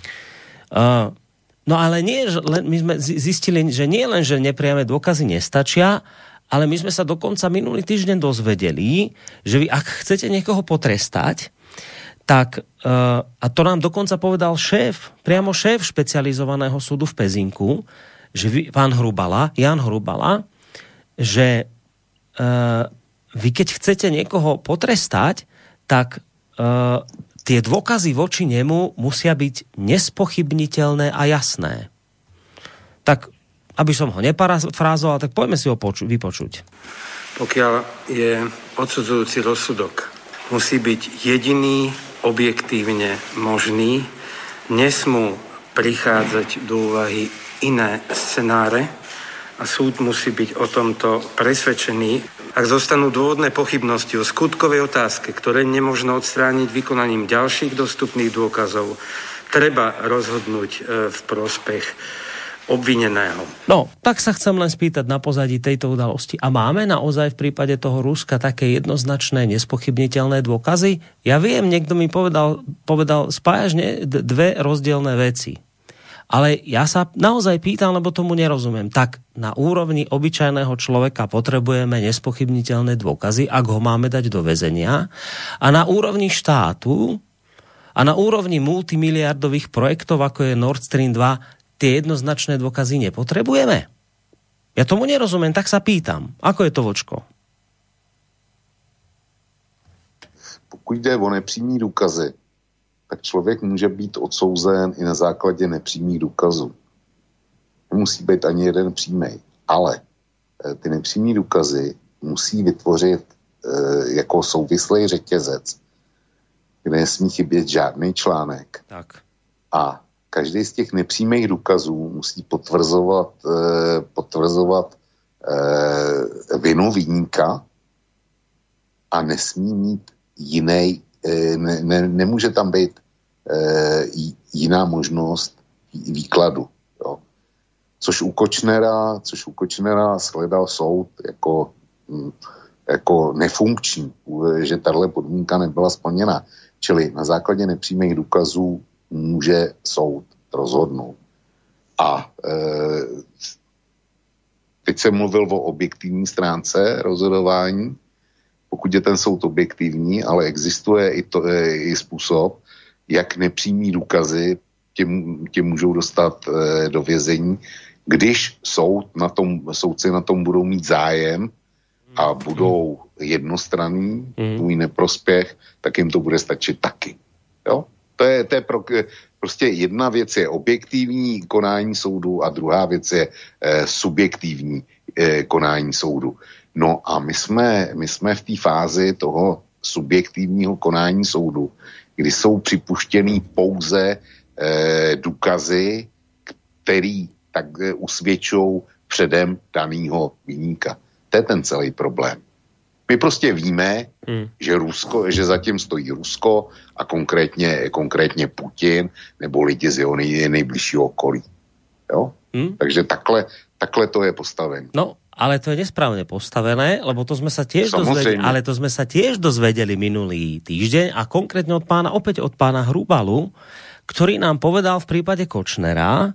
Uh, no ale nie, len, my sme zistili, že nie len, že nepriame dôkazy nestačia, ale my sme sa dokonca minulý týždeň dozvedeli, že vy ak chcete niekoho potrestať, tak, uh, a to nám dokonca povedal šéf, priamo šéf špecializovaného súdu v Pezinku, že vy, pán Hrubala, Jan Hrubala, že uh, vy keď chcete niekoho potrestať, tak Uh, tie dôkazy voči nemu musia byť nespochybniteľné a jasné. Tak, aby som ho neparafrázoval, tak poďme si ho poču- vypočuť. pokiaľ je odsudzujúci rozsudok, musí byť jediný objektívne možný, nesmú prichádzať do úvahy iné scenáre a súd musí byť o tomto presvedčený. Ak zostanú dôvodné pochybnosti o skutkovej otázke, ktoré nemožno odstrániť vykonaním ďalších dostupných dôkazov, treba rozhodnúť v prospech obvineného. No, tak sa chcem len spýtať na pozadí tejto udalosti. A máme naozaj v prípade toho Ruska také jednoznačné, nespochybniteľné dôkazy? Ja viem, niekto mi povedal, povedal spájaš ne, dve rozdielne veci. Ale ja sa naozaj pýtam, lebo tomu nerozumiem. Tak na úrovni obyčajného človeka potrebujeme nespochybniteľné dôkazy, ak ho máme dať do väzenia. A na úrovni štátu a na úrovni multimiliardových projektov, ako je Nord Stream dva, tie jednoznačné dôkazy nepotrebujeme? Ja tomu nerozumiem, tak sa pýtam. Ako je to, Vočko? Pokud jde o nepřímý důkazy, tak člověk může být odsouzen i na základě nepřímých důkazů. Nemusí být ani jeden přímej, ale ty nepřímý důkazy musí vytvořit e, jako souvislý řetězec, kde nesmí chybět žádný článek. Tak. A každý z těch nepřímých důkazů musí potvrzovat, eh, potvrzovat eh, vinu viníka a nesmí mít jiný, eh, ne, ne, nemůže tam být eh, jiná možnost výkladu. Jo. Což u Kočnera, což u Kočnera shledal soud jako, hm, jako nefunkční, že tahle podmínka nebyla splněna. Čili na základě nepřímých důkazů může soud rozhodnout. A e, teď jsem mluvil o objektivní stránce rozhodování, pokud je ten soud objektivní, ale existuje i, to, e, i způsob, jak nepřímý důkazy tě, tě můžou dostat e, do vězení, když soud na tom, soudci na tom budou mít zájem a budou jednostranný, mm. tvůj neprospěch, tak jim to bude stačit taky. Jo? To je, to je pro, prostě jedna věc je objektivní konání soudu a druhá věc je eh, subjektivní eh, konání soudu. No a my jsme, my jsme v té fázi toho subjektivního konání soudu, kdy jsou připuštěný pouze eh, důkazy, který tak eh, usvědčou předem danýho viníka. To je ten celý problém. My prostě víme, hmm. že Rusko, že zatím stojí Rusko a konkrétně, konkrétně Putin nebo lidi z jeho nej, nejbližšího okolí. Jo? Hmm. Takže takhle, takhle to je postavené. No, ale to je nesprávne postavené, lebo to sme sa tiež dozvedeli, ale to sme sa tiež dozvedeli minulý týždeň a konkrétne od pána, opäť od pána Hrubalu, ktorý nám povedal v prípade Kočnera,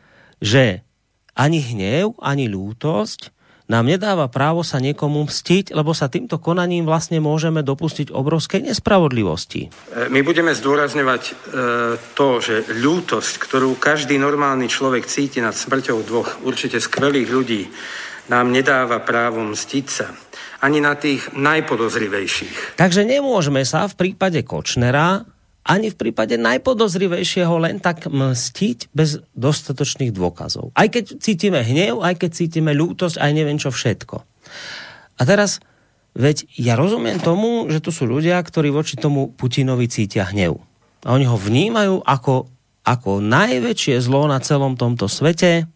že ani hnev, ani ľútosť nám nedáva právo sa niekomu mstiť, lebo sa týmto konaním vlastne môžeme dopustiť obrovskej nespravodlivosti. My budeme zdôrazňovať e, to, že ľútosť, ktorú každý normálny človek cíti nad smrťou dvoch určite skvelých ľudí, nám nedáva právo mstiť sa. Ani na tých najpodozrivejších. Takže nemôžeme sa v prípade Kočnera ani v prípade najpodozrivejšieho len tak mstiť bez dostatočných dôkazov. Aj keď cítime hnev, aj keď cítime ľútosť, aj neviem čo všetko. A teraz, veď ja rozumiem tomu, že tu sú ľudia, ktorí voči tomu Putinovi cítia hnev. A oni ho vnímajú ako, ako najväčšie zlo na celom tomto svete.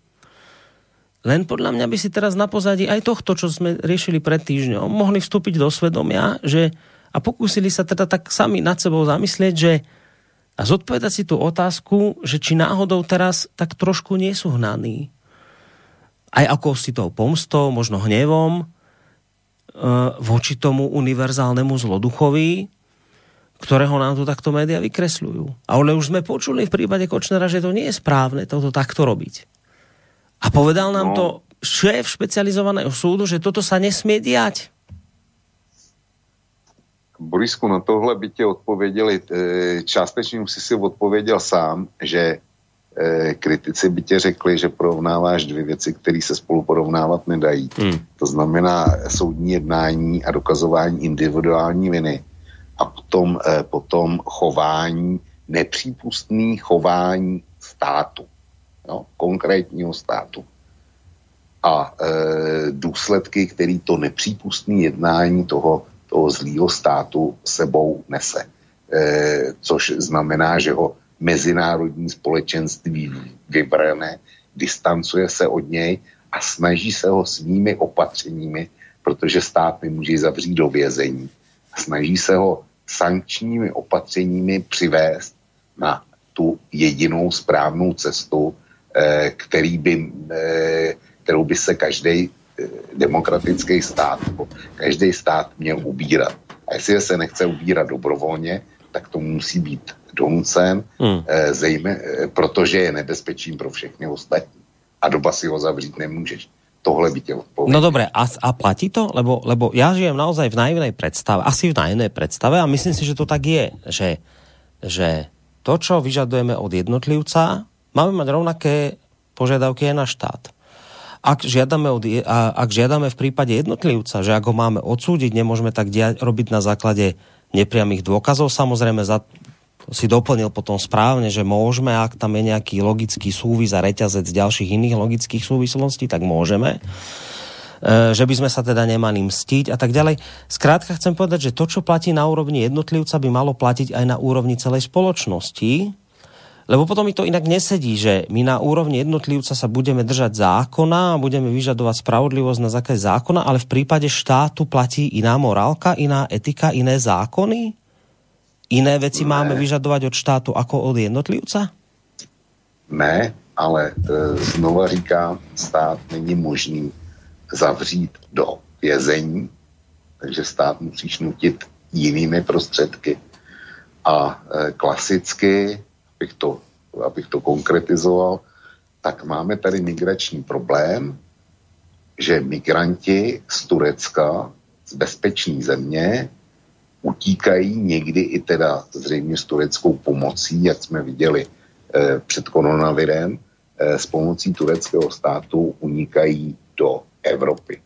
Len podľa mňa by si teraz na pozadí aj tohto, čo sme riešili pred týždňom, mohli vstúpiť do svedomia, že a pokúsili sa teda tak sami nad sebou zamyslieť, že a zodpovedať si tú otázku, že či náhodou teraz tak trošku nie sú hnaní. Aj ako si tou pomstou, možno hnevom, e, voči tomu univerzálnemu zloduchovi, ktorého nám tu takto médiá vykresľujú. Ale už sme počuli v prípade Kočnera, že to nie je správne toto takto robiť. A povedal nám no. to šéf špecializovaného súdu, že toto sa nesmie diať. Borisku, na tohle by tě odpověděli, částečně už si si odpověděl sám, že kritici by tě řekli, že porovnáváš dvě věci, které se spolu porovnávat nedají. Hmm. To znamená soudní jednání a dokazování individuální viny a potom, potom chování, nepřípustné chování státu, jo? Konkrétního státu. a e, důsledky, který to nepřípustné jednání toho, toho zlýho státu sebou nese. E, což znamená, že ho mezinárodní společenství vybrane, distancuje se od něj a snaží se ho svými opatřeními, protože stát nemůže zavřít do vězení, snaží se ho sankčními opatřeními přivést na tu jedinou správnou cestu, eh, který by, eh, kterou by se každý eh, demokratický stát nebo každý stát měl ubírat. A jestli se nechce ubírat dobrovolně, tak to musí být donucen, hmm. eh, zejmě, eh, protože je nebezpečím pro všechny ostatní. A doba si ho zavřít nemůžeš. Tohle by tě odpovedal. No dobre, a, a platí to? Lebo, lebo ja žijem naozaj v naivnej predstave, asi v naivnej predstave a myslím si, že to tak je, že, že to, čo vyžadujeme od jednotlivca, máme mať rovnaké požiadavky aj na štát. Ak žiadame, od, a, ak žiadame v prípade jednotlivca, že ak ho máme odsúdiť, nemôžeme tak dia- robiť na základe nepriamých dôkazov, samozrejme za si doplnil potom správne, že môžeme, ak tam je nejaký logický súvis a reťazec ďalších iných logických súvislostí, tak môžeme. E, že by sme sa teda nemali mstiť a tak ďalej. Skrátka chcem povedať, že to, čo platí na úrovni jednotlivca, by malo platiť aj na úrovni celej spoločnosti, lebo potom mi to inak nesedí, že my na úrovni jednotlivca sa budeme držať zákona a budeme vyžadovať spravodlivosť na základe zákona, ale v prípade štátu platí iná morálka, iná etika, iné zákony? Iné veci ne. máme vyžadovať od štátu ako od jednotlivca? Ne, ale e, znova říkám, stát není možný zavřít do vězení, takže stát musíš nutit jinými prostředky. A e, klasicky, abych to, abych to konkretizoval, tak máme tady migrační problém, že migranti z Turecka, z bezpečné země, utíkají někdy i teda zřejmě s tureckou pomocí, jak jsme viděli eh, před koronavirem, eh, s pomocí tureckého státu unikají do Evropy.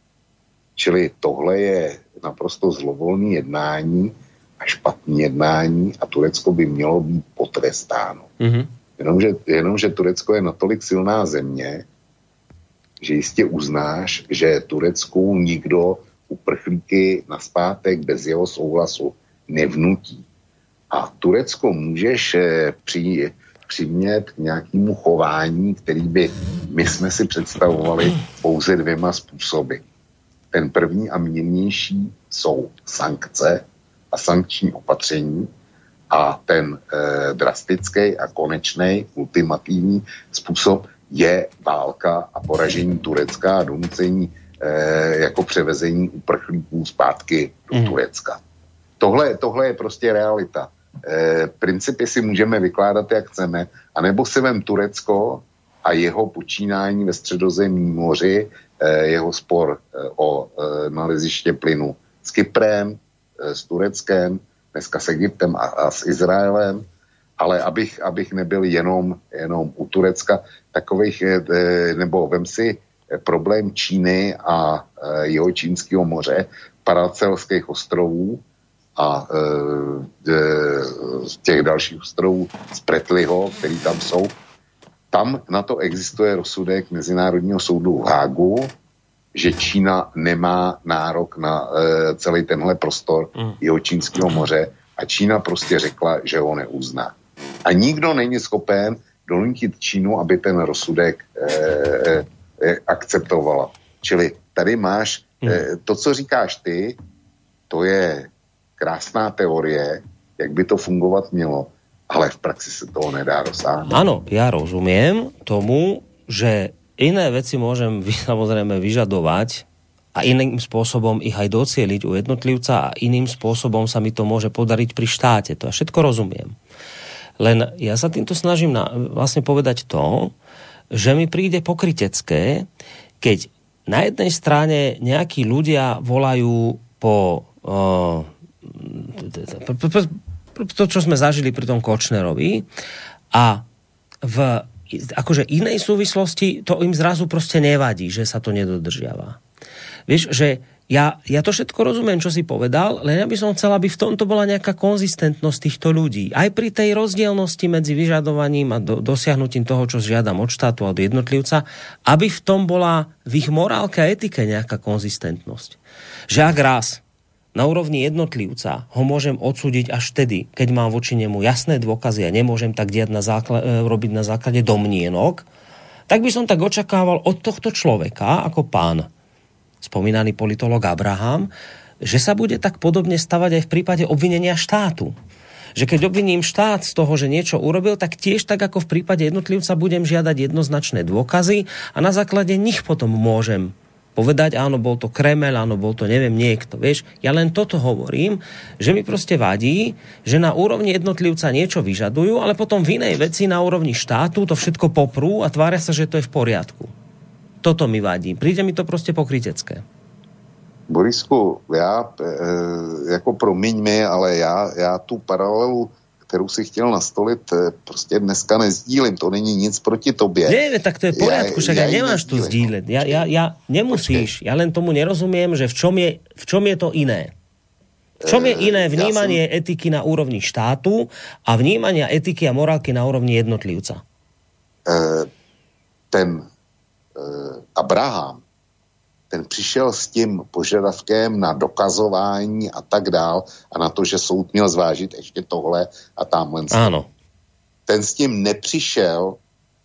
Čili tohle je naprosto zlovolné jednání a špatné jednání a Turecko by mělo být potrestáno. Mm-hmm. Jenomže, jenomže Turecko je natolik silná země, že jistě uznáš, že Turecku nikdo uprchlíky nazpátek bez jeho souhlasu nevnutí. A Turecko můžeš při, přimět k nějakému chování, který by my jsme si představovali pouze dvěma způsoby. Ten první a mírnější jsou sankce a sankční opatření a ten eh, drastický a konečný ultimativní způsob je válka a poražení Turecka a donucení jako převezení uprchlíků zpátky do mm. Turecka. Tohle, tohle je prostě realita. E, principy si můžeme vykládat, jak chceme, anebo si vem Turecko a jeho počínání ve Středozemním moři, e, jeho spor e, o e, naleziště plynu s Kyprem, e, s Tureckem, dneska s Egyptem a, a s Izraelem, ale abych, abych nebyl jenom, jenom u Turecka takových, e, nebo vem si problém Číny a e, jeho Čínského moře, Paracelských ostrovů a e, e, těch dalších ostrovů z Pretliho, který tam jsou. Tam na to existuje rozsudek Mezinárodního soudu v Hágu, že Čína nemá nárok na e, celý tenhle prostor mm. jeho Čínského moře a Čína prostě řekla, že ho neuzná. A nikdo není schopen donutit Čínu, aby ten rozsudek e, akceptovala. Čili tady máš hmm. to, co říkáš ty, to je krásná teorie, jak by to fungovat mělo, ale v praxi se toho nedá dosáhnout. Áno, ja rozumiem tomu, že iné veci môžem samozrejme vyžadovať a iným spôsobom ich aj docieliť u jednotlivca a iným spôsobom sa mi to môže podariť pri štáte. To ja všetko rozumiem. Len ja sa týmto snažím na, vlastne povedať to, že mi príde pokrytecké, keď na jednej strane nejakí ľudia volajú po uh, to, čo sme zažili pri tom Kočnerovi a v akože inej súvislosti to im zrazu proste nevadí, že sa to nedodržiava. Vieš, že Ja, ja to všetko rozumiem, čo si povedal, len ja by som chcel, aby v tomto bola nejaká konzistentnosť týchto ľudí. Aj pri tej rozdielnosti medzi vyžadovaním a do, dosiahnutím toho, čo žiadam od štátu a od jednotlivca, aby v tom bola v ich morálke a etike nejaká konzistentnosť. Že ak raz na úrovni jednotlivca ho môžem odsúdiť až vtedy, keď mám voči nemu jasné dôkazy a nemôžem tak diať na základe, robiť na základe domnienok, tak by som tak očakával od tohto človeka, ako pán spomínaný politolog Abraham, že sa bude tak podobne stavať aj v prípade obvinenia štátu. Že keď obviním štát z toho, že niečo urobil, tak tiež tak ako v prípade jednotlivca budem žiadať jednoznačné dôkazy a na základe nich potom môžem povedať, áno, bol to Kremel, áno, bol to neviem niekto, vieš. Ja len toto hovorím, že mi proste vadí, že na úrovni jednotlivca niečo vyžadujú, ale potom v inej veci na úrovni štátu to všetko poprú a tvária sa, že to je v poriadku. Toto mi vadí. Príde mi to prostě pokrytecké. Borisku, já, e, jako promiň mi, ale já, já tu paralelu, kterou si chtěl nastolit, prostě dneska nezdílim. To není nic proti tobě. Nie, tak to je v poriadku, však ja, ja nemáš tu sdílet. Ja, ja, ja nemusíš. Počkej. Ja len tomu nerozumiem, že v čom je, v čom je to iné. V čom je iné vnímanie ja som... etiky na úrovni štátu a vnímania etiky a morálky na úrovni jednotlivca? E, ten Abraham, ten přišel s tím požadavkem na dokazování a tak dál a na to, že soud měl zvážit ještě tohle a tamhle. Áno. Ten s tím nepřišel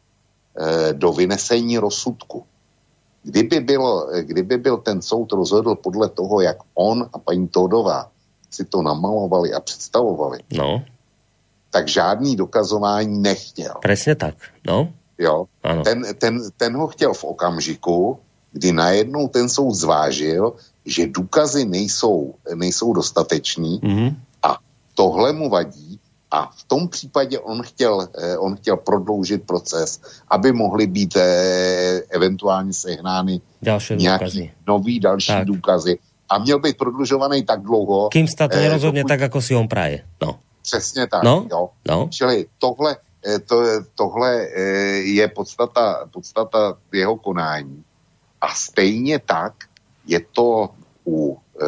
eh, do vynesení rozsudku. Kdyby, bylo, kdyby byl ten soud rozhodl podle toho, jak on a paní Tódová si to namalovali a představovali, no. tak žádný dokazování nechtěl. Presne tak, no. Jo, ten, ten, ten ho chtěl v okamžiku, kdy najednou ten soud zvážil, že důkazy nejsou, nejsou dostateční mm-hmm. a tohle mu vadí a v tom případě on chtěl, on chtěl prodloužit proces, aby mohly být eh, eventuálně sehnány nějaký nový další tak. důkazy a měl být prodlužovaný tak dlouho. Kým sa to eh, nerozhodne pokud... tak, ako si on praje. No. Přesně tak, no? jo. No. Čili tohle To, tohle je podstata, podstata jeho konání. A stejně tak je to u e,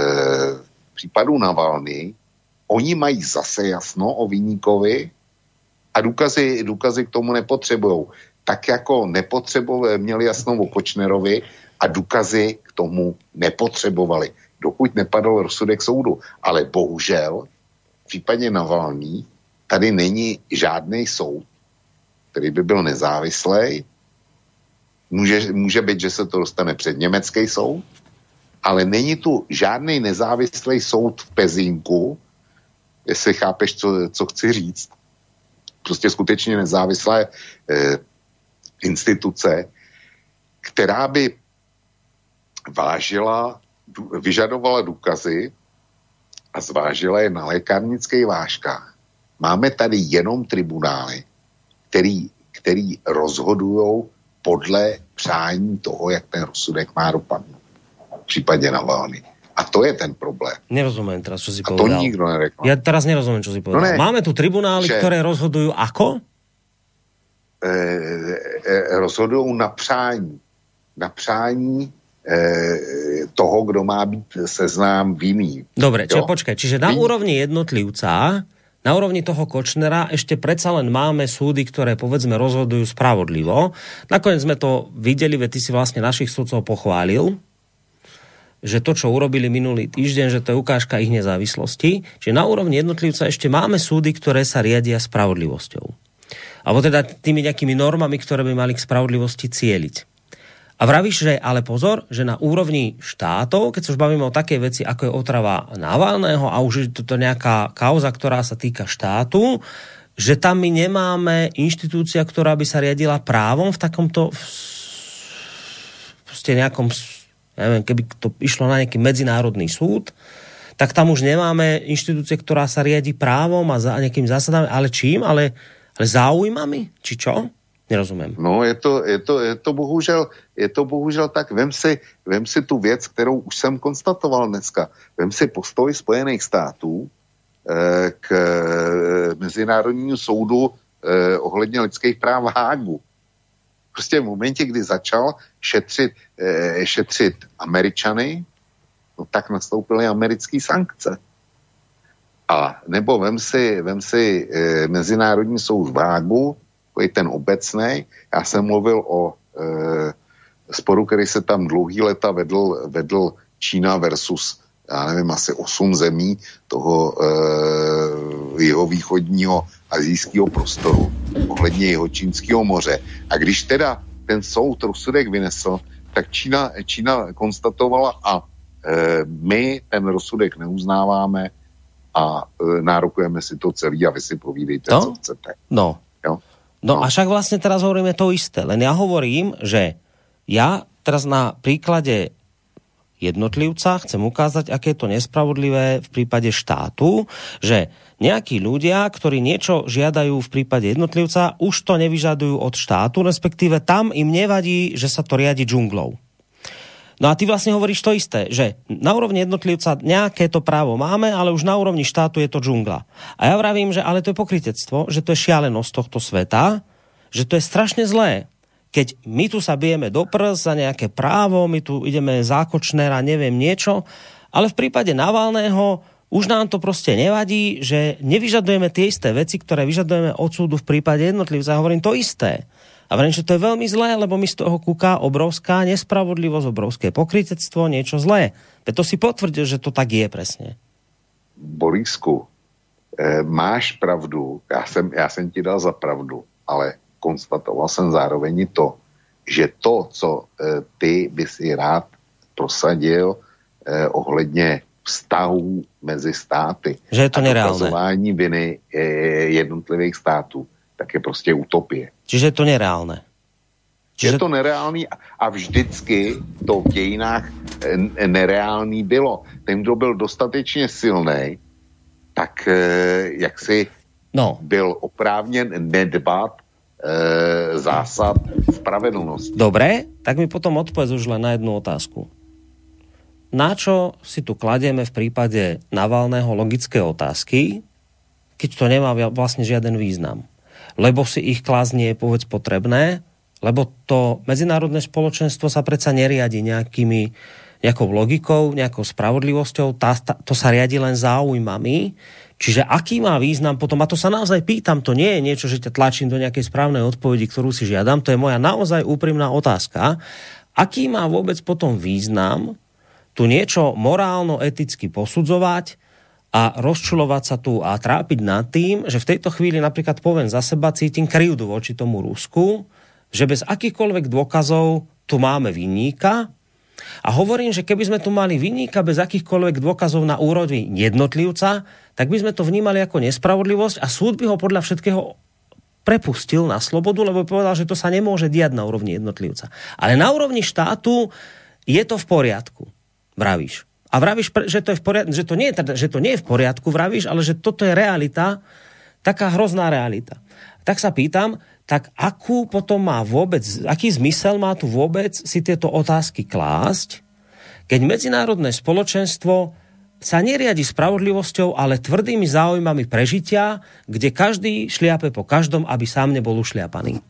případu Navalny. Oni mají zase jasno o viníkovi a důkazy, důkazy k tomu nepotřebujou. Tak jako nepotřebovali, měli jasno o Kočnerovi a důkazy k tomu nepotřebovali, dokud nepadl rozsudek soudu. Ale bohužel v případě Navalny tady není žádný soud, který by byl nezávislý. Může, může být, že se to dostane před německý soud, ale není tu žádný nezávislý soud v Pezínku, jestli chápeš, co, co chci říct. Prostě skutečně nezávislé eh, instituce, která by vážila, vyžadovala důkazy a zvážila je na lékárnických vážkách. Máme tady jenom tribunály, který, který rozhodujou podle přání toho, jak ten rozsudek má dopadnout. V případě Navalny. A to je ten problém. Nerozumiem teraz, čo si a povedal. to nikto nereklamuje. Ja teraz nerozumiem, čo si povedal. No ne, Máme tu tribunály, že, ktoré rozhodujú ako? E, e, rozhodujú na přání. Na přání e, toho, kdo má být seznám vinný. Dobre, čiže počkaj. Čiže na Vin... úrovni jednotlivca... Na úrovni toho Kočnera ešte predsa len máme súdy, ktoré povedzme rozhodujú spravodlivo. Nakoniec sme to videli, veď ty si vlastne našich súdcov pochválil, že to, čo urobili minulý týždeň, že to je ukážka ich nezávislosti. Čiže na úrovni jednotlivca ešte máme súdy, ktoré sa riadia spravodlivosťou. Alebo teda tými nejakými normami, ktoré by mali k spravodlivosti cieliť. A vravíš, že ale pozor, že na úrovni štátov, keď sa už bavíme o takej veci, ako je otrava Navalného a už je to nejaká kauza, ktorá sa týka štátu, že tam my nemáme inštitúcia, ktorá by sa riadila právom v takomto proste nejakom, neviem, keby to išlo na nejaký medzinárodný súd, tak tam už nemáme inštitúcie, ktorá sa riadi právom a za nejakým zásadami, ale čím? Ale, ale záujmami? Či čo? Nerozumím. No, je to, je to, je to bohužel, je to bohužel tak. Vem si, vem si tu věc, kterou už jsem konstatoval dneska. Vem si postoj Spojených států eh, k eh, Mezinárodnímu soudu eh, ohledně lidských práv v Hágu. Prostě v momentě, kdy začal šetřit, eh, šetřit Američany, no tak nastoupily americké sankce. A nebo vem si, vem si e, Mezinárodní soud v Hágu, takový ten obecnej. Já jsem mluvil o e, sporu, který se tam dlouhý leta vedl, vedl Čína versus, já nevím, asi osm zemí toho e, jihovýchodního asijského prostoru ohledně Jihočínského moře. A když teda ten soud rozsudek vynesl, tak Čína, Čína konstatovala a e, my ten rozsudek neuznáváme a e, nárokujeme si to celý a vy si povídejte, no? co chcete. No. Jo? No, no a však vlastne teraz hovoríme to isté. Len ja hovorím, že ja teraz na príklade jednotlivca chcem ukázať, aké je to nespravodlivé v prípade štátu, že nejakí ľudia, ktorí niečo žiadajú v prípade jednotlivca, už to nevyžadujú od štátu, respektíve tam im nevadí, že sa to riadi džunglou. No a ty vlastne hovoríš to isté, že na úrovni jednotlivca nejaké to právo máme, ale už na úrovni štátu je to džungla. A ja vravím, že ale to je pokrytectvo, že to je šialenosť tohto sveta, že to je strašne zlé. Keď my tu sa bijeme do prs za nejaké právo, my tu ideme zákočnér a neviem niečo, ale v prípade Navalného už nám to proste nevadí, že nevyžadujeme tie isté veci, ktoré vyžadujeme od súdu v prípade jednotlivca. Hovorím to isté. A vrajím, že to je veľmi zlé, lebo mi z toho kúka obrovská nespravodlivosť, obrovské pokrytectvo, niečo zlé. Veď to si potvrdil, že to tak je presne. Borisku, e, máš pravdu, já jsem, já jsem ti dal za pravdu, ale konstatoval jsem zároveň i to, že to, co e, ty by si rád prosadil e, ohledně vztahů mezi státy že je to a nereálne. dokazování viny e, jednotlivých států, tak je prostě utopie. Čiže je to nereálne. Čiže... Je to nereálný a vždycky to v dějinách nereálný bylo. Ten, kdo byl dostatečně silný, tak jak si no. byl oprávněn nedbat e, zásad spravedlnosti. Dobre, tak mi potom odpovedz už len na jednu otázku. Na čo si tu kladieme v prípade Navalného logické otázky, keď to nemá vlastne žiaden význam? Lebo si ich klásť nie je povedz potrebné, lebo to medzinárodné spoločenstvo sa predsa neriadi nejakými, nejakou logikou, nejakou spravodlivosťou, tá, tá, to sa riadi len záujmami. Čiže aký má význam potom, a to sa naozaj pýtam, to nie je niečo, že ťa tlačím do nejakej správnej odpovedi, ktorú si žiadam, to je moja naozaj úprimná otázka. Aký má vôbec potom význam tu niečo morálno-eticky posudzovať a rozčulovať sa tu a trápiť nad tým, že v tejto chvíli napríklad poviem za seba, cítim krivdu voči tomu Rusku, že bez akýchkoľvek dôkazov tu máme vinníka a hovorím, že keby sme tu mali vinníka bez akýchkoľvek dôkazov na úrovni jednotlivca, tak by sme to vnímali ako nespravodlivosť a súd by ho podľa všetkého prepustil na slobodu, lebo povedal, že to sa nemôže diať na úrovni jednotlivca. Ale na úrovni štátu je to v poriadku, vravíš. A vravíš, že to, je v poriadku, že, to nie je, že to nie je v poriadku, vravíš, ale že toto je realita, taká hrozná realita. Tak sa pýtam, tak akú potom má vôbec, aký zmysel má tu vôbec si tieto otázky klásť, keď medzinárodné spoločenstvo sa neriadi spravodlivosťou, ale tvrdými záujmami prežitia, kde každý šliape po každom, aby sám nebol ušliapaný.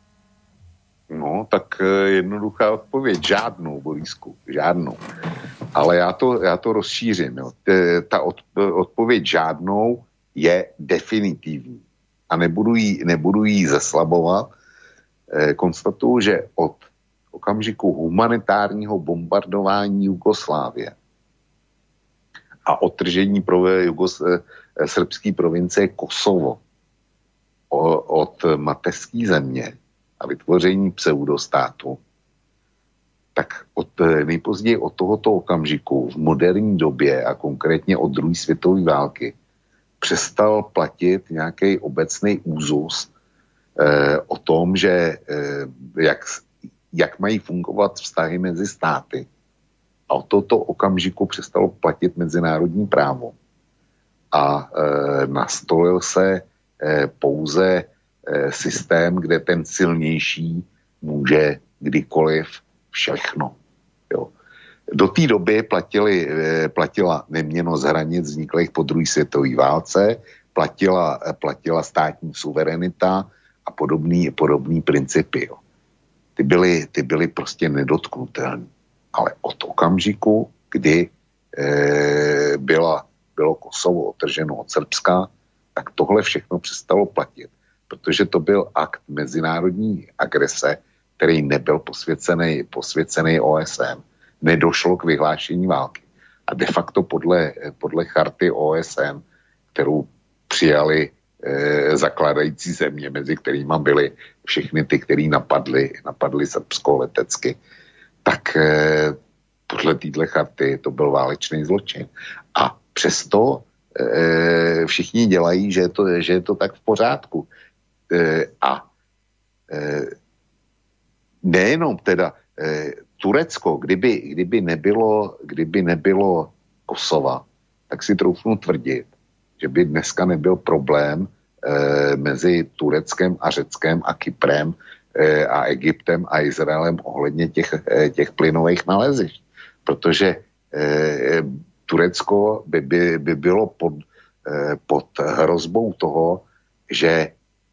No, tak jednoduchá odpověď. Žádnou, Borisku, žádnou. Ale já to, já to rozšířím. Jo. Ta od, odpověď žádnou je definitivní. A nebudu jí, nebudu jí zeslabovat. E, konstatuju, že od okamžiku humanitárního bombardování Jugoslávie a odtržení pro Jugos, e, srbské provincie Kosovo o, od mateřské země a vytvoření pseudostátu, tak od, nejpozději od tohoto okamžiku v moderní době a konkrétně od druhé světové války přestal platit nějaký obecný úzus eh, o tom, že eh, jak, jak mají fungovat vztahy mezi státy. A od tohoto okamžiku přestalo platit mezinárodní právo. A eh, nastolil se eh, pouze eh, systém, kde ten silnější může kdykoliv všechno. Jo. Do té doby platili, platila neměnnost hranic vzniklých po druhé světové válce, platila, platila státní suverenita a podobný, podobný principy. Jo. Ty, byly, ty byly prostě nedotknutelné. Ale od okamžiku, kdy e, byla, bylo Kosovo otrženo od Srbska, tak tohle všechno přestalo platit, protože to byl akt mezinárodní agrese, který nebyl posvěcený, posvěcený O S N. Nedošlo k vyhlášení války. A de facto podle, podle charty O S N, kterou přijali e, zakladající země, mezi kterými byly všechny ty, který napadly, napadly Srbsko letecky, tak e, podle téhle charty to byl válečný zločin. A přesto e, všichni dělají, že je to, že je to tak v pořádku. E, a e, nejenom teda e, Turecko, kdyby, kdyby, nebylo, kdyby nebylo Kosova, tak si troufnu tvrdit, že by dneska nebyl problém e, mezi Tureckem a Řeckem a Kyprem e, a Egyptem a Izraelem ohledně těch, e, těch plynových nalezišť. Protože e, Turecko by, by, by bylo pod, e, pod hrozbou toho, že e,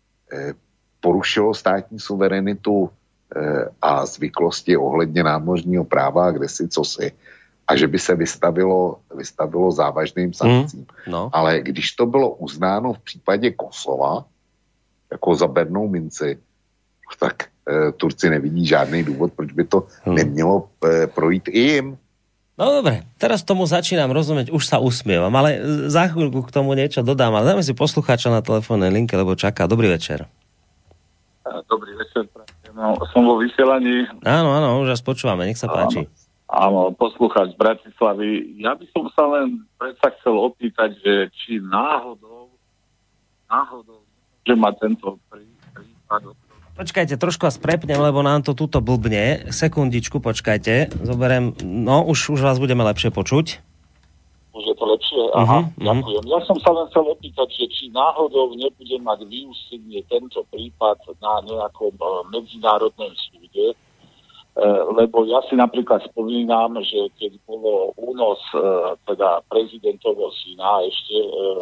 porušilo státní suverenitu a zvyklosti ohledně námořního práva, kde si cosi, a že by se vystavilo, vystavilo závažným sankcím. Mm, no. Ale když to bylo uznáno v případě Kosova jako za bernou minci, tak e, Turci nevidí žádný důvod, proč by to mm. nemělo e, projít i jim. No dobre, teraz tomu začínam rozumieť, už sa usmievam, ale za chvíľku k tomu niečo dodám, ale dáme si poslucháča na telefónnej linke, lebo čaká. Dobrý večer. Dobrý večer. No, som vo vysielaní. Áno, áno, už vás počúvame, nech sa páči. Áno, poslucháč z Bratislavy. Ja by som sa len predsa chcel opýtať, že či náhodou, náhodou, že má tento prípad... Počkajte, trošku vás prepnem, lebo nám to tuto blbne. Sekundičku, počkajte. Zoberiem, no, už, už vás budeme lepšie počuť. Už je to lepšie? Aha, uh-huh, ďakujem. Ja som sa len chcel opýtať, že či náhodou nebude mať vyústenie tento prípad na nejakom uh, medzinárodnom súde, uh, lebo ja si napríklad spomínam, že keď bolo únos uh, teda prezidentovho syna ešte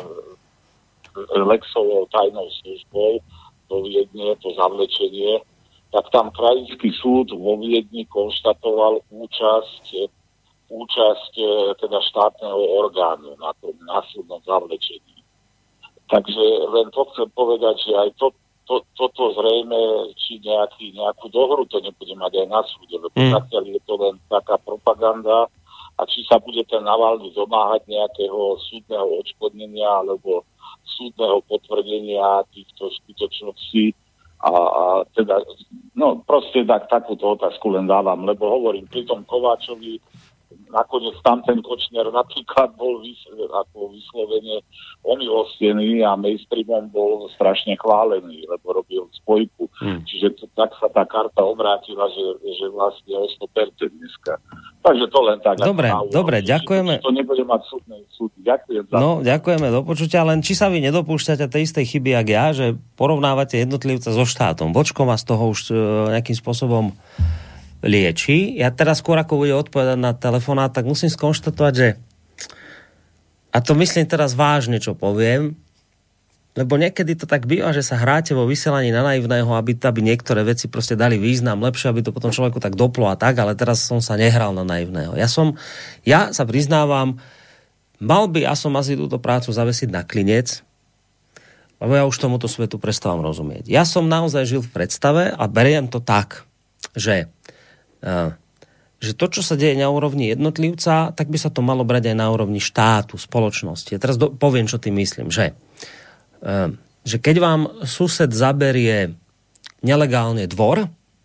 uh, Lexovou tajnou službou do Viedne, to zavlečenie, tak tam krajský súd vo Viedni konštatoval účasť účasť teda štátneho orgánu na tom násilnom zavlečení. Takže len to chcem povedať, že aj to, to, toto zrejme, či nejaký, nejakú dohru to nebude mať aj na súde, lebo mm. zatiaľ je to len taká propaganda a či sa bude ten Navalny domáhať nejakého súdneho odškodnenia alebo súdneho potvrdenia týchto skutočností. A, a teda, no proste tak, takúto otázku len dávam, lebo hovorím, pri tom Kováčovi nakoniec tam ten Kočner napríklad bol vys, ako vyslovene omilostený a mainstreamom bol strašne chválený, lebo robil spojku. Hmm. Čiže to, tak sa tá karta obrátila, že, že vlastne o sto percent dneska. Takže to len tak. Dobre, dobre, ďakujeme. To nebude mať súdnej súd. Ďakujem. Za no, ďakujeme do počutia, len či sa vy nedopúšťate tej istej chyby, jak ja, že porovnávate jednotlivca so štátom. Vočko vás toho už nejakým spôsobom lieči. Ja teraz skôr ako bude odpovedať na telefonát, tak musím skonštatovať, že a to myslím teraz vážne, čo poviem, lebo niekedy to tak býva, že sa hráte vo vysielaní na naivného, aby, aby niektoré veci proste dali význam, lepšie, aby to potom človeku tak doplo a tak, ale teraz som sa nehral na naivného. Ja som, ja sa priznávam, mal by, ja som asi túto prácu zavesiť na klinec, lebo ja už tomuto svetu prestávam rozumieť. Ja som naozaj žil v predstave a beriem to tak, že že to, čo sa deje na úrovni jednotlivca, tak by sa to malo brať aj na úrovni štátu, spoločnosti. Ja teraz do, poviem, čo tým myslím, že, že keď vám sused zaberie nelegálne dvor,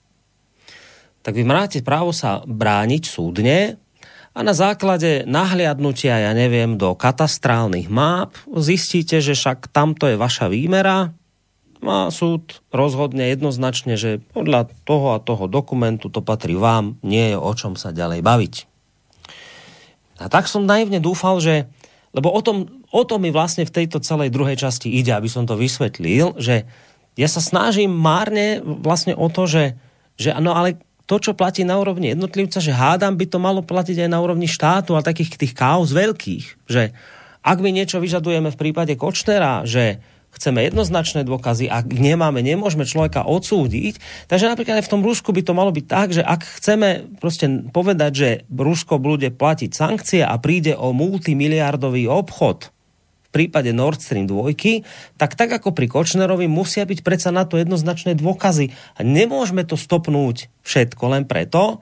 tak vy máte právo sa brániť súdne a na základe nahliadnutia, ja neviem, do katastrálnych máp zistíte, že však tamto je vaša výmera a súd rozhodne jednoznačne, že podľa toho a toho dokumentu to patrí vám, nie je o čom sa ďalej baviť. A tak som naivne dúfal, že, lebo o tom, o tom mi vlastne v tejto celej druhej časti ide, aby som to vysvetlil, že ja sa snažím márne vlastne o to, že, že no ale to, čo platí na úrovni jednotlivca, že hádam by to malo platiť aj na úrovni štátu a takých tých káuz veľkých, že ak my niečo vyžadujeme v prípade Kočnera, že chceme jednoznačné dôkazy, ak nemáme, nemôžeme človeka odsúdiť. Takže napríklad aj v tom Rusku by to malo byť tak, že ak chceme proste povedať, že Rusko bude platiť sankcie a príde o multimiliardový obchod v prípade Nord Stream dva, tak tak ako pri Kočnerovi musia byť predsa na to jednoznačné dôkazy. A nemôžeme to stopnúť všetko len preto,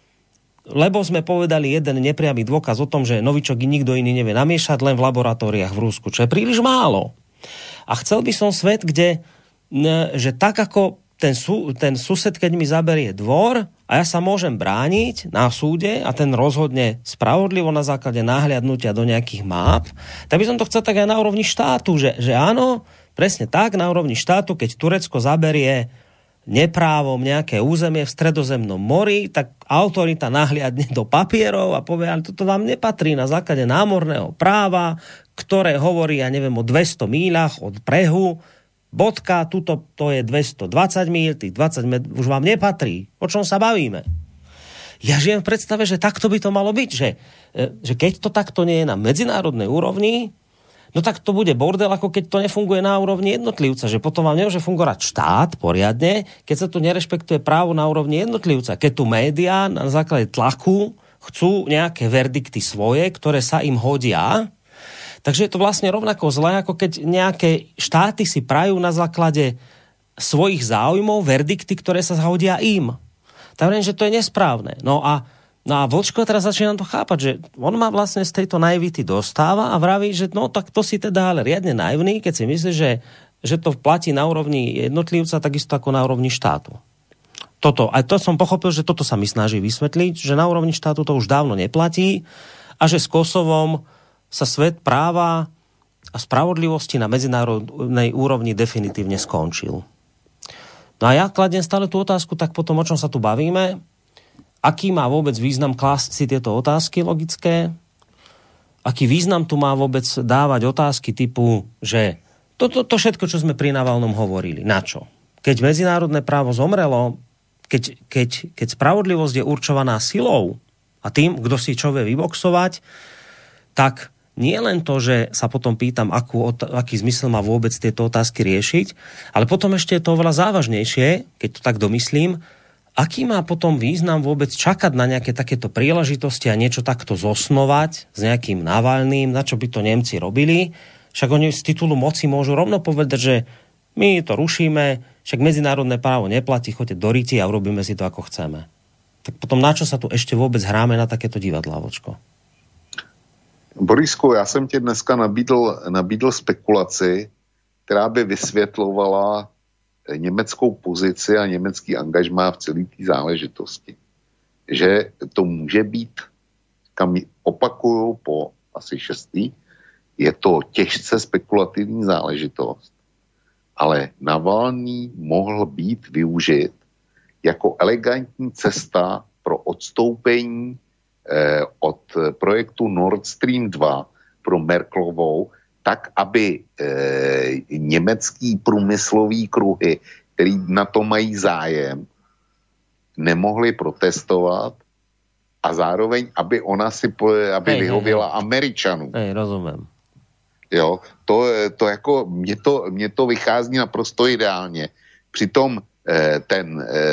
lebo sme povedali jeden nepriamy dôkaz o tom, že novičok nikto iný nevie namiešať len v laboratóriách v Rusku, čo je príliš málo. A chcel by som svet, kde, že tak ako ten, sú, ten sused, keď mi zaberie dvor a ja sa môžem brániť na súde a ten rozhodne spravodlivo na základe náhliadnutia do nejakých máp, tak by som to chcel tak aj na úrovni štátu, že, že áno, presne tak, na úrovni štátu, keď Turecko zaberie neprávom nejaké územie v Stredozemnom mori, tak autorita nahliadne do papierov a povie, ale toto vám nepatrí na základe námorného práva, ktoré hovorí, ja neviem, o dvesto míľach od brehu, bodka, tuto to je dvestodvadsať míľ, tých dvadsať met- už vám nepatrí. O čom sa bavíme? Ja žijem v predstave, že takto by to malo byť, že, že keď to takto nie je na medzinárodnej úrovni, no tak to bude bordel, ako keď to nefunguje na úrovni jednotlivca, že potom vám nemôže fungovať štát poriadne, keď sa tu nerešpektuje právo na úrovni jednotlivca. Keď tu médiá na základe tlaku chcú nejaké verdikty svoje, ktoré sa im hodia, takže je to vlastne rovnako zlé, ako keď nejaké štáty si prajú na základe svojich záujmov verdikty, ktoré sa hodia im. Tak viem, že to je nesprávne. No a No a Vlčko teraz začína to chápať, že on má vlastne z tejto naivity dostáva a vraví, že no tak to si teda ale riadne naivný, keď si myslí, že, že to platí na úrovni jednotlivca, takisto ako na úrovni štátu. Toto, aj to som pochopil, že toto sa mi snaží vysvetliť, že na úrovni štátu to už dávno neplatí a že s Kosovom sa svet práva a spravodlivosti na medzinárodnej úrovni definitívne skončil. No a ja kladiem stále tú otázku, tak potom o čom sa tu bavíme? Aký má vôbec význam klásť si tieto otázky logické? Aký význam tu má vôbec dávať otázky typu, že toto to, to všetko, čo sme pri Navalnom hovorili, na čo? Keď medzinárodné právo zomrelo, keď, keď, keď spravodlivosť je určovaná silou a tým, kto si čo vie vyboxovať, tak nie len to, že sa potom pýtam, akú, aký zmysel má vôbec tieto otázky riešiť, ale potom ešte je to oveľa závažnejšie, keď to tak domyslím, aký má potom význam vôbec čakať na nejaké takéto príležitosti a niečo takto zosnovať s nejakým Navalným, na čo by to Nemci robili? Však oni z titulu moci môžu rovno povedať, že my to rušíme, však medzinárodné právo neplatí, choďte do riti a urobíme si to, ako chceme. Tak potom na čo sa tu ešte vôbec hráme na takéto divadlá, Vočko? Borisku, já jsem ti dneska nabídl, nabídl spekulaci, která by vysvětlovala německou pozici a německý angažmá v celé té záležitosti. Že to může být, kam opakuju po asi šestý, je to těžce spekulativní záležitost, ale Navalný mohl být využit jako elegantní cesta pro odstoupení eh, od projektu Nord Stream dva pro Merkelovou, tak, aby e, německý průmyslový kruhy, který na to mají zájem, nemohli protestovat a zároveň, aby ona si, aby hej, vyhověla hej, Američanům. Hej, rozumím. Jo, to, to jako, mně to, mně to vychází naprosto ideálně. Přitom e, ten, e,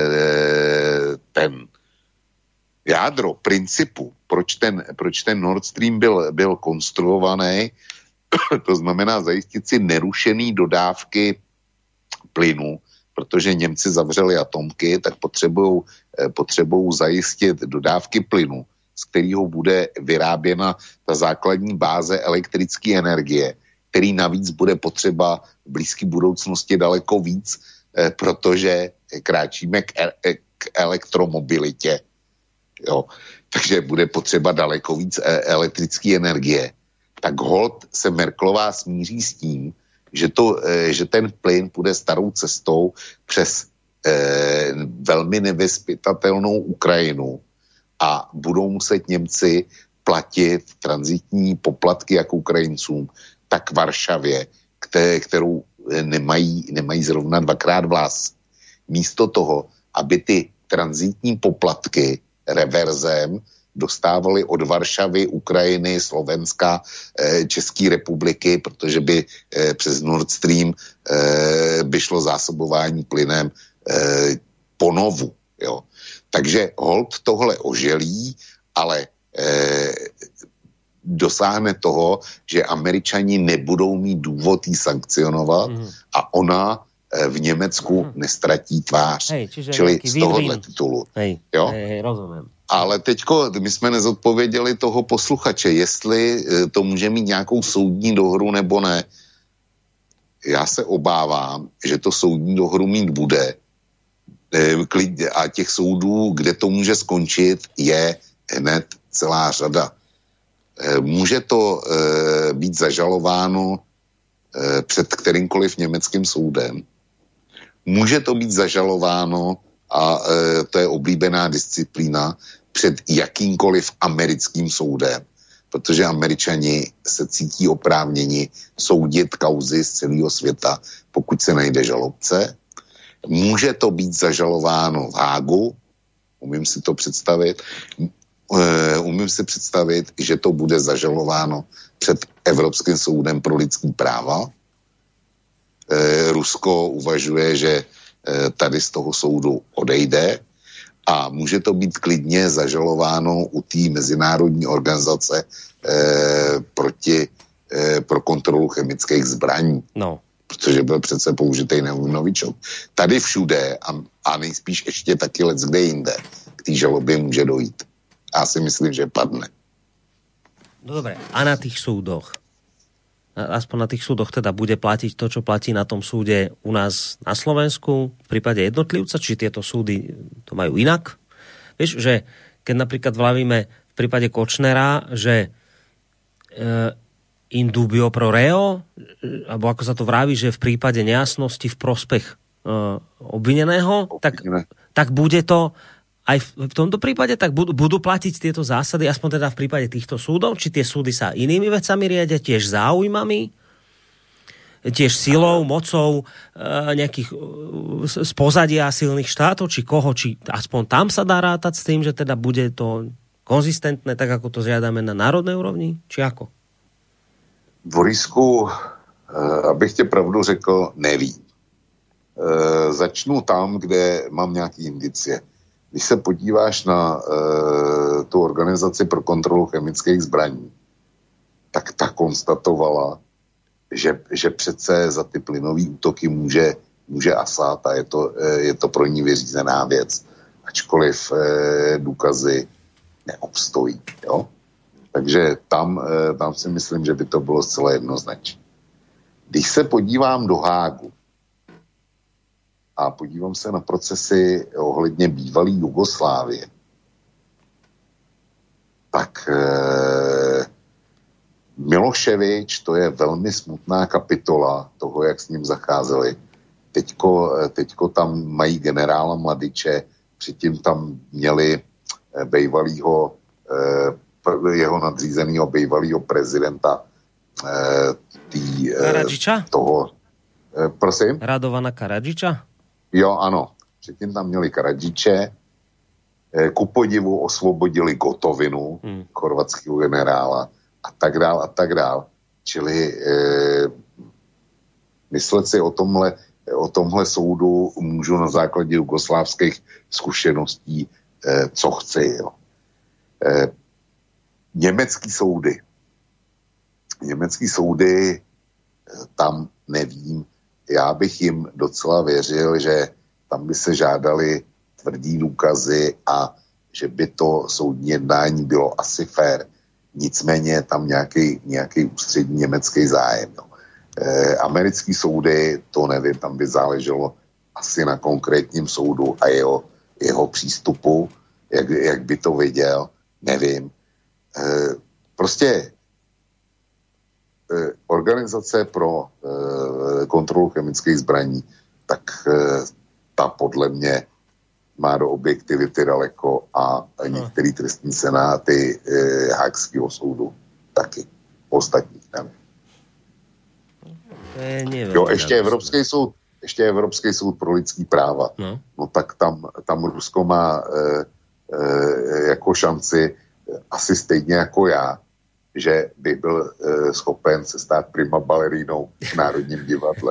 ten jádro principu, proč ten, proč ten Nord Stream byl, byl konstruovaný, to znamená zajistit si nerušený dodávky plynu, protože Němci zavřeli atomky, tak potřebují potřebují zajistit dodávky plynu, z kterého bude vyráběna ta základní báze elektrické energie, který navíc bude potřeba v blízké budoucnosti daleko víc, protože kráčíme k, k elektromobilitě. Jo. Takže bude potřeba daleko víc elektrické energie. Tak holt se Merkelová smíří s tím, že, to, že ten plyn půjde starou cestou přes eh, velmi nevyzpytatelnou Ukrajinu a budou muset Němci platit tranzitní poplatky jak Ukrajincům, tak Varšavě, které, kterou nemají, nemají zrovna dvakrát vlas. Místo toho, aby ty tranzitní poplatky reverzem dostávali od Varšavy, Ukrajiny, Slovenska, České republiky, protože by přes Nord Stream by šlo zásobování plynem ponovu. Jo. Takže hold tohle oželí, ale dosáhne toho, že Američani nebudou mít důvod jí sankcionovat mm. a ona v Německu mm. nestratí tvář. Hej, čili z tohohle titulu. Hej, jo? hej, hej, rozumím. Ale teďko, my jsme nezodpověděli toho posluchače, jestli to může mít nějakou soudní dohru nebo ne. Já se obávám, že to soudní dohru mít bude a těch soudů, kde to může skončit, je hned celá řada. Může to být zažalováno před kterýmkoliv německým soudem. Může to být zažalováno, a to je oblíbená disciplína, před jakýmkoliv americkým soudem, protože Američani se cítí oprávněni soudit kauzy z celého světa, pokud se najde žalobce. Může to být zažalováno v Hágu, umím si to představit, umím si představit, že to bude zažalováno před Evropským soudem pro lidský práva. Rusko uvažuje, že tady z toho soudu odejde a může to být klidně zažalováno u té mezinárodní organizace eh, proti, eh, pro kontrolu chemických zbraní. No. Protože byl přece použitej novičok. Tady všude a, a nejspíš ještě taky let kde jinde k té žalobě může dojít. Já si myslím, že padne. No dobre, a na tých súdoch? Aspoň na tých súdoch teda bude platiť to, čo platí na tom súde u nás na Slovensku v prípade jednotlivca, či tieto súdy to majú inak? Vieš, že keď napríklad vlavíme v prípade Kočnera, že e, in dubio pro reo, alebo ako sa to vraví, že v prípade nejasnosti v prospech e, obvineného, tak, tak bude to aj v tomto prípade, tak budú, budú platiť tieto zásady, aspoň teda v prípade týchto súdov, či tie súdy sa inými vecami riadia, tiež záujmami, tiež silou, mocou nejakých z pozadia silných štátov, či koho, či aspoň tam sa dá rátať s tým, že teda bude to konzistentné, tak ako to žiadame na národnej úrovni, či ako? Borisku, abych tě pravdu řekl, nevím. Začnu tam, kde mám nějaký indicie. Když se podíváš na uh, tu organizaci pro kontrolu chemických zbraní, tak ta konstatovala, že, že přece za ty plynové útoky může, může Asad a je to, je to pro ní vyřízená věc, ačkoliv uh, důkazy neobstojí. Jo? Takže tam, uh, tam si myslím, že by to bylo zcela jednoznačné. Když se podívám do Hágu, a podívám se na procesy ohledně bývalé Jugoslávie, tak eh, Miloševič, to je velmi smutná kapitola toho, jak s ním zacházeli. Teďko, teďko tam mají generála Mladiče, předtím tam měli eh, bejvalýho, eh, jeho nadřízenýho bejvalýho prezidenta eh, tý, eh, toho. Eh, prosím? Radovana Karadžiča? Jo, ano. Předtím tam měli Karadžiče, ku podivu osvobodili Gotovinu, hmm. chorvatského generála a tak dál a tak dál. Čili eh, myslet si o tomhle, o tomhle soudu můžu na základě jugoslávských zkušeností, eh, co chci. Jo. Eh, německý soudy. Německý soudy eh, tam nevím. Já bych jim docela věřil, že tam by se žádali tvrdý důkazy a že by to soudní jednání bylo asi fér. Nicméně tam nějaký, nějaký ústřední německý zájem. Jo. E, americký soudy, to nevím, tam by záleželo asi na konkrétním soudu a jeho, jeho přístupu, jak, jak by to viděl, nevím. E, prostě organizace pro e, kontrolu chemických zbraní, tak e, ta podle mě má do objektivity daleko a některý trestní senáty e, Hákského soudu taky. Ostatních nevím. Jo, ještě Evropský soud, ještě Evropský soud pro lidský práva. No, no tak tam, tam Rusko má e, e, jako šanci asi stejně jako já, že by byl e, schopen se stát prima balerínou v Národním divadle.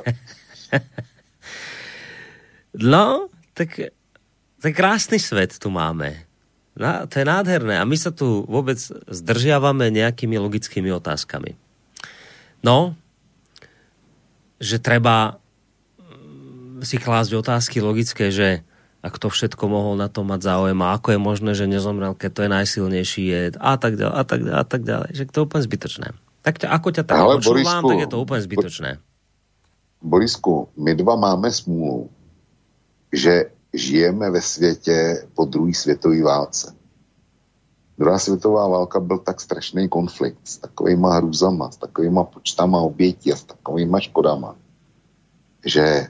No, tak to je krásny svet tu máme. No, to je nádherné. A my sa tu vôbec zdržiavame nejakými logickými otázkami. No, že treba si klásť otázky logické, že a kto všetko mohol na to mať záujem a ako je možné, že nezomrel, keď to je najsilnejší jed a tak ďalej, a tak ďalej, a tak ďalej. Že to je úplne zbytočné. Tak ťa, ako ťa tak počúvam, tak je to úplne zbytočné. Borisku, my dva máme smůlu, že žijeme ve světě po druhé světové válce. Druhá světová válka byl tak strašný konflikt s takovýma hrůzama, s takovýma počtama obětí a s takovýma škodama, že e,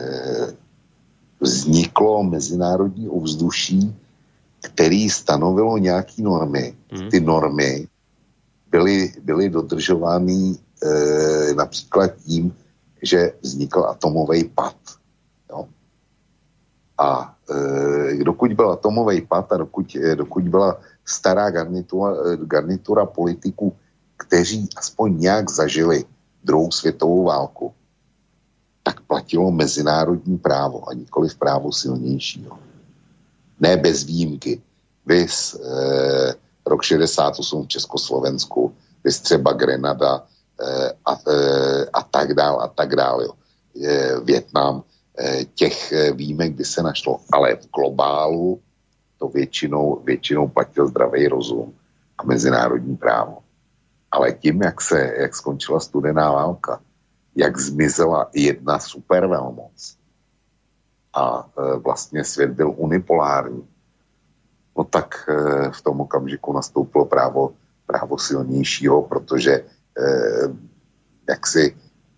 vzniklo mezinárodní ovzduší, který stanovilo nějaký normy. Hmm. Ty normy byly, byly dodržovány e, například tím, že vznikl atomový pad. Jo? A e, dokud byl atomový pad a dokud, e, dokud byla stará garnitura, garnitura politiků, kteří aspoň nějak zažili druhou světovou válku, tak platilo mezinárodní právo a nikoliv právo silnějšího. Ne bez výjimky. Vys e, rok šedesát osm v Československu, vys třeba Grenada e, a, e, a tak dál a tak dál. Jo. E, Vietnam, e, těch výjimek by se našlo, ale v globálu to většinou, většinou platil zdravý rozum a mezinárodní právo. Ale tím, jak se, jak skončila studená válka, jak zmizela jedna supervelmoc a e, vlastně svět byl unipolární, no tak e, v tom okamžiku nastoupilo právo, právo silnějšího, protože e, jaksi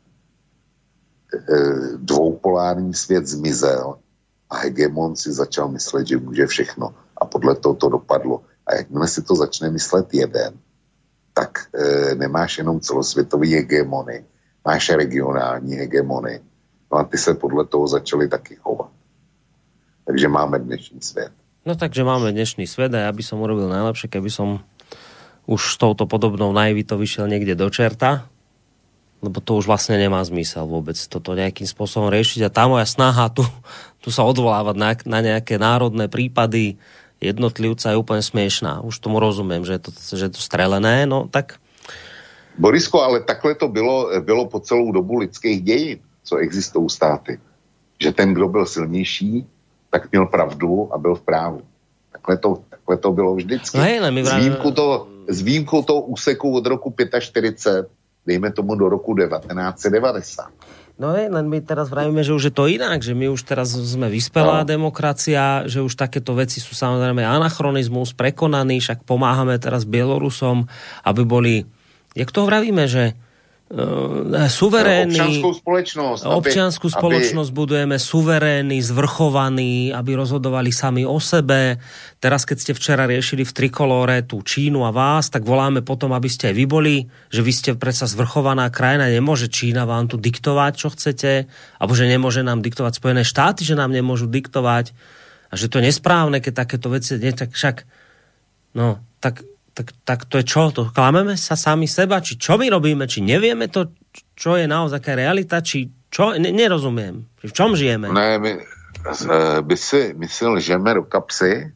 e, dvoupolární svět zmizel a hegemon si začal myslet, že může všechno. A podle toho to dopadlo. A jakmile si to začne myslet jeden, tak e, nemáš jenom celosvětový hegemony, máš regionální hegemony. No a ty se podle toho začali taky chovat. Takže máme dnešní svět. No takže máme dnešný svet a ja by som urobil najlepšie, keby som už s touto podobnou naivitou vyšiel niekde do čerta, lebo to už vlastne nemá zmysel vôbec toto nejakým spôsobom riešiť a tá moja snaha tu, tu sa odvolávať na, na nejaké národné prípady jednotlivca je úplne smiešná. Už tomu rozumiem, že je to, že je to strelené, no tak... Borisko, ale takhle to bylo, bylo po celou dobu lidských dějin, co existují státy. Že ten, kdo byl silnější, tak měl pravdu a byl v právu. Takhle to, takhle to bylo vždycky. No hej, my vrát... S výjimkou toho, z výjimkou toho úseku od roku štyridsať päť, dejme tomu do roku devätnásť devadesát. No hej, len my teraz vravíme, že už je to inak, že my už teraz sme vyspelá no. demokracia, že už takéto veci sú samozrejme anachronizmus, prekonaný, však pomáhame teraz Bielorusom, aby boli, jak to vravíme, že uh, suverénni... Občianskou spoločnosť. Občiansku aby, spoločnosť aby... budujeme suverénni, zvrchovaní, aby rozhodovali sami o sebe. Teraz, keď ste včera riešili v Trikolóre tú Čínu a vás, tak voláme potom, aby ste aj vy boli, že vy ste predsa zvrchovaná krajina, nemôže Čína vám tu diktovať, čo chcete, alebo že nemôže nám diktovať Spojené štáty, že nám nemôžu diktovať a že to je nesprávne, keď takéto veci, nie, tak však, no, tak, tak, tak to je čo? To klameme sa sami seba? Či čo my robíme? Či nevieme to, čo je naozaj aká realita? Či čo? Ne, nerozumiem. V čom žijeme? Ne, my, by si, my si lžeme do kapsy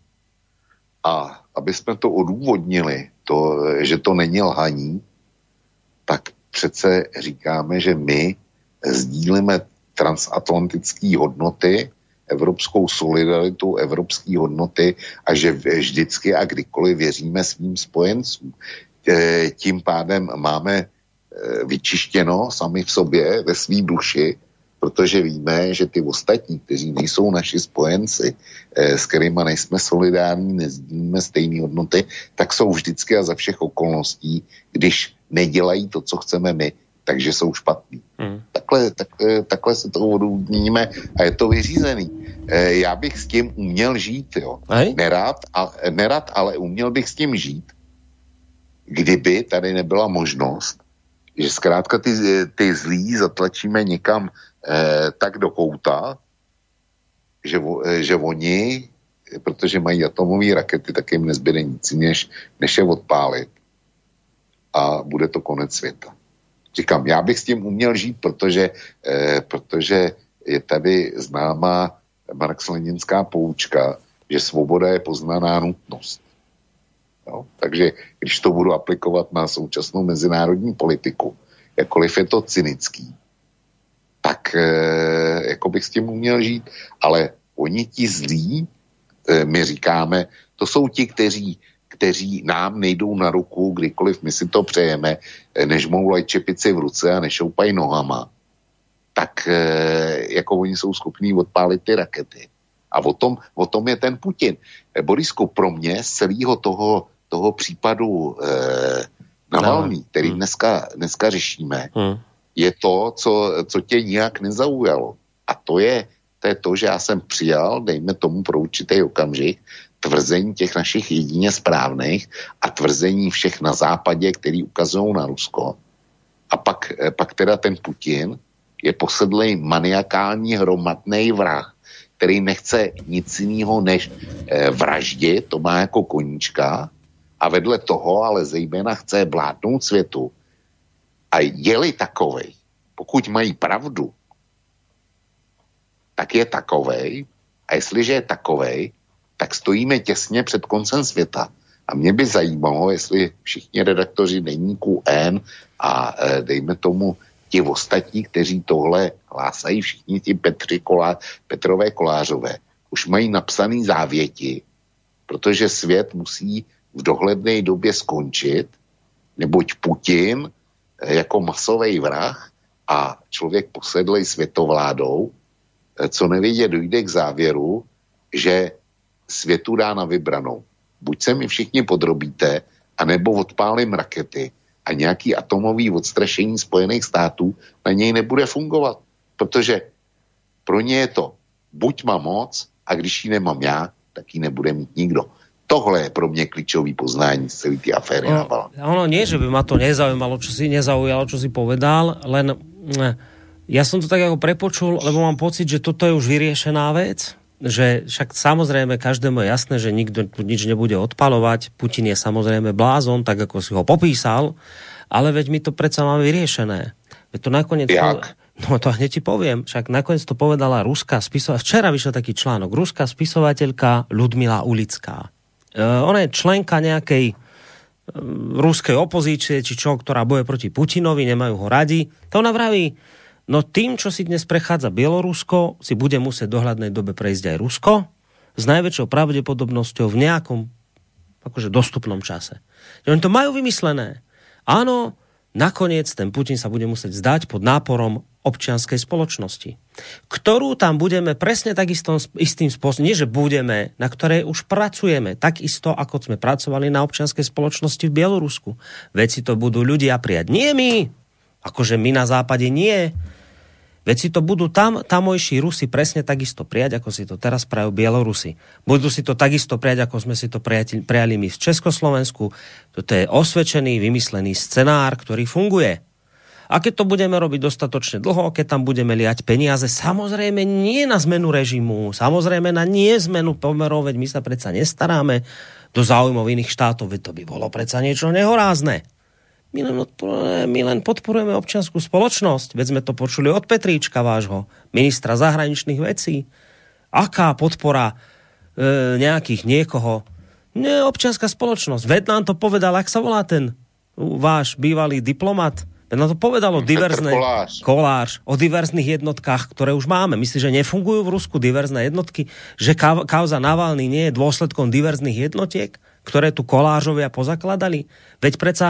a aby jsme to odůvodnili, to, že to není lhaní, tak přece říkáme, že my sdílíme transatlantické hodnoty, evropskou solidaritu, evropské hodnoty a že vždycky a kdykoliv věříme svým spojencům. Tím pádem máme vyčištěno sami v sobě, ve svý duši, protože víme, že ty ostatní, kteří nejsou naši spojenci, s kterýma nejsme solidární, nezdílíme stejné hodnoty, tak jsou vždycky a za všech okolností, když nedělají to, co chceme my, takže jsou špatní. Hmm. Takhle, takhle, takhle se to odůvodníme a je to vyřízený. Já bych s tím uměl žít, jo. Nerad, a, nerad, ale uměl bych s tím žít, kdyby tady nebyla možnost, že zkrátka ty, ty zlí zatlačíme někam eh, tak do kouta, že, že oni protože mají atomové rakety, tak jim nezbyde nic, než, než je odpálit. A bude to konec světa. Říkám, já bych s tím uměl žít, protože, eh, protože je tady známá marxleninská poučka, že svoboda je poznaná nutnost. Jo? Takže když to budu aplikovat na současnou mezinárodní politiku, jakkoliv je to cynický, tak eh, jako bych s tím uměl žít, ale oni ti zlí, eh, my říkáme, to jsou ti, kteří, kteří nám nejdou na ruku, kdykoliv my si to přejeme, eh, než moulají čepici v ruce a nešoupají nohama, tak eh, jako oni jsou schopní odpálit ty rakety. A o tom, o tom je ten Putin. Eh, Borisku, pro mě z celého toho, toho případu eh, Navalný, který dneska, dneska řešíme, hmm. je to, co, co tě nijak nezaujalo. A to je, to je to, že já jsem přijal, dejme tomu pro určitý okamžik, tvrzení těch našich jedině správných a tvrzení všech na západě, který ukazují na Rusko. A pak, pak teda ten Putin je posedlej maniakální hromadný vrah, který nechce nic jiného než eh, vraždit, to má jako koníčka, a vedle toho ale zejména chce vládnout světu. A je-li takovej, pokud mají pravdu, tak je takovej, a jestliže je takovej, tak stojíme těsně před koncem světa. A mě by zajímalo, jestli všichni redaktoři deníku N a e, dejme tomu ti ostatní, kteří tohle hlásají, všichni ti Petři Kolá, Petrové Kolářové, už mají napsaný závěti, protože svět musí v dohledné době skončit, neboť Putin jako masový vrah a člověk posedlej světovládou, co nevědě dojde k závěru, že světu dá na vybranou. Buď se mi všichni podrobíte, anebo odpálím rakety a nějaký atomový odstrašení Spojených států na něj nebude fungovat. Protože pro ně je to buď mám moc a když ji nemám já, tak ji nebude mít nikdo. Tohle je pro mňa klíčový poznání z celý tej aféry. No, ono nie, že by ma to nezaujímalo, čo si nezaujalo, čo si povedal, len ja som to tak ako prepočul, lebo mám pocit, že toto je už vyriešená vec, že však samozrejme každému je jasné, že nikto nič nebude odpalovať, Putin je samozrejme blázon, tak ako si ho popísal, ale veď my to predsa máme vyriešené. Veď to nakoniec... Jak? No to hneď ti poviem, však nakoniec to povedala ruská spisovateľka, včera vyšiel taký článok, ruská spisovateľka Ľudmila Ulická. Uh, ona je členka nejakej uh, ruskej opozície, či čo, ktorá boje proti Putinovi, nemajú ho radi. To ona vraví, no tým, čo si dnes prechádza Bielorusko, si bude musieť v dohľadnej dobe prejsť aj Rusko s najväčšou pravdepodobnosťou v nejakom akože dostupnom čase. Oni to majú vymyslené. Áno, nakoniec ten Putin sa bude musieť zdať pod náporom občianskej spoločnosti, ktorú tam budeme presne takisto istým spôsobom, nie že budeme, na ktorej už pracujeme, takisto ako sme pracovali na občianskej spoločnosti v Bielorusku. Veď si to budú ľudia prijať. Nie my, akože my na západe nie. Veď si to budú tam, tamojší Rusi presne takisto prijať, ako si to teraz prajú Bielorusi. Budú si to takisto prijať, ako sme si to prijali my v Československu. Toto je osvedčený, vymyslený scenár, ktorý funguje. A keď to budeme robiť dostatočne dlho, keď tam budeme liať peniaze, samozrejme nie na zmenu režimu, samozrejme na nie zmenu pomerov, veď my sa predsa nestaráme do záujmov iných štátov, veď to by bolo predsa niečo nehorázne. My len, odporujeme, my len podporujeme občiansku spoločnosť, veď sme to počuli od Petríčka vášho, ministra zahraničných vecí. Aká podpora e, nejakých niekoho? Nie, občianská spoločnosť. Veď nám to povedal, ak sa volá ten váš bývalý diplomat, no to povedalo diverzné, Kolář. Kolář, o diverzných jednotkách, ktoré už máme. Myslíš, že nefungujú v Rusku diverzné jednotky? Že kauza Navalny nie je dôsledkom diverzných jednotiek, ktoré tu Kolářovia pozakladali? Veď predsa,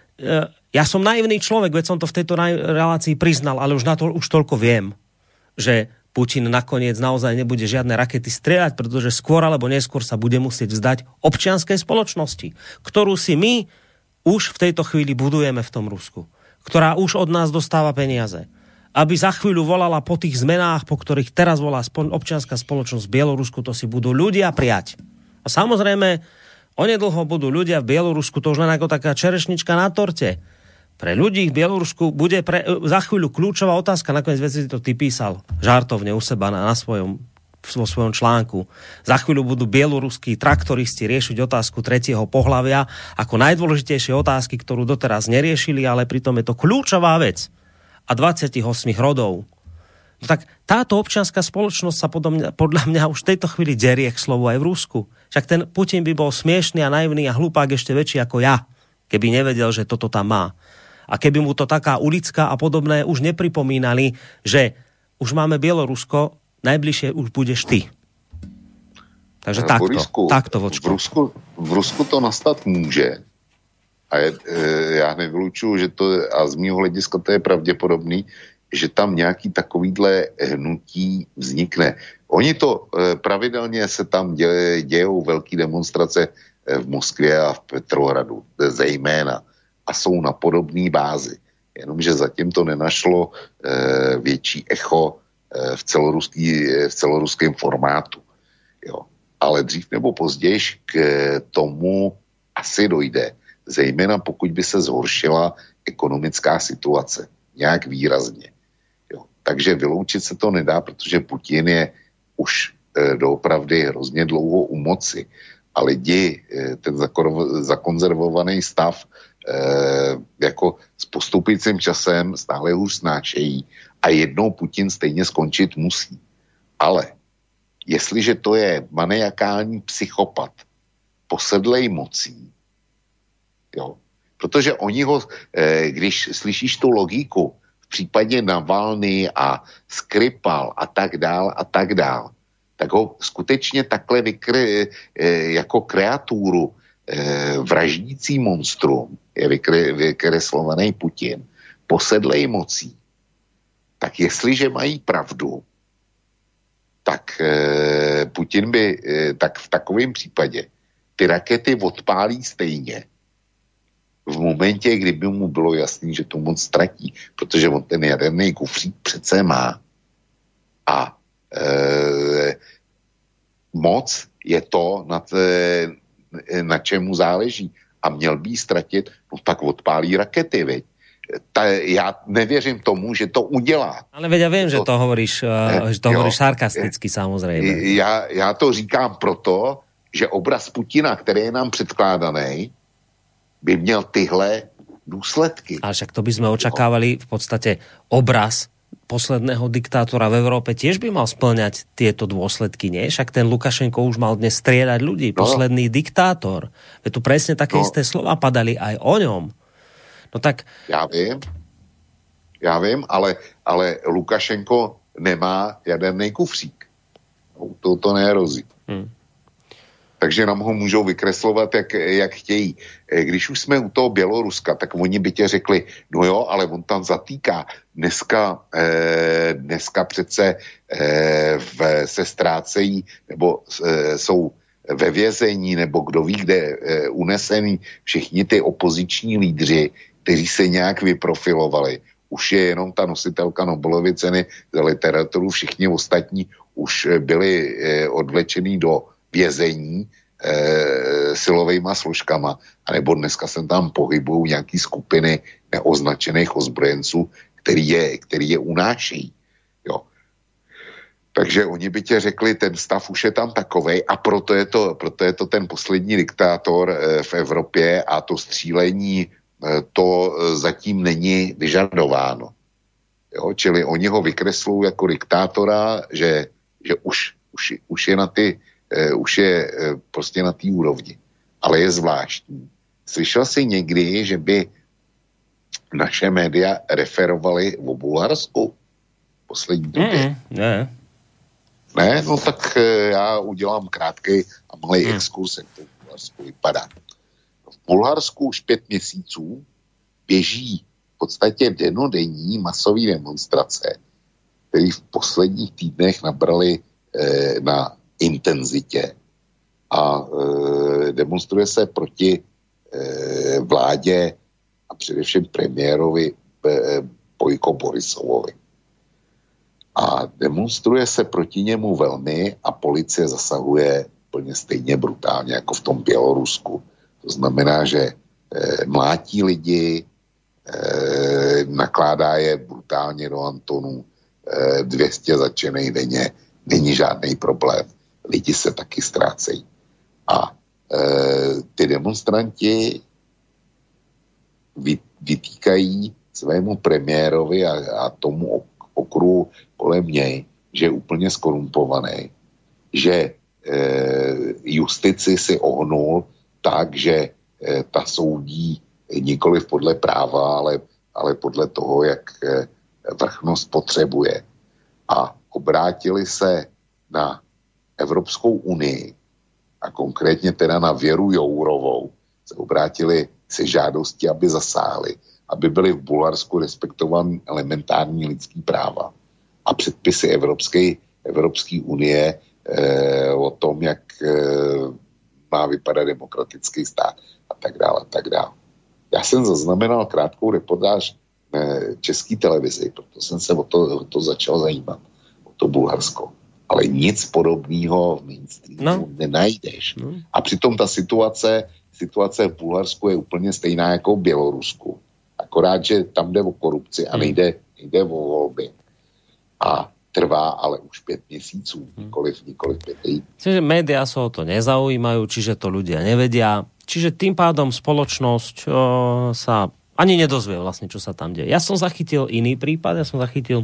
ja som naivný človek, veď som to v tejto relácii priznal, ale už na to už toľko viem, že Putin nakoniec naozaj nebude žiadne rakety strieľať, pretože skôr alebo neskôr sa bude musieť vzdať občianskej spoločnosti, ktorú si my už v tejto chvíli budujeme v tom Rusku, ktorá už od nás dostáva peniaze. Aby za chvíľu volala po tých zmenách, po ktorých teraz volá občianská spoločnosť v Bielorusku, to si budú ľudia prijať. A samozrejme, onedlho budú ľudia v Bielorusku, to už len ako taká čerešnička na torte. Pre ľudí v Bielorusku bude pre, za chvíľu kľúčová otázka, nakoniec veci to ty písal žartovne u seba na, na svojom vo svojom článku. Za chvíľu budú bieloruskí traktoristi riešiť otázku tretieho pohlavia ako najdôležitejšie otázky, ktorú doteraz neriešili, ale pritom je to kľúčová vec. A dvadsaťosem rodov. No tak táto občianská spoločnosť sa podľa mňa, podľa mňa už v tejto chvíli derie k slovu aj v Rusku. Však ten Putin by bol smiešný a naivný a hlupák ešte väčší ako ja, keby nevedel, že toto tam má. A keby mu to taká Ulická a podobné už nepripomínali, že už máme Bielorusko, najbližšie už budeš ty. Takže takto. Borisku, takto vočko. V Rusku, v Rusku to nastat může. A je, e, já nevylučuju, že to, a z mýho hlediska to je pravděpodobný, že tam nějaký takovýhle hnutí vznikne. Oni to e, pravidelně se tam děje, dějou velký demonstrace e, v Moskvě a v Petrohradu, e, zejména. A jsou na podobné bázi. Jenomže zatím to nenašlo e, větší echo e, v, celoruský, e, v celoruském formátu. Jo. Ale dřív nebo později k e, tomu asi dojde. Zejména pokud by se zhoršila ekonomická situace. Nějak výrazně. Jo. Takže vyloučit se to nedá, protože Putin je už e, doopravdy hrozně dlouho u moci. A lidi e, ten zakor, zakonzervovaný stav e, jako s postupujícím časem stále už snášejí a jednou Putin stejně skončit musí. Ale jestliže to je maniakální psychopat posedlej mocí, jo, protože oni ho, e, když slyšíš tu logiku, v případě Navalny a Skripal a tak dál a tak dál, tak ho skutečně takhle vykry, e, jako kreaturu e, vraždící monstrum je vykry, vykreslovaný Putin, posedlej mocí. Tak jestliže mají pravdu, tak e, Putin by, e, tak v takovém případě ty rakety odpálí stejně v momentě, kdyby mu bylo jasný, že to moc ztratí, protože on ten jaderný kufřík přece má. A e, moc je to, na, te, na čemu záleží. A měl by jí ztratit, no tak odpálí rakety, veď. Ta, já nevěřím tomu, že to udělá. Ale veď ja viem, to, že to hovoríš, uh, že to jo, hovoríš sarkasticky, samozrejme. Já, já to říkám proto, že obraz Putina, který je nám předkládaný, by měl tyhle důsledky. Ale však to by sme očakávali v podstate obraz posledného diktátora v Európe tiež by mal spĺňať tieto dôsledky, nie? Však ten Lukašenko už mal dnes strieľať ľudí, no. Posledný diktátor. Veď tu presne také no. isté slova padali aj o ňom. No tak... Já vím, já vím, ale, ale Lukašenko nemá jaderný kufřík. To, to nehrozí. Hmm. Takže nám ho můžou vykreslovat, jak, jak chtějí. Když už jsme u toho Běloruska, tak oni by tě řekli, no jo, ale on tam zatýká. Dneska, eh, dneska přece eh, v, se ztrácejí, nebo eh, jsou ve vězení, nebo kdo ví, kde eh, unesený všichni ty opoziční lídři, kteří se nějak vyprofilovali. Už je jenom ta nositelka Nobelovy ceny za literaturu, všichni ostatní už byli eh, odvlečený do vězení e, silovejma složkama, anebo dneska se tam pohybují nějaký skupiny neoznačených ozbrojenců, který je, který je unášejí. Jo. Takže oni by tě řekli, ten stav už je tam takovej a proto je to, proto je to ten poslední diktátor e, v Evropě a to střílení e, to e, zatím není vyžadováno. Jo. Čili oni ho vykreslují jako diktátora, že, že už, už, už je na ty Uh, už je uh, prostě na té úrovni. Ale je zvláštní. Slyšel jsi někdy, že by naše média referovaly o Bulharsku v poslední době? Mm, ne. Ne? No tak uh, já udělám krátký a malý mm. exkurs, jak to v Bulharsku vypadá. V Bulharsku už pět měsíců běží v podstatě denodenní masové demonstrace, které v posledních týdnech nabrali uh, na intenzitě a e, demonstruje se proti e, vládě a především premiérovi e, Bojko Borisovovi. A demonstruje se proti němu velmi a policie zasahuje plně stejně brutálně jako v tom Bělorusku. To znamená, že e, mlátí lidi, e, nakládá je brutálně do Antonu, e, dvě stě začenej denně, není žádný problém. Lidi se taky ztrácejí. A e, ty demonstranti vy, vytýkají svému premiérovi a, a tomu okruhu kolem něj, že je úplně skorumpovaný, že e, justici si ohnul tak, že e, ta soudí nikoliv podle práva, ale, ale podle toho, jak e, vrchnost potřebuje. A obrátili se na Evropskou unii a konkrétně teda na Věru Jourovou se obrátili se žádostí, aby zasáhli, aby byly v Bulharsku respektovány elementární lidský práva a předpisy Evropské, Evropské unie eh, o tom, jak eh, má vypadat demokratický stát a tak dále, a tak dále. Já jsem zaznamenal krátkou reportáž eh, České televizi, proto jsem se o to, o to začal zajímat, o to Bulharsko. Ale nic podobného v mainstreamu no. nenajdeš. No. A přitom ta situace, situace v Bulharsku je úplně stejná jako v Bělorusku. Akorát, že tam jde o korupci a nejde, nejde o volby. A trvá ale už pět měsíců, nikoliv, nikoliv pět týdnů. Čiže médiá sa o to nezaujímajú, čiže to ľudia nevedia. Čiže tým pádom spoločnosť o, sa ani nedozvie vlastne, čo sa tam deje. Ja som zachytil iný prípad, ja som zachytil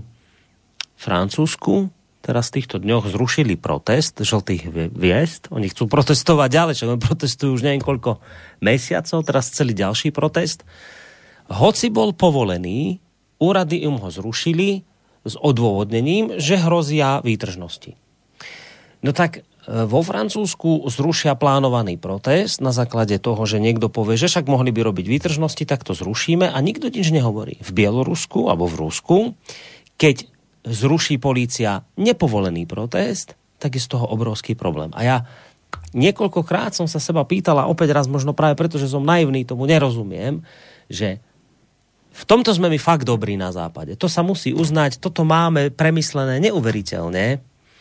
Francúzsku. Teraz v týchto dňoch zrušili protest žltých hviezd. Oni chcú protestovať ďalej, čo oni protestujú už neviem koľko mesiacov, teraz celý ďalší protest. Hoci bol povolený, úrady im ho zrušili s odôvodnením, že hrozia výtržnosti. No tak vo Francúzsku zrušia plánovaný protest na základe toho, že niekto povie, že však mohli by robiť výtržnosti, tak to zrušíme a nikto nič nehovorí. V Bielorusku alebo v Rusku, keď zruší polícia nepovolený protest, tak je z toho obrovský problém. A ja niekoľkokrát som sa seba pýtala, opäť raz možno práve preto, že som naivný, tomu nerozumiem, že v tomto sme my fakt dobrí na západe. To sa musí uznať, toto máme premyslené neuveriteľne,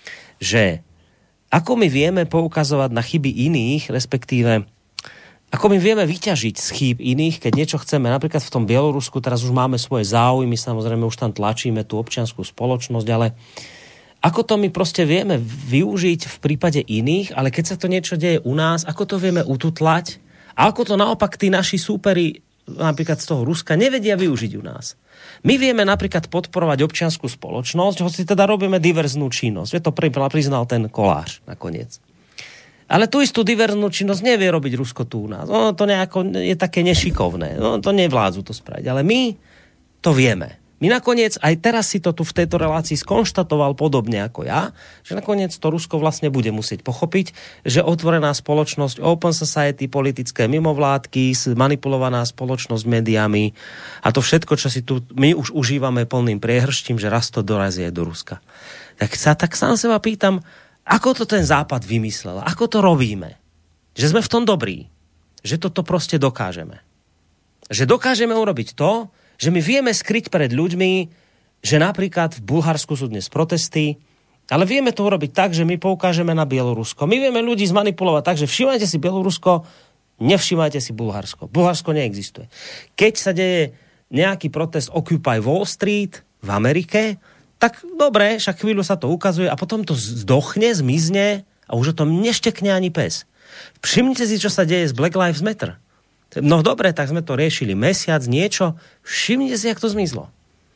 že ako my vieme poukazovať na chyby iných, respektíve ako my vieme vyťažiť z chýb iných, keď niečo chceme. Napríklad v tom Bielorusku teraz už máme svoje záujmy, samozrejme už tam tlačíme tú občiansku spoločnosť, ale ako to my proste vieme využiť v prípade iných, ale keď sa to niečo deje u nás, ako to vieme ututlať a ako to naopak tí naši súperi napríklad z toho Ruska nevedia využiť u nás. My vieme napríklad podporovať občiansku spoločnosť, hoci teda robíme diverznú činnosť. Je to priznal ten Kolář nakoniec. Ale tú istú diverznú činnosť nevie robiť Rusko tu u nás. No, to nejako je také nešikovné. No, to nevládzu to spraviť. Ale my to vieme. My nakoniec, aj teraz si to tu v tejto relácii skonštatoval podobne ako ja, že nakoniec to Rusko vlastne bude musieť pochopiť, že otvorená spoločnosť, open society, politické mimovládky, manipulovaná spoločnosť médiami a to všetko, čo si tu my už užívame plným priehrštím, že raz to dorazí aj do Ruska. Tak sa tak sám seba pýtam, ako to ten Západ vymyslel? Ako to robíme? Že sme v tom dobrí. Že toto proste dokážeme. Že dokážeme urobiť to, že my vieme skryť pred ľuďmi, že napríklad v Bulharsku sú dnes protesty, ale vieme to urobiť tak, že my poukážeme na Bielorusko. My vieme ľudí zmanipulovať tak, že všimajte si Bielorusko, nevšimajte si Bulharsko. Bulharsko neexistuje. Keď sa deje nejaký protest Occupy Wall Street v Amerike, tak dobre, však chvíľu sa to ukazuje a potom to zdochne, zmizne a už o tom neštekne ani pes. Všimnite si, čo sa deje s Black Lives Matter. No dobre, tak sme to riešili mesiac, niečo. Všimnite si, jak to zmizlo.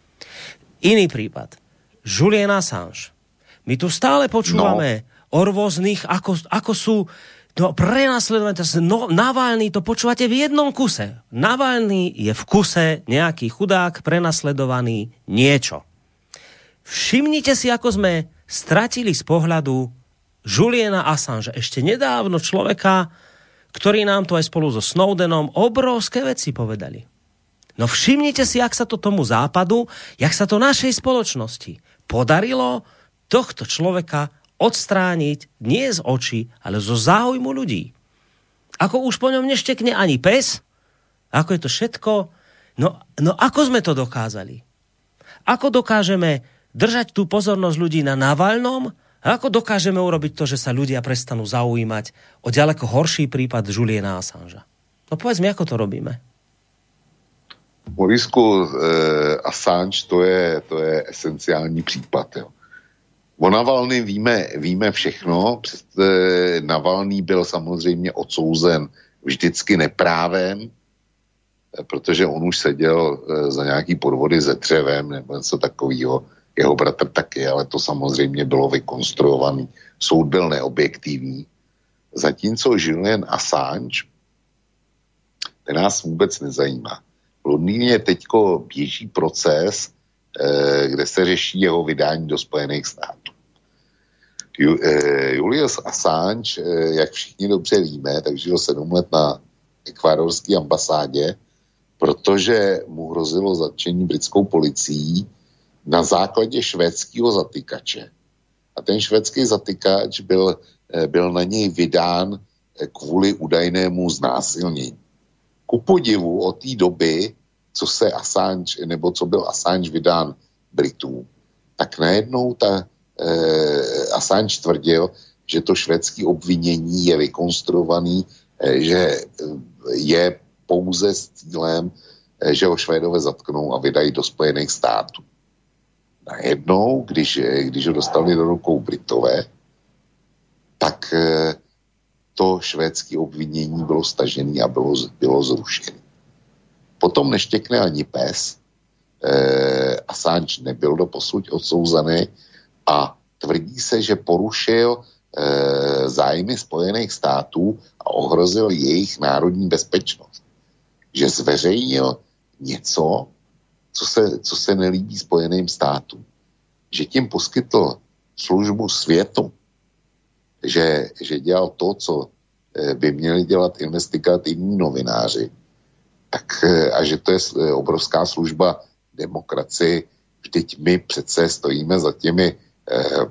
Iný prípad. Julian Assange. My tu stále počúvame no. o rôznych, ako, ako sú no, prenasledované. No, Navalny, to počúvate v jednom kuse. Navalny je v kuse nejaký chudák, prenasledovaný niečo. Všimnite si, ako sme stratili z pohľadu Juliana Assange. Ešte nedávno človeka, ktorí nám to aj spolu so Snowdenom obrovské veci povedali. No všimnite si, jak sa to tomu západu, jak sa to našej spoločnosti podarilo tohto človeka odstrániť nie z očí, ale zo záujmu ľudí. Ako už po ňom neštekne ani pes, ako je to všetko, no, no ako sme to dokázali? Ako dokážeme držať tú pozornosť ľudí na Navalnom? A ako dokážeme urobiť to, že sa ľudia prestanú zaujímať o ďaleko horší prípad Juliana Assangea? No povedz mi, ako to robíme? Morisku, eh, Assange to je, to je esenciální případ. Jo. O Navalny víme, víme všechno. Navalný byl samozřejmě odsouzen vždycky neprávem, protože on už seděl za nějaký podvody se dřevem nebo něco takového. Jeho bratr taky, ale to samozřejmě bylo vykonstruovaný. Soud byl neobjektivní. Zatímco Julian Assange, ten nás vůbec nezajímá. V Londýně teďko běží proces, kde se řeší jeho vydání do Spojených států. Julius Assange, jak všichni dobře víme, tak žil sedm let na ekvádorské ambasádě, protože mu hrozilo zatčení britskou policií na základě švédského zatykače. A ten švédský zatykač byl, byl na něj vydán kvůli údajnému znásilnění. Ku podivu od té doby, co se Assange, nebo co byl Assange vydán Britům, tak najednou ta eh, Assange tvrdil, že to švédské obvinění je vykonstruovaný, eh, že je pouze s cílem, eh, že ho Švédové zatknou a vydají do Spojených států. Najednou, když, když ho dostali do rukou Britové, tak eh, to švédské obvinění bylo stažené a bylo, bylo zrušené. Potom neštěkne ani pes, eh, Assange nebyl doposud odsouzený a tvrdí se, že porušil eh, zájmy Spojených států a ohrozil jejich národní bezpečnost. Že zveřejnil něco, co se, co se nelíbí Spojeným státům. Že tím poskytl službu světu, že, že dělal to, co eh, by měli dělat investigativní novináři, tak, a že to je obrovská služba demokracii. Vždyť my přece stojíme za těmi, eh,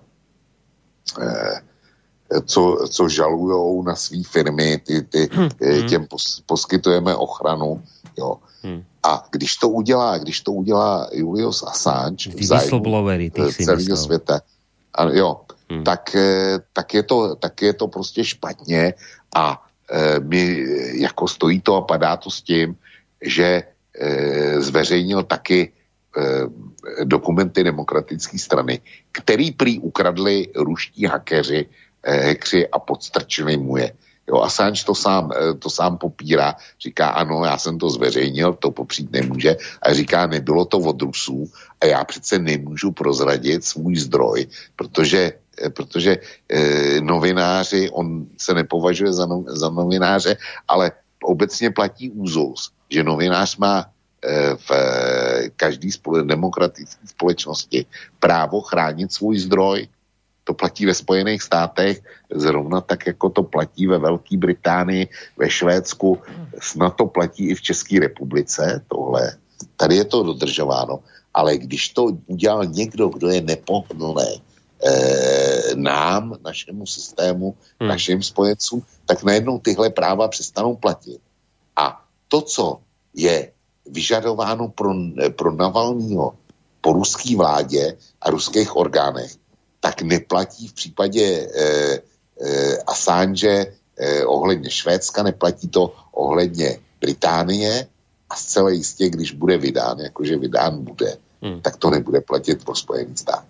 eh, co, co žalujou na svý firmy, ty, ty, hmm. těm pos, poskytujeme ochranu. Jo. Hmm. A když to udělá, když to udělá Julius Assange v zájmu celého světa, a, jo, hmm. tak, tak, je to, tak je to prostě špatně a eh, my, jako stojí to a padá to s tím, že e, zveřejnil taky e, dokumenty demokratické strany, který prý ukradli ruští hackeři, e, hackři a podstrčili mu je. Jo, Assange to sám, e, to sám popírá, říká ano, já jsem to zveřejnil, to popřít nemůže, a říká, nebylo to od Rusů a já přece nemůžu prozradit svůj zdroj, protože, e, protože e, novináři, on se nepovažuje za, no, za novináře, ale obecně platí úzus, že novinář má v každé demokratické společnosti právo chránit svůj zdroj. To platí ve Spojených státech, zrovna tak, jako to platí ve Velké Británii, ve Švédsku, snad to platí i v České republice, tohle. Tady je to dodržováno, ale když to udělal někdo, kdo je nepohodlný eh, nám, našemu systému, hmm. našim spojencům, tak najednou tyhle práva přestanou platit. A to, co je vyžadováno pro, pro Navalnýho po ruské vládě a ruských orgánech, tak neplatí v případě eh, eh, Assange eh, ohledně Švédska, neplatí to ohledně Británie a zcela jistě, když bude vydán, jakože vydán bude, hmm. tak to nebude platit pro Spojený stát.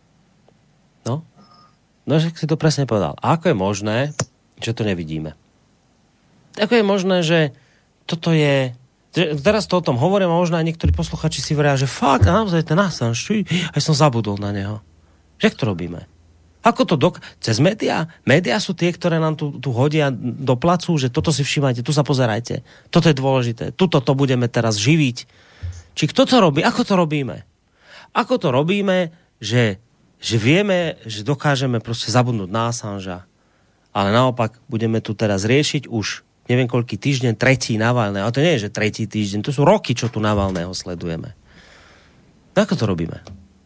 No, no, že si to presne povedal. A ako je možné, že to nevidíme? Ako je možné, že toto je... Teraz to o tom hovorím a možno aj niektorí posluchači si veria, že fakt, naozaj ten Assange, aj som zabudol na neho. Jak to robíme? Ako to dok... Cez médiá? Médiá sú tie, ktoré nám tu, tu hodia do placu, že toto si všímajte, tu sa pozerajte. Toto je dôležité. Tuto to budeme teraz živiť. Či kto to robí? Ako to robíme? Ako to robíme, že, že vieme, že dokážeme proste zabudnúť na Assangea, ale naopak budeme tu teraz riešiť už neviem koľký týždeň, tretí Navalného. Ale to nie je, že tretí týždeň, to sú roky, čo tu Navalného sledujeme. Ako to robíme?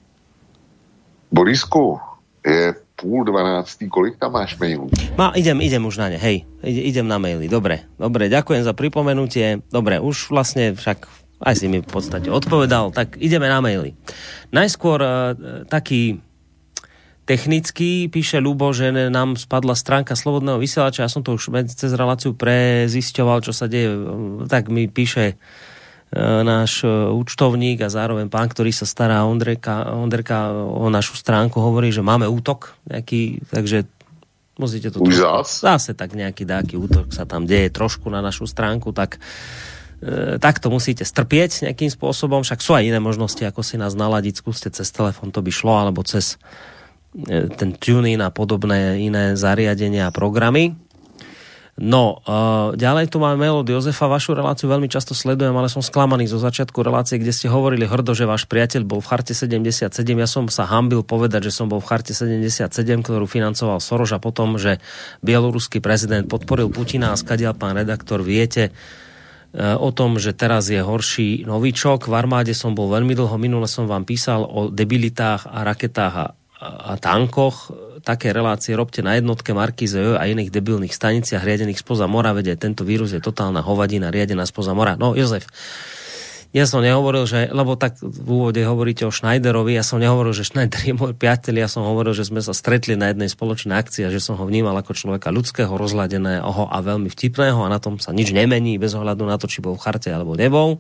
Borisku, je půl dvanáctý, kolik tam máš mailů? Má, idem, idem už na ne, hej. Idem na maily, dobre. Dobre, ďakujem za pripomenutie. Dobre, už vlastne však aj si mi v podstate odpovedal, tak ideme na maily. Najskôr uh, taký technicky, píše Ľubo, že nám spadla stránka Slobodného vysielača. Ja som to už cez reláciu prezisťoval, čo sa deje. Tak mi píše náš účtovník a zároveň pán, ktorý sa stará Ondrejka, Ondrejka o našu stránku, hovorí, že máme útok nejaký, takže musíte to... Už zase tak nejaký dáky útok sa tam deje trošku na našu stránku, tak e, tak to musíte strpieť nejakým spôsobom, však sú aj iné možnosti, ako si nás naladiť, skúste cez telefón, to by šlo, alebo cez e, ten TuneIn a podobné iné zariadenia a programy. No, uh, ďalej tu máme mail od Jozefa. Vašu reláciu veľmi často sledujem, ale som sklamaný zo začiatku relácie, kde ste hovorili hrdo, že váš priateľ bol v charte sedemdesiatsedem. Ja som sa hanbil povedať, že som bol v charte sedemdesiatsedem, ktorú financoval Soros, a potom, že bieloruský prezident podporil Putina, a skadiaľ, pán redaktor, viete uh, o tom, že teraz je horší novičok. V armáde som bol veľmi dlho, minule som vám písal o debilitách a raketách a a tankoch. Také relácie robte na jednotke Markíze a iných debilných staniciach riadených spoza mora, veď tento vírus je totálna hovadina riadená spoza mora. No, Jozef, ja som nehovoril, že, lebo tak v úvode hovoríte o Schneiderovi, ja som nehovoril, že Schneider je môj priateľ, ja som hovoril, že sme sa stretli na jednej spoločnej akcii a že som ho vnímal ako človeka ľudského, rozladeného a veľmi vtipného, a na tom sa nič nemení bez ohľadu na to, či bol v charte alebo nebol.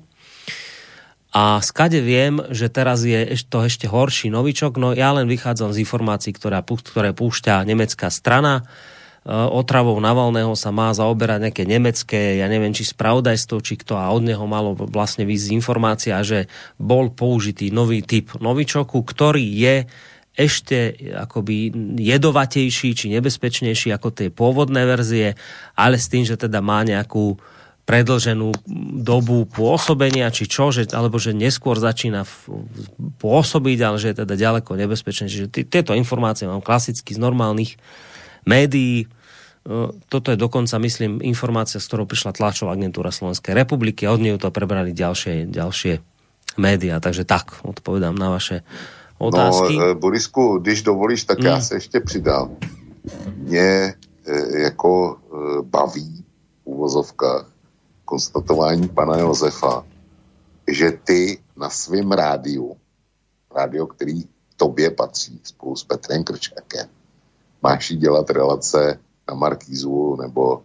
A skade viem, že teraz je to ešte horší novičok, no ja len vychádzam z informácií, ktoré, ktoré púšťa nemecká strana. Otravou Navalného sa má zaoberať nejaké nemecké, ja neviem, či spravodajstvo, či kto, a od neho malo vlastne výsť informácia, že bol použitý nový typ novičoku, ktorý je ešte akoby jedovatejší či nebezpečnejší ako tie pôvodné verzie, ale s tým, že teda má nejakú predĺženú dobu pôsobenia, či čo, že, alebo že neskôr začína pôsobiť, ale že je teda ďaleko nebezpečné. Čiže t- tieto informácie mám klasicky z normálnych médií. Toto je dokonca, myslím, informácia, z ktorou prišla tlačová agentúra Slovenskej republiky, a od nej to prebrali ďalšie, ďalšie médiá. Takže tak, odpovedám na vaše otázky. No, Borisku, když dovolíš, tak mm. já se ještě přidám. Mě e, jako e, baví v uvozovkách konstatování pana Josefa, že ty na svém rádiu, rádio, který tobě patří spolu s Petrem Krčákem, máš jí dělat relace na Markízu nebo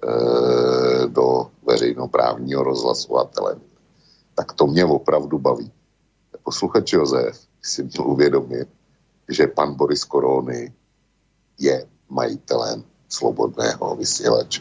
e, do veřejnoprávního rozhlasu a televize. Tak to mě opravdu baví. Posluchač Josef si měl uvědomit, že pan Boris Korony je majitelem slobodného vysielača.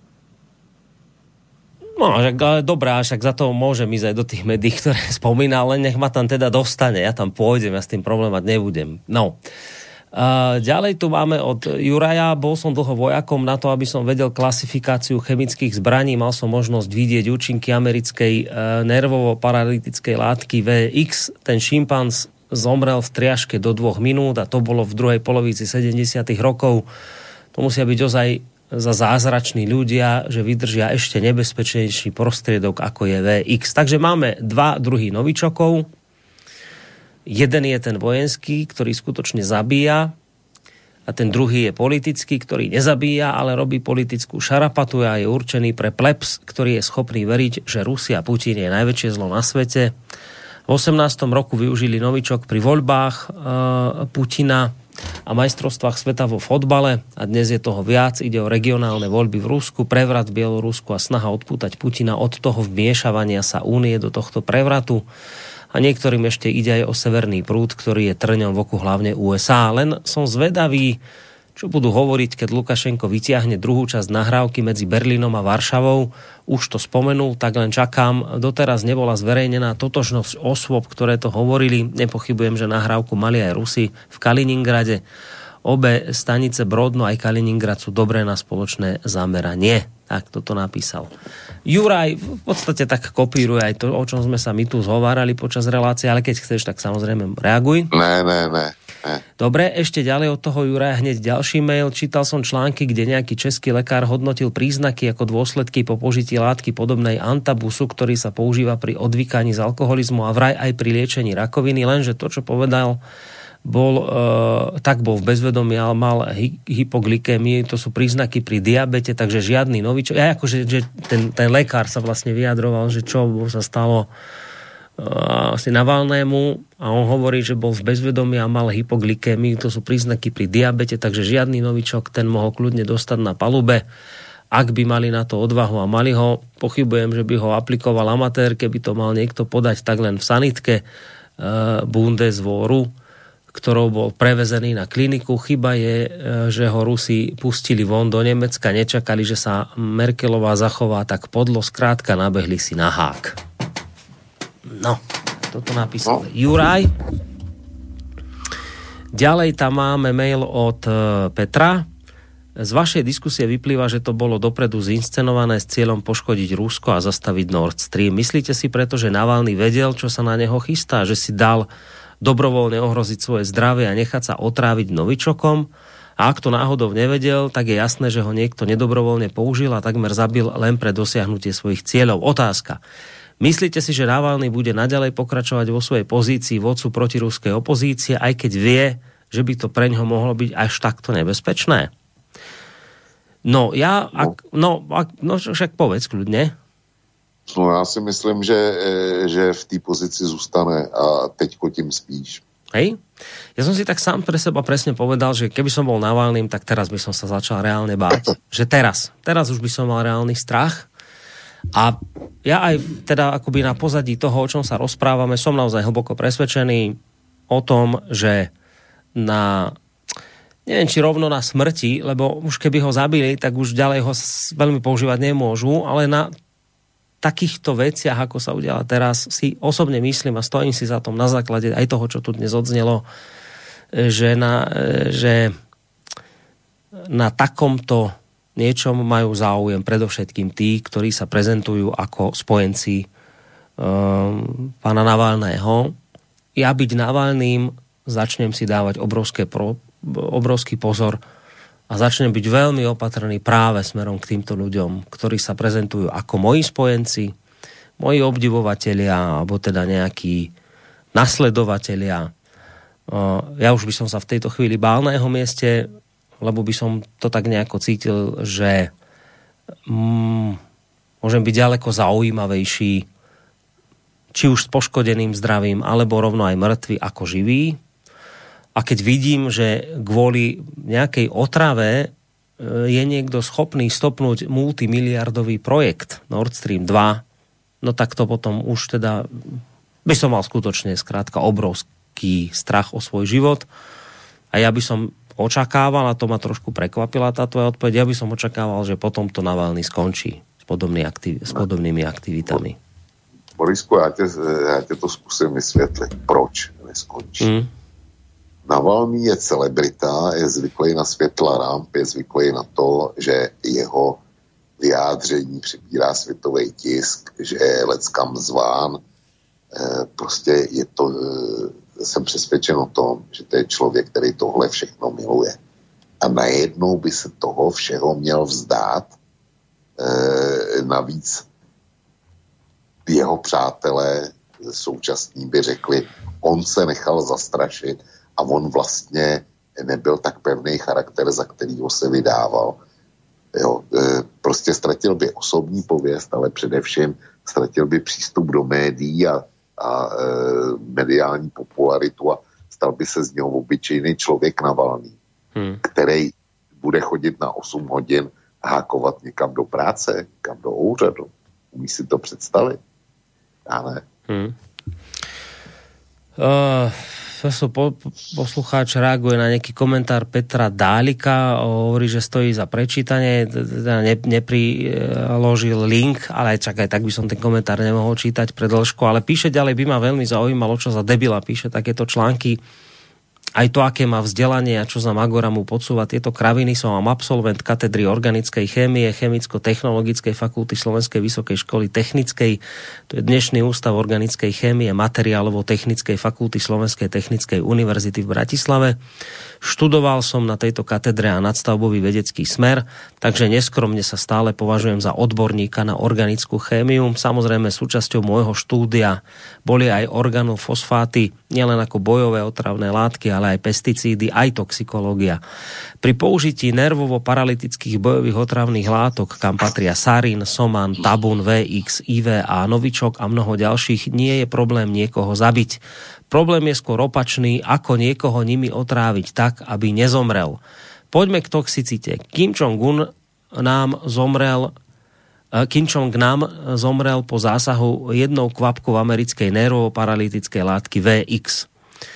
No, ale dobrá, však za to môžem ísť aj do tých médií, ktoré spomínal, len nech ma tam teda dostane, ja tam pôjdem, ja s tým problémať nebudem. No. Uh, ďalej tu máme od Juraja. Bol som dlho vojakom na to, aby som vedel klasifikáciu chemických zbraní. Mal som možnosť vidieť účinky americkej uh, nervovo-paralytickej látky vé iks. Ten šimpanz zomrel v triaške do dvoch minút, a to bolo v druhej polovici sedemdesiatych rokov. To musia byť ozaj za zázrační ľudia, že vydržia ešte nebezpečnejší prostriedok, ako je vé iks. Takže máme dva druhy novičokov. Jeden je ten vojenský, ktorý skutočne zabíja, a ten druhý je politický, ktorý nezabíja, ale robí politickú šarapatu a je určený pre plebs, ktorý je schopný veriť, že Rusia a Putin je najväčšie zlo na svete. V osemnástom roku využili novičok pri voľbách e, Putina a majstrovstvách sveta vo fotbale, a dnes je toho viac. Ide o regionálne voľby v Rusku, prevrat v Bielorusku a snaha odpútať Putina od toho vmiešavania sa únie do tohto prevratu. A niektorým ešte ide aj o severný prúd, ktorý je trňom v oku hlavne ú es á. Len som zvedavý, čo budú hovoriť, keď Lukašenko vytiahne druhú časť nahrávky medzi Berlínom a Varšavou. Už to spomenul, tak len čakám. Doteraz nebola zverejnená totožnosť osôb, ktoré to hovorili. Nepochybujem, že nahrávku mali aj Rusi v Kaliningrade. Obe stanice Brodno aj Kaliningrad sú dobré na spoločné zameranie. Tak toto napísal Juraj. V podstate tak kopíruje aj to, o čom sme sa my tu zhovárali počas relácie, ale keď chceš, tak samozrejme reaguj. Ne, ne, ne. Dobre, ešte ďalej od toho Juraja hneď ďalší mail. Čítal som články, kde nejaký český lekár hodnotil príznaky ako dôsledky po požití látky podobnej antabusu, ktorý sa používa pri odvykaní z alkoholizmu a vraj aj pri liečení rakoviny, lenže to, čo povedal, bol, e, tak bol v bezvedomí, ale mal hy, hypoglykémii, to sú príznaky pri diabete, takže žiadny novičok. Ja akože že ten, ten lekár sa vlastne vyjadroval, že čo sa stalo asi Navalnému, a on hovorí, že bol v bezvedomí a mal hypoglykémiu, to sú príznaky pri diabete, takže žiadny novičok, ten mohol kľudne dostať na palube. ak by mali na to odvahu a mali ho, pochybujem, že by ho aplikoval amatér, keby to mal niekto podať tak len v sanitke e, Bundeswehru, ktorou bol prevezený na kliniku. Chyba je, e, že ho Rusi pustili von do Nemecka, nečakali, že sa Merkelová zachová tak podlo, skrátka nabehli si na hák. No, toto napísal no. Juraj. Ďalej tam máme mail od e, Petra. Z vašej diskusie vyplýva, že to bolo dopredu zinscenované s cieľom poškodiť Rusko a zastaviť Nord Stream. Myslíte si preto, že Navalny vedel, čo sa na neho chystá? Že si dal dobrovoľne ohroziť svoje zdravie a nechať sa otráviť novičokom? A ak to náhodou nevedel, tak je jasné, že ho niekto nedobrovoľne použil a takmer zabil len pre dosiahnutie svojich cieľov. Otázka. Myslíte si, že Navalny bude naďalej pokračovať vo svojej pozícii vodcu protiruskej opozície, aj keď vie, že by to preňho mohlo byť až takto nebezpečné? No, ja, ak, no, ak, no však povedz kľudne. No, já si myslím, že, že v té pozici zůstane a teďko tím spíš. Hej? Ja som si tak sám pre seba presne povedal, že keby som bol Navalným, tak teraz by som sa začal reálne báť. Že teraz. Teraz už by som mal reálny strach. A ja aj teda akoby na pozadí toho, o čom sa rozprávame, som naozaj hlboko presvedčený o tom, že na... neviem, či rovno na smrti, lebo už keby ho zabili, tak už ďalej ho veľmi používať nemôžu, ale na takýchto veciach, ako sa udiala teraz, si osobne myslím a stojím si za tom na základe aj toho, čo tu dnes odznelo, že na, že na takomto niečom majú záujem predovšetkým tí, ktorí sa prezentujú ako spojenci um, pána Navalného. Ja byť Navalným začnem si dávať obrovské pro obrovský pozor a začnem byť veľmi opatrný práve smerom k týmto ľuďom, ktorí sa prezentujú ako moji spojenci, moji obdivovatelia, alebo teda nejakí nasledovatelia. Ja už by som sa v tejto chvíli bál na jeho mieste, lebo by som to tak nejako cítil, že mm, môžem byť ďaleko zaujímavejší, či už s poškodeným zdravím, alebo rovno aj mŕtvy ako živý. A keď vidím, že kvôli nejakej otrave je niekto schopný stopnúť multimiliardový projekt Nord Stream dva, no tak to potom už teda by som mal skutočne skrátka obrovský strach o svoj život. A ja by som očakával, a to ma trošku prekvapila tá tvoja odpoveď, ja by som očakával, že potom to Navalny skončí s, podobný aktiv- s podobnými aktivitami. Borisku, já tě, já tě to zkusím vysvětlit. Proč neskončí? Mm. Navalný je celebrita, je zvyklý na světla ramp, je zvyklý na to, že jeho vyjádření přibírá světový tisk, že je leckam zván. E, prostě je to, e, jsem přesvědčen o tom, že to je člověk, který tohle všechno miluje. A najednou by se toho všeho měl vzdát. E, navíc jeho přátelé současní by řekli, on se nechal zastrašit a on vlastně nebyl tak pevný charakter, za kterýho se vydával. Jo, e, prostě ztratil by osobní pověst, ale především ztratil by přístup do médií a, a e, mediální popularitu a stal by se z něho obyčejný člověk Navalný, hmm. který bude chodit na osm hodin a hákovat někam do práce, někam do úřadu. Umí si to představit? Já ne. Hmm. Uh... Po, poslucháč reaguje na nejaký komentár Petra Dálika, hovorí, že stojí za prečítanie, teda ne, nepriložil link, ale aj čakaj, tak by som ten komentár nemohol čítať pre dĺžku, ale píše ďalej, by ma veľmi zaujímalo, čo za debila píše takéto články, aj to, aké má vzdelanie a čo za Magora mu podsúva tieto kraviny. Som absolvent katedry organickej chémie, chemicko-technologickej fakulty Slovenskej vysokej školy technickej. To je dnešný ústav organickej chémie, materiálovo-technickej fakulty Slovenskej technickej univerzity v Bratislave. Študoval som na tejto katedre a nadstavbový vedecký smer, takže neskromne sa stále považujem za odborníka na organickú chémiu. Samozrejme súčasťou môjho štúdia boli aj organofosfáty, nielen ako bojové otravné látky, ale aj pesticídy, aj toxikológia. Pri použití nervovo-paralytických bojových otravných látok, kam patria sarín, soman, tabun, vé iks, í vé á, novičok a mnoho ďalších, nie je problém niekoho zabiť. Problém je skôr opačný, ako niekoho nimi otráviť tak, aby nezomrel. Poďme k toxicite. Kim Jong-un nám zomrel Kim Jong-nam zomrel po zásahu jednou kvapkou americkej nervovo-paralytickej látky vé iks.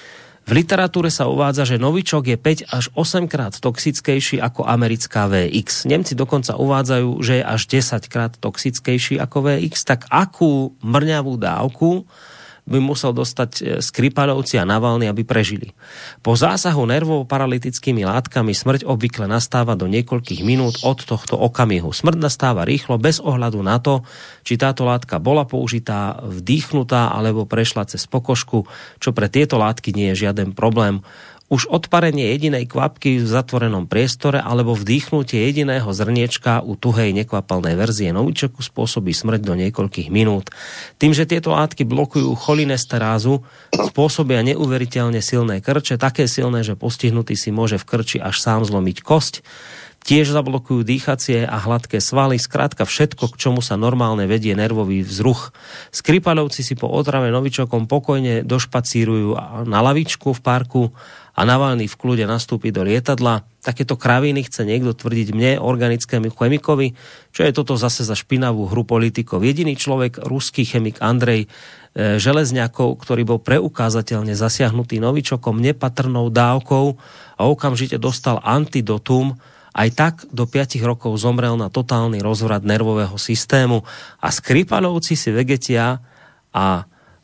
V literatúre sa uvádza, že novičok je päť až osem krát toxickejší ako americká vé iks. Nemci dokonca uvádzajú, že je až desať krát toxickejší ako vé iks. Tak akú mrňavú dávku by musel dostať Skripalovci a Navalny, aby prežili? Po zásahu nervovo-paralytickými látkami smrť obvykle nastáva do niekoľkých minút od tohto okamihu. Smrť nastáva rýchlo, bez ohľadu na to, či táto látka bola použitá, vdýchnutá alebo prešla cez pokožku, čo pre tieto látky nie je žiaden problém. Už odparenie jedinej kvapky v zatvorenom priestore alebo vdýchnutie jediného zrniečka u tuhej nekvapalnej verzie novičoku spôsobí smrť do niekoľkých minút. Tým, že tieto látky blokujú cholinesterázu, spôsobia neuveriteľne silné krče, také silné, že postihnutý si môže v krči až sám zlomiť kosť. Tiež zablokujú dýchacie a hladké svaly, skrátka všetko, k čomu sa normálne vedie nervový vzruch. Skripalovci si po otrave novičokom pokojne došpacírujú na lavičku v parku a Navalny v kľude nastúpi do lietadla. Takéto kraviny chce niekto tvrdiť mne, organickému chemikovi, čo je toto zase za špinavú hru politikov. Jediný človek, ruský chemik Andrej e, Železňakov, ktorý bol preukázateľne zasiahnutý novičokom nepatrnou dávkou a okamžite dostal antidotum, aj tak do piatich rokov zomrel na totálny rozvrat nervového systému. A Skripalovci si vegetia a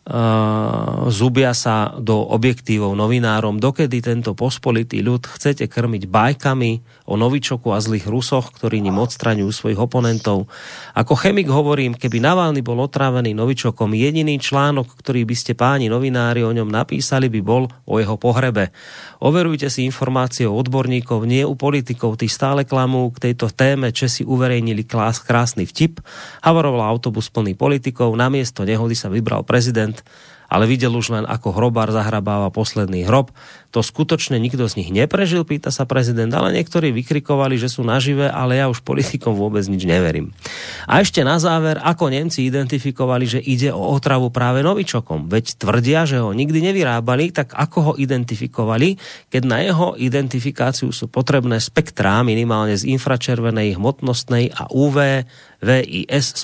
Uh, zubia sa do objektívov novinárom, dokedy tento pospolitý ľud chcete krmiť bajkami o novičoku a zlých Rusoch, ktorí ním odstraňujú svojich oponentov. Ako chemik hovorím, keby Navalny bol otrávený novičokom, jediný článok, ktorý by ste páni novinári o ňom napísali, by bol o jeho pohrebe. Overujte si informácie od odborníkov, nie u politikov, tí stále klamú k tejto téme. Česi uverejnili klás, krásny vtip, havaroval autobus plný politikov, namiesto nehody sa vybral prezident, ale videl už len, ako hrobár zahrabáva posledný hrob. To skutočne nikto z nich neprežil, pýta sa prezident, ale niektorí vykrikovali, že sú nažive, ale ja už politikom vôbec nič neverím. A ešte na záver, ako Nemci identifikovali, že ide o otravu práve novičokom. Veď tvrdia, že ho nikdy nevyrábali, tak ako ho identifikovali, keď na jeho identifikáciu sú potrebné spektrá minimálne z infračervenej hmotnostnej a ú vé, vé í es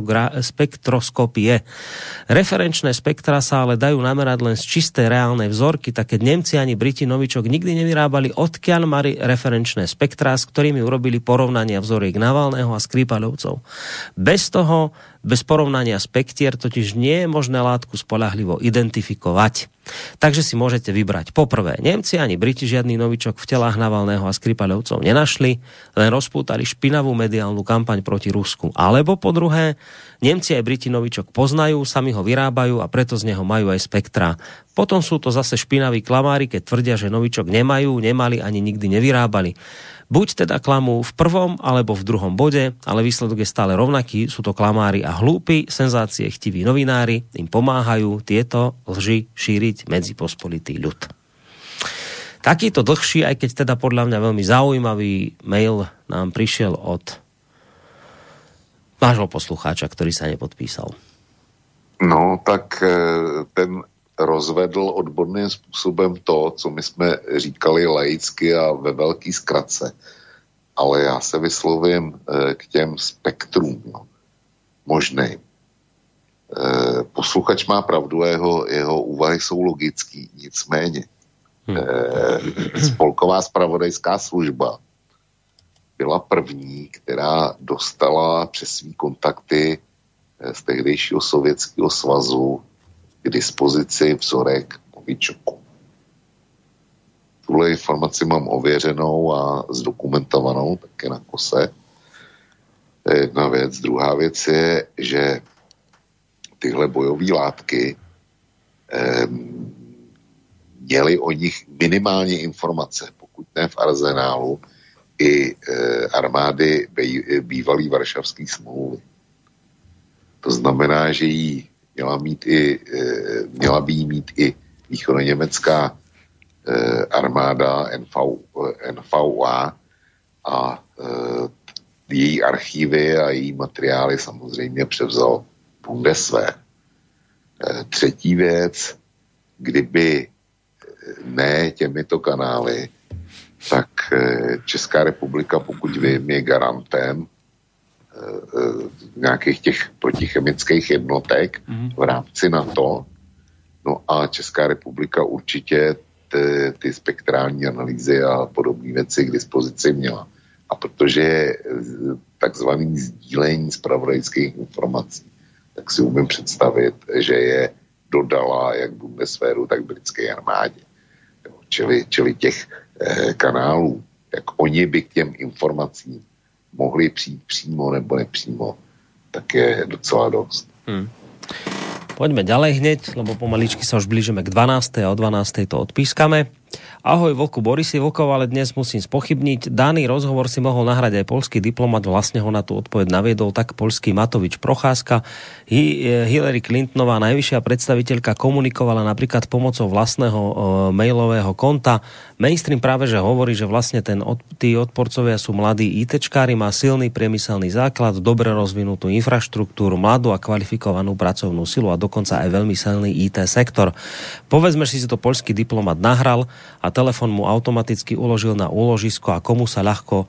spektroskopie. Referenčné spektra sa ale dajú namerať len z čisté reálnej vzorky, tak keď Nemci ani Briti novičok nikdy nevyrábali, odkiaľ mali referenčné spektrá, s ktorými urobili porovnania vzoriek Navalného a Skripalovcov. Bez toho, bez porovnania spektier totiž nie je možné látku spoľahlivo identifikovať. Takže si môžete vybrať. Poprvé, Nemci ani Briti žiadny novičok v telách Navalného a Skripalovcov nenašli, len rozpútali špinavú mediálnu kampaň proti Rusku. Alebo po druhé, Nemci aj Briti novičok poznajú, sami ho vyrábajú a preto z neho majú aj spektrá. Potom sú to zase špinaví klamári, keď tvrdia, že novičok nemajú, nemali ani nikdy nevyrábali. Buď teda klamú v prvom alebo v druhom bode, ale výsledok je stále rovnaký, sú to klamári a hlúpi, senzácie chtiví novinári, im pomáhajú tieto lži šíriť medzi pospolitý ľud. Takýto dlhší, aj keď teda podľa mňa veľmi zaujímavý mail nám prišiel od vášho poslucháča, ktorý sa nepodpísal. No, tak ten rozvedl odborným způsobem to, co my jsme říkali laicky a ve velký zkratce. Ale já se vyslovím k těm spektrům. No. Možnej. Posluchač má pravdu, jeho, jeho úvahy jsou logický. Nicméně hmm. Spolková zpravodajská služba byla první, která dostala přes svý kontakty z tehdejšího Sovětského svazu k dispozici vzorek novičoku. Tuhle informaci mám ověřenou a zdokumentovanou také na kose. To je jedna věc. Druhá věc je, že tyhle bojové látky eh, měly o nich minimálně informace, pokud ne v arzenálu, i eh, armády bývalý Varšavský smlouvy. To znamená, že jí měla, mít i, měla by jí mít i východoněmecká armáda N V A a její archívy a její materiály samozřejmě převzal Bundeswehr. Třetí věc, kdyby ne těmito kanály, tak Česká republika, pokud vím, je garantem nějakých těch protichemických jednotek v rámci NATO. No a Česká republika určitě ty, ty spektrální analýzy a podobné věci k dispozici měla. A protože je takzvaný sdílení zpravodajských informací, tak si umím představit, že je dodala jak Bundeswehru, tak britské armádě. Čili, čili těch eh, kanálů, jak oni by k těm informacím mohli přijít přímo nebo nepřímo, tak je docela dost. Hmm. Poďme ďalej hneď, lebo pomaličky sa už blížime k dvanástej a o dvanástej to odpískame. Ahoj, Vlku, Boris Vlkov, ale dnes musím spochybniť. Daný rozhovor si mohol nahrať aj poľský diplomat, vlastne ho na tú odpoveď naviedol tak poľský Matovič Procházka. Hillary Clintonová, najvyššia predstaviteľka, komunikovala napríklad pomocou vlastného e, mailového konta. Mainstream práve že hovorí, že vlastne ten, od, tí odporcovia sú mladí ITčkári, má silný priemyselný základ, dobre rozvinutú infraštruktúru, mladú a kvalifikovanú pracovnú silu a dokonca aj veľmi silný í té sektor. Povedzme, že si to poľský diplomat nahral a telefon mu automaticky uložil na úložisko a komu sa ľahko,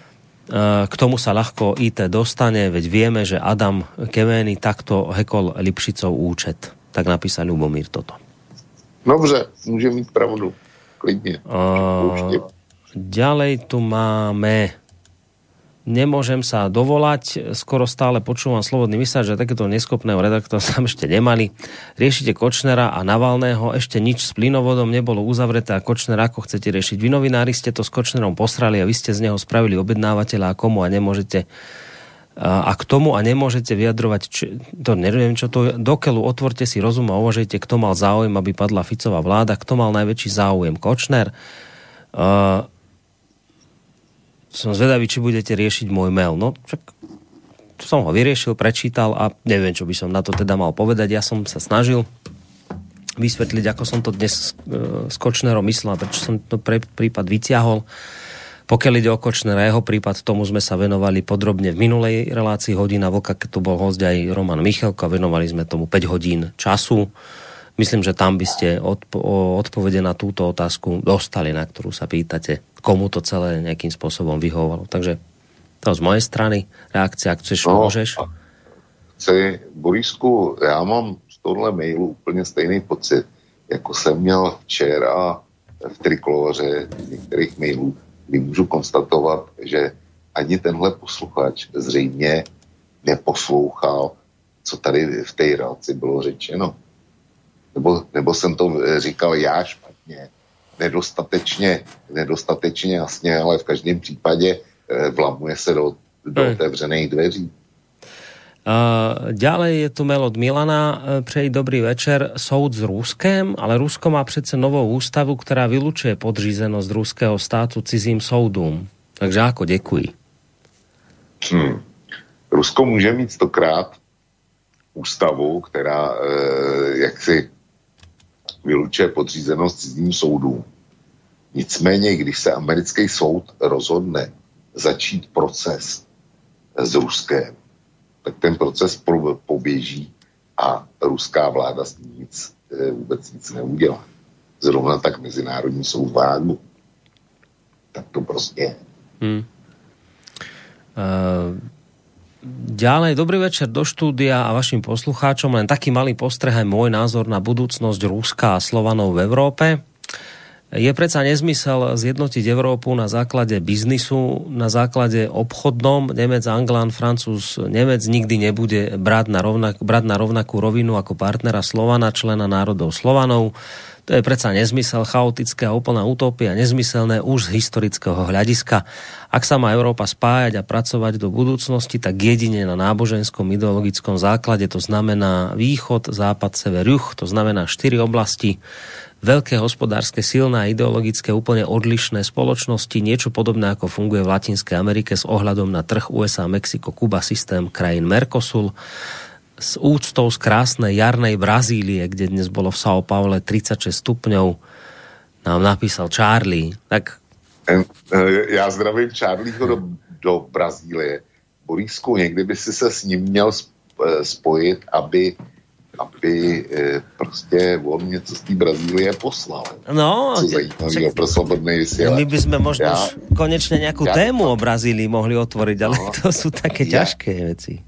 k tomu sa ľahko í té dostane, veď vieme, že Adam Kemény takto hekol Lipšicov účet. Tak napísal Ľubomír toto. Dobře, môže mít pravdu. Klidne. Uh, ďalej tu máme nemôžem sa dovolať, skoro stále počúvam Slobodný vysielač, že takéto neschopného redaktora tam ešte nemali. Riešite Kočnera a Navalného, ešte nič s plynovodom nebolo uzavreté a Kočner ako chcete riešiť. Vy novinári ste to s Kočnerom posrali a vy ste z neho spravili objednávateľa a komu a nemôžete a k tomu a nemôžete vyjadrovať, či, to neviem čo to, dokeľu otvorte si rozum a uvažujte, kto mal záujem, aby padla Ficová vláda, kto mal najväčší záujem, Kočner. Uh, som zvedavý, či budete riešiť môj mail. No, však som ho vyriešil, prečítal a neviem, čo by som na to teda mal povedať. Ja som sa snažil vysvetliť, ako som to dnes uh, s Kočnerom myslel, prečo som to pre, prípad vyťahol. Pokiaľ ide o Kočnera, jeho prípad, tomu sme sa venovali podrobne v minulej relácii Hodina Vlka, keď tu bol hosť aj Roman Michalko a venovali sme tomu päť hodín času. Myslím, že tam by ste odpo- odpovede na túto otázku dostali, na ktorú sa pýtate, komu to celé nejakým spôsobom vyhovovalo. Takže to z mojej strany reakcia, ak chceš, no, môžeš. Chci, Borisku, já mám z tohle mailu úplně stejný pocit, jako jsem měl včera v Trikoloře z některých mailů, kdy můžu konstatovat, že ani tenhle posluchač zřejmě neposlouchal, co tady v té relaci bylo řečeno. Nebo, nebo jsem to říkal já špatně, nedostatečně, nedostatečně jasně, ale v každém případě vlamuje se do, do otevřených dveří. Uh, ďalej je tu mail od Milana. Přeji dobrý večer. Soud s Ruskem, ale Rusko má přece novou ústavu, která vylučuje podřízenost ruského státu cizím soudům. Takže ako, děkuji. Hmm. Rusko může mít stokrát ústavu, která eh, jaksi vylučuje podřízenost cizím soudům. Nicméně, když se americký soud rozhodne začít proces s Ruskem, tak ten proces poběží a ruská vláda s ním nic, vůbec nic neudělá. Zrovna tak Mezinárodní soud v Hágu. Tak to prostě je. Hmm. Uh, ďalej, dobrý večer do štúdia a vašim poslucháčom. Len taký malý postreh aj môj názor na budúcnosť Ruska a Slovanov v Európe. Je predsa nezmysel zjednotiť Európu na základe biznisu, na základe obchodnom. Nemec, Anglán, Francúz, Nemec nikdy nebude brať na, rovnak, brať na rovnakú rovinu ako partnera Slovana, člena národov Slovanov. To je predsa nezmysel, chaotické a úplná utopia, nezmyselné už z historického hľadiska. Ak sa má Európa spájať a pracovať do budúcnosti, tak jedine na náboženskom ideologickom základe, to znamená východ, západ, sever, juh, to znamená štyri oblasti, veľké hospodárske, silné a ideologické úplne odlišné spoločnosti, niečo podobné ako funguje v Latinskej Amerike s ohľadom na trh ú es á, Mexiko, Kuba, systém krajín Mercosul, s úctou z krásnej jarnej Brazílie, kde dnes bolo v São Paule tridsaťšesť stupňov, nám napísal Charlie. Tak... Já zdravím Charlieho do, do Brazílie. Borisku, někdy by si se s ním měl spojit, aby aby, prostě on něco z té Brazílie poslal. No, co zajímavého pro slobodný vysielač. My by sme možno ja, konečne nejakú ja, tému o Brazílii mohli otvoriť, ale no, to sú také ja, ťažké veci.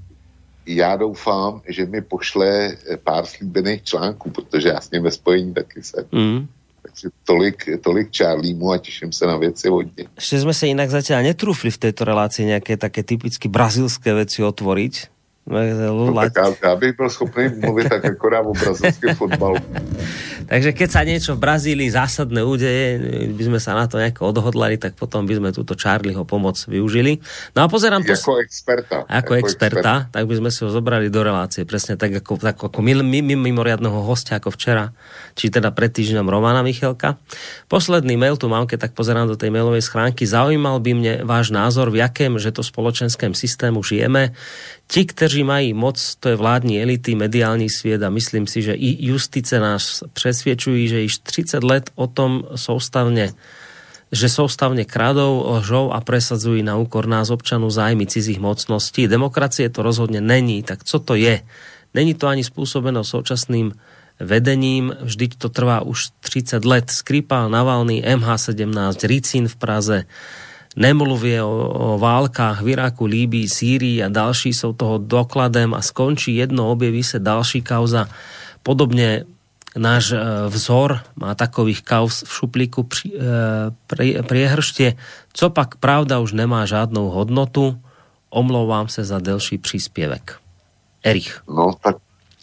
Já doufám, že mi pošle pár slíbených článků, protože já s ním ve spojení taky jsem. Mm. Takže tolik, tolik Charliemu a teším sa na veci hodne. Ešte sme sa inak zatiaľ netrúfli v tejto relácii nejaké také typicky brazilské veci otvoriť. No, tak ja, ja bych byl schopný mluviť tak akorát o brazilském fotbalu. Takže keď sa niečo v Brazílii zásadné udeje, by sme sa na to nejako odhodlali, tak potom by sme túto Charlieho pomoc využili. No a pozerám... Pos... Ako experta. Ako, ako experta, experta, tak by sme si ho zobrali do relácie. Presne tak ako, tak ako mimoriadného hostia ako včera, či teda pred týždňom Romana Michelka. Posledný mail tu mám, keď tak pozerám do tej mailovej schránky. Zaujímal by mne váš názor, v jakém, že to spoločenském systému žijeme. Ti, kteří mají moc, to je vládní elity, mediální svět a myslím si, že i justice nás přesvědčují, že již třicet let o tom soustavně, že soustavně kradou, lžou a presadzují na úkor nás občanů zájmy cizích mocností. Demokracie to rozhodně není, tak co to je? Není to ani způsobeno současným vedením, vždyť to trvá už třicet let. Skripal, Navalny, em há sedemnásť, Ricin v Praze, nemluvie o, o válkách v Iraku, Líbii, Sýrii a další jsou toho dokladem a skončí jedno, objeví se další kauza. Podobně náš vzor má takových kauz v šuplíku pri, pri, priehrště. Co pak pravda už nemá žádnou hodnotu? Omlouvám se za delší příspěvek. Erich. No tak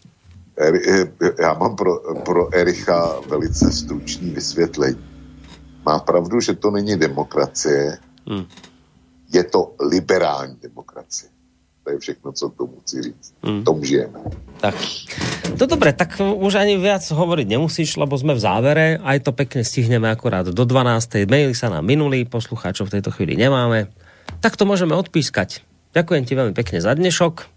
Eri, já mám pro, pro Ericha velice stručný vysvětlení. Má pravdu, že to není demokracie, Hmm. je to liberální demokracie. To je všechno, co tomu chci říct. Hmm. Tom žijeme. Tak. No dobre, tak už ani viac hovoriť nemusíš, lebo sme v závere. Aj to pekne stihneme akorát do dvanástej. Maily sa nám minuli, poslucháčov v tejto chvíli nemáme. Tak to môžeme odpískať. Ďakujem ti veľmi pekne za dnešok.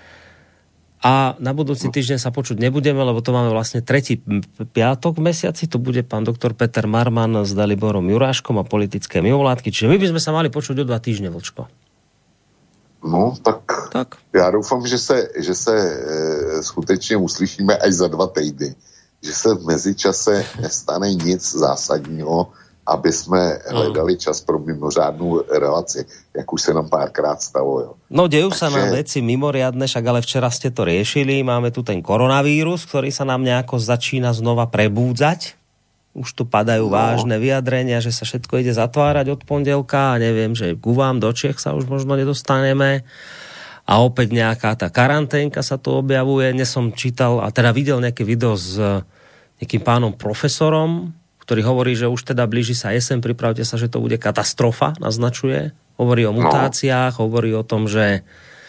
A na budúci týždeň sa počuť nebudeme, lebo to máme vlastne tretí piatok v mesiaci. To bude pán doktor Peter Marman s Daliborom Juráškom a politické mimovládky. Čiže my by sme sa mali počuť o dva týždne, Vlčko. No, tak, tak. Já doufám, že se, že se e, skutečně uslyšíme až za dva týdny. Že se v mezičase nestane nic zásadního, aby jsme hledali čas pro mimořádnou relaci, jak už se nám párkrát stalo. Jo. No, dejú sa nám veci mimoriadne, však ale včera ste to riešili. Máme tu ten koronavírus, ktorý sa nám nejako začína znova prebúdzať. Už tu padajú no. vážne vyjadrenia, že sa všetko ide zatvárať od pondelka a neviem, že ku vám do Čech sa už možno nedostaneme. A opäť nejaká tá karanténka sa tu objavuje. Dnes som čítal a teda videl nejaké video s nejakým pánom profesorom, ktorý hovorí, že už teda blíži sa jesen, pripravte sa, že to bude katastrofa, naznačuje. Hovorí o mutáciách, no. hovorí o tom, že e,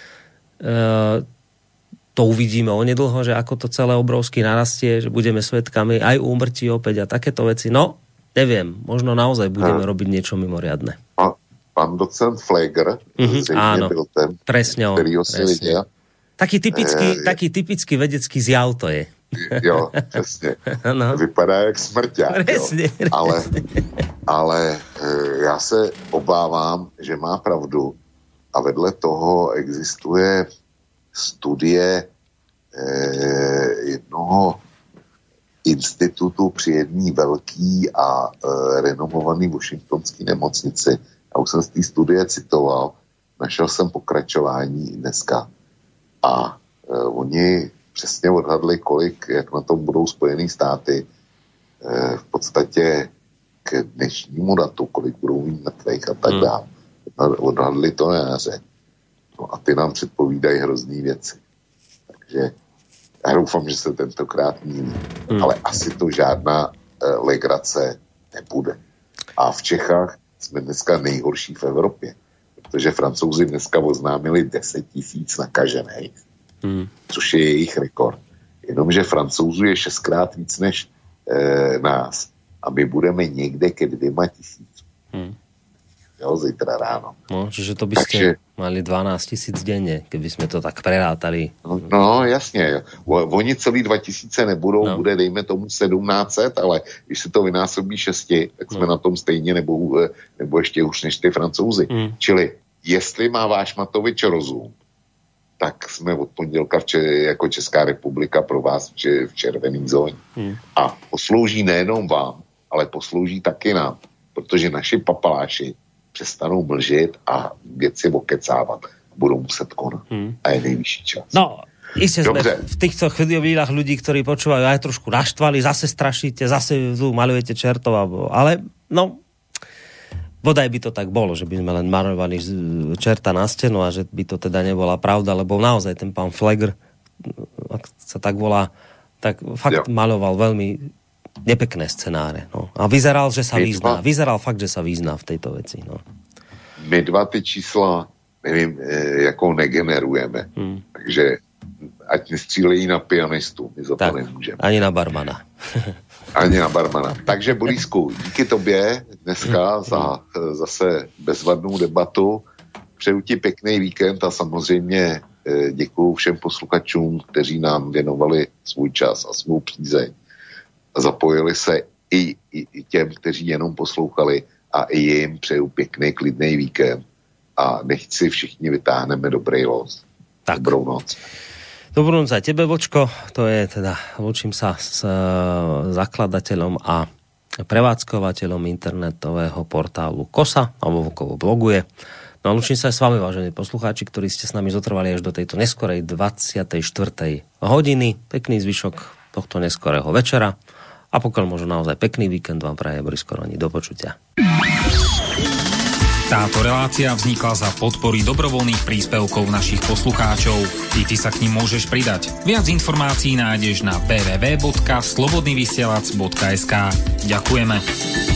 to uvidíme onedlho, že ako to celé obrovsky narastie, že budeme svedkami aj úmrtí opäť a takéto veci. No, neviem, možno naozaj budeme no. robiť niečo mimoriadne. A pán docent Fleger, mm-hmm, áno, byl ten, presne on. Presne. Taký typický, e, taký typický vedecký zjav to je. Jo, přesně. No. Vypadá jak smrťák. Presne, presne. Ale, ale já se obávám, že má pravdu a vedle toho existuje studie eh, jednoho institutu při jedné velký a eh, renomovaný washingtonský nemocnici. Já už jsem z té studie citoval, našel jsem pokračování dneska. A eh, oni přesně odhadli, kolik, jak na tom budou Spojené státy eh, v podstatě k dnešnímu datu, kolik budou mít mrtvých a tak hmm. dále. Odhadli to na jaře. No a ty nám předpovídají hrozný věci. Takže já doufám, že se tentokrát míní. Hmm. Ale asi to žádná eh, legrace nebude. A v Čechách jsme dneska nejhorší v Evropě. Protože Francouzi dneska oznámili deset tisíc nakažených. Hmm. Což je jejich rekord. Jenomže Francouzů je šestkrát víc než e, nás. A my budeme někde ke dvěma tisíc. Hmm. Jo, zítra ráno. No, čiže to by ste Takže, mali dvanásť tisíc denne, keby sme to tak prerátali. No, no jasně. O, oni celý dva tisíce nebudou, no. bude dejme tomu sedmnáct set, ale když se to vynásobí šesti, tak jsme no. na tom stejně nebo, nebo ještě už než ty Francouzi. Hmm. Čili, jestli má váš Matovič rozum, tak jsme od pondělka v če- jako Česká republika pro vás v, v červený zóně. Hmm. A poslouží nejenom vám, ale poslouží taky nám, protože naši papaláši přestanou mlžit a věci okecávat. Budou muset konat. Hmm. A je nejvyšší čas. No, Isté sme v týchto chvíľach ľudí, ktorí počúvajú, aj trošku naštvali, zase strašíte, zase tu malujete čertov, ale no, bodaj by to tak bolo, že by sme len malovali čerta na stenu a že by to teda nebola pravda, lebo naozaj ten pán Flegr, ak sa tak volá, tak fakt jo. maloval veľmi nepekné scenáre. No. A vyzeral, že sa my vyzná. Dva... Vyzeral fakt, že sa vyzná v tejto veci. No. My dva ty čísla, nevím, jakou negenerujeme. Hmm. Takže ať nestřílejí na pianistu, my za tak, to nemůžeme. Ani na barmana. Ani na barmana. Takže Borisku, díky tobě dneska za zase bezvadnou debatu. Přeju ti pěkný víkend a samozřejmě děkuju všem posluchačům, kteří nám věnovali svůj čas a svou přízeň. Zapojili se i, i, i těm, kteří jenom poslouchali a i jim přeju pěkný, klidný víkend a nechť si všichni vytáhneme dobrý los. Tak. Dobrou noc. Dobrú noc aj tebe, Vočko. To je teda, lúčim sa s zakladateľom a prevádzkovateľom internetového portálu Kosa, alebo Vokovo bloguje. No a lúčim sa aj s vami, vážení poslucháči, ktorí ste s nami zotrvali až do tejto neskorej dvadsiatej štvrtej hodiny. Pekný zvyšok tohto neskorého večera a pokiaľ možno naozaj pekný víkend vám praje Boris Koroni. Do počutia. Táto relácia vznikla za podpory dobrovoľných príspevkov našich poslucháčov. I ty sa k nim môžeš pridať. Viac informácií nájdeš na w w w bodka slobodnyvysielac bodka es ka. Ďakujeme.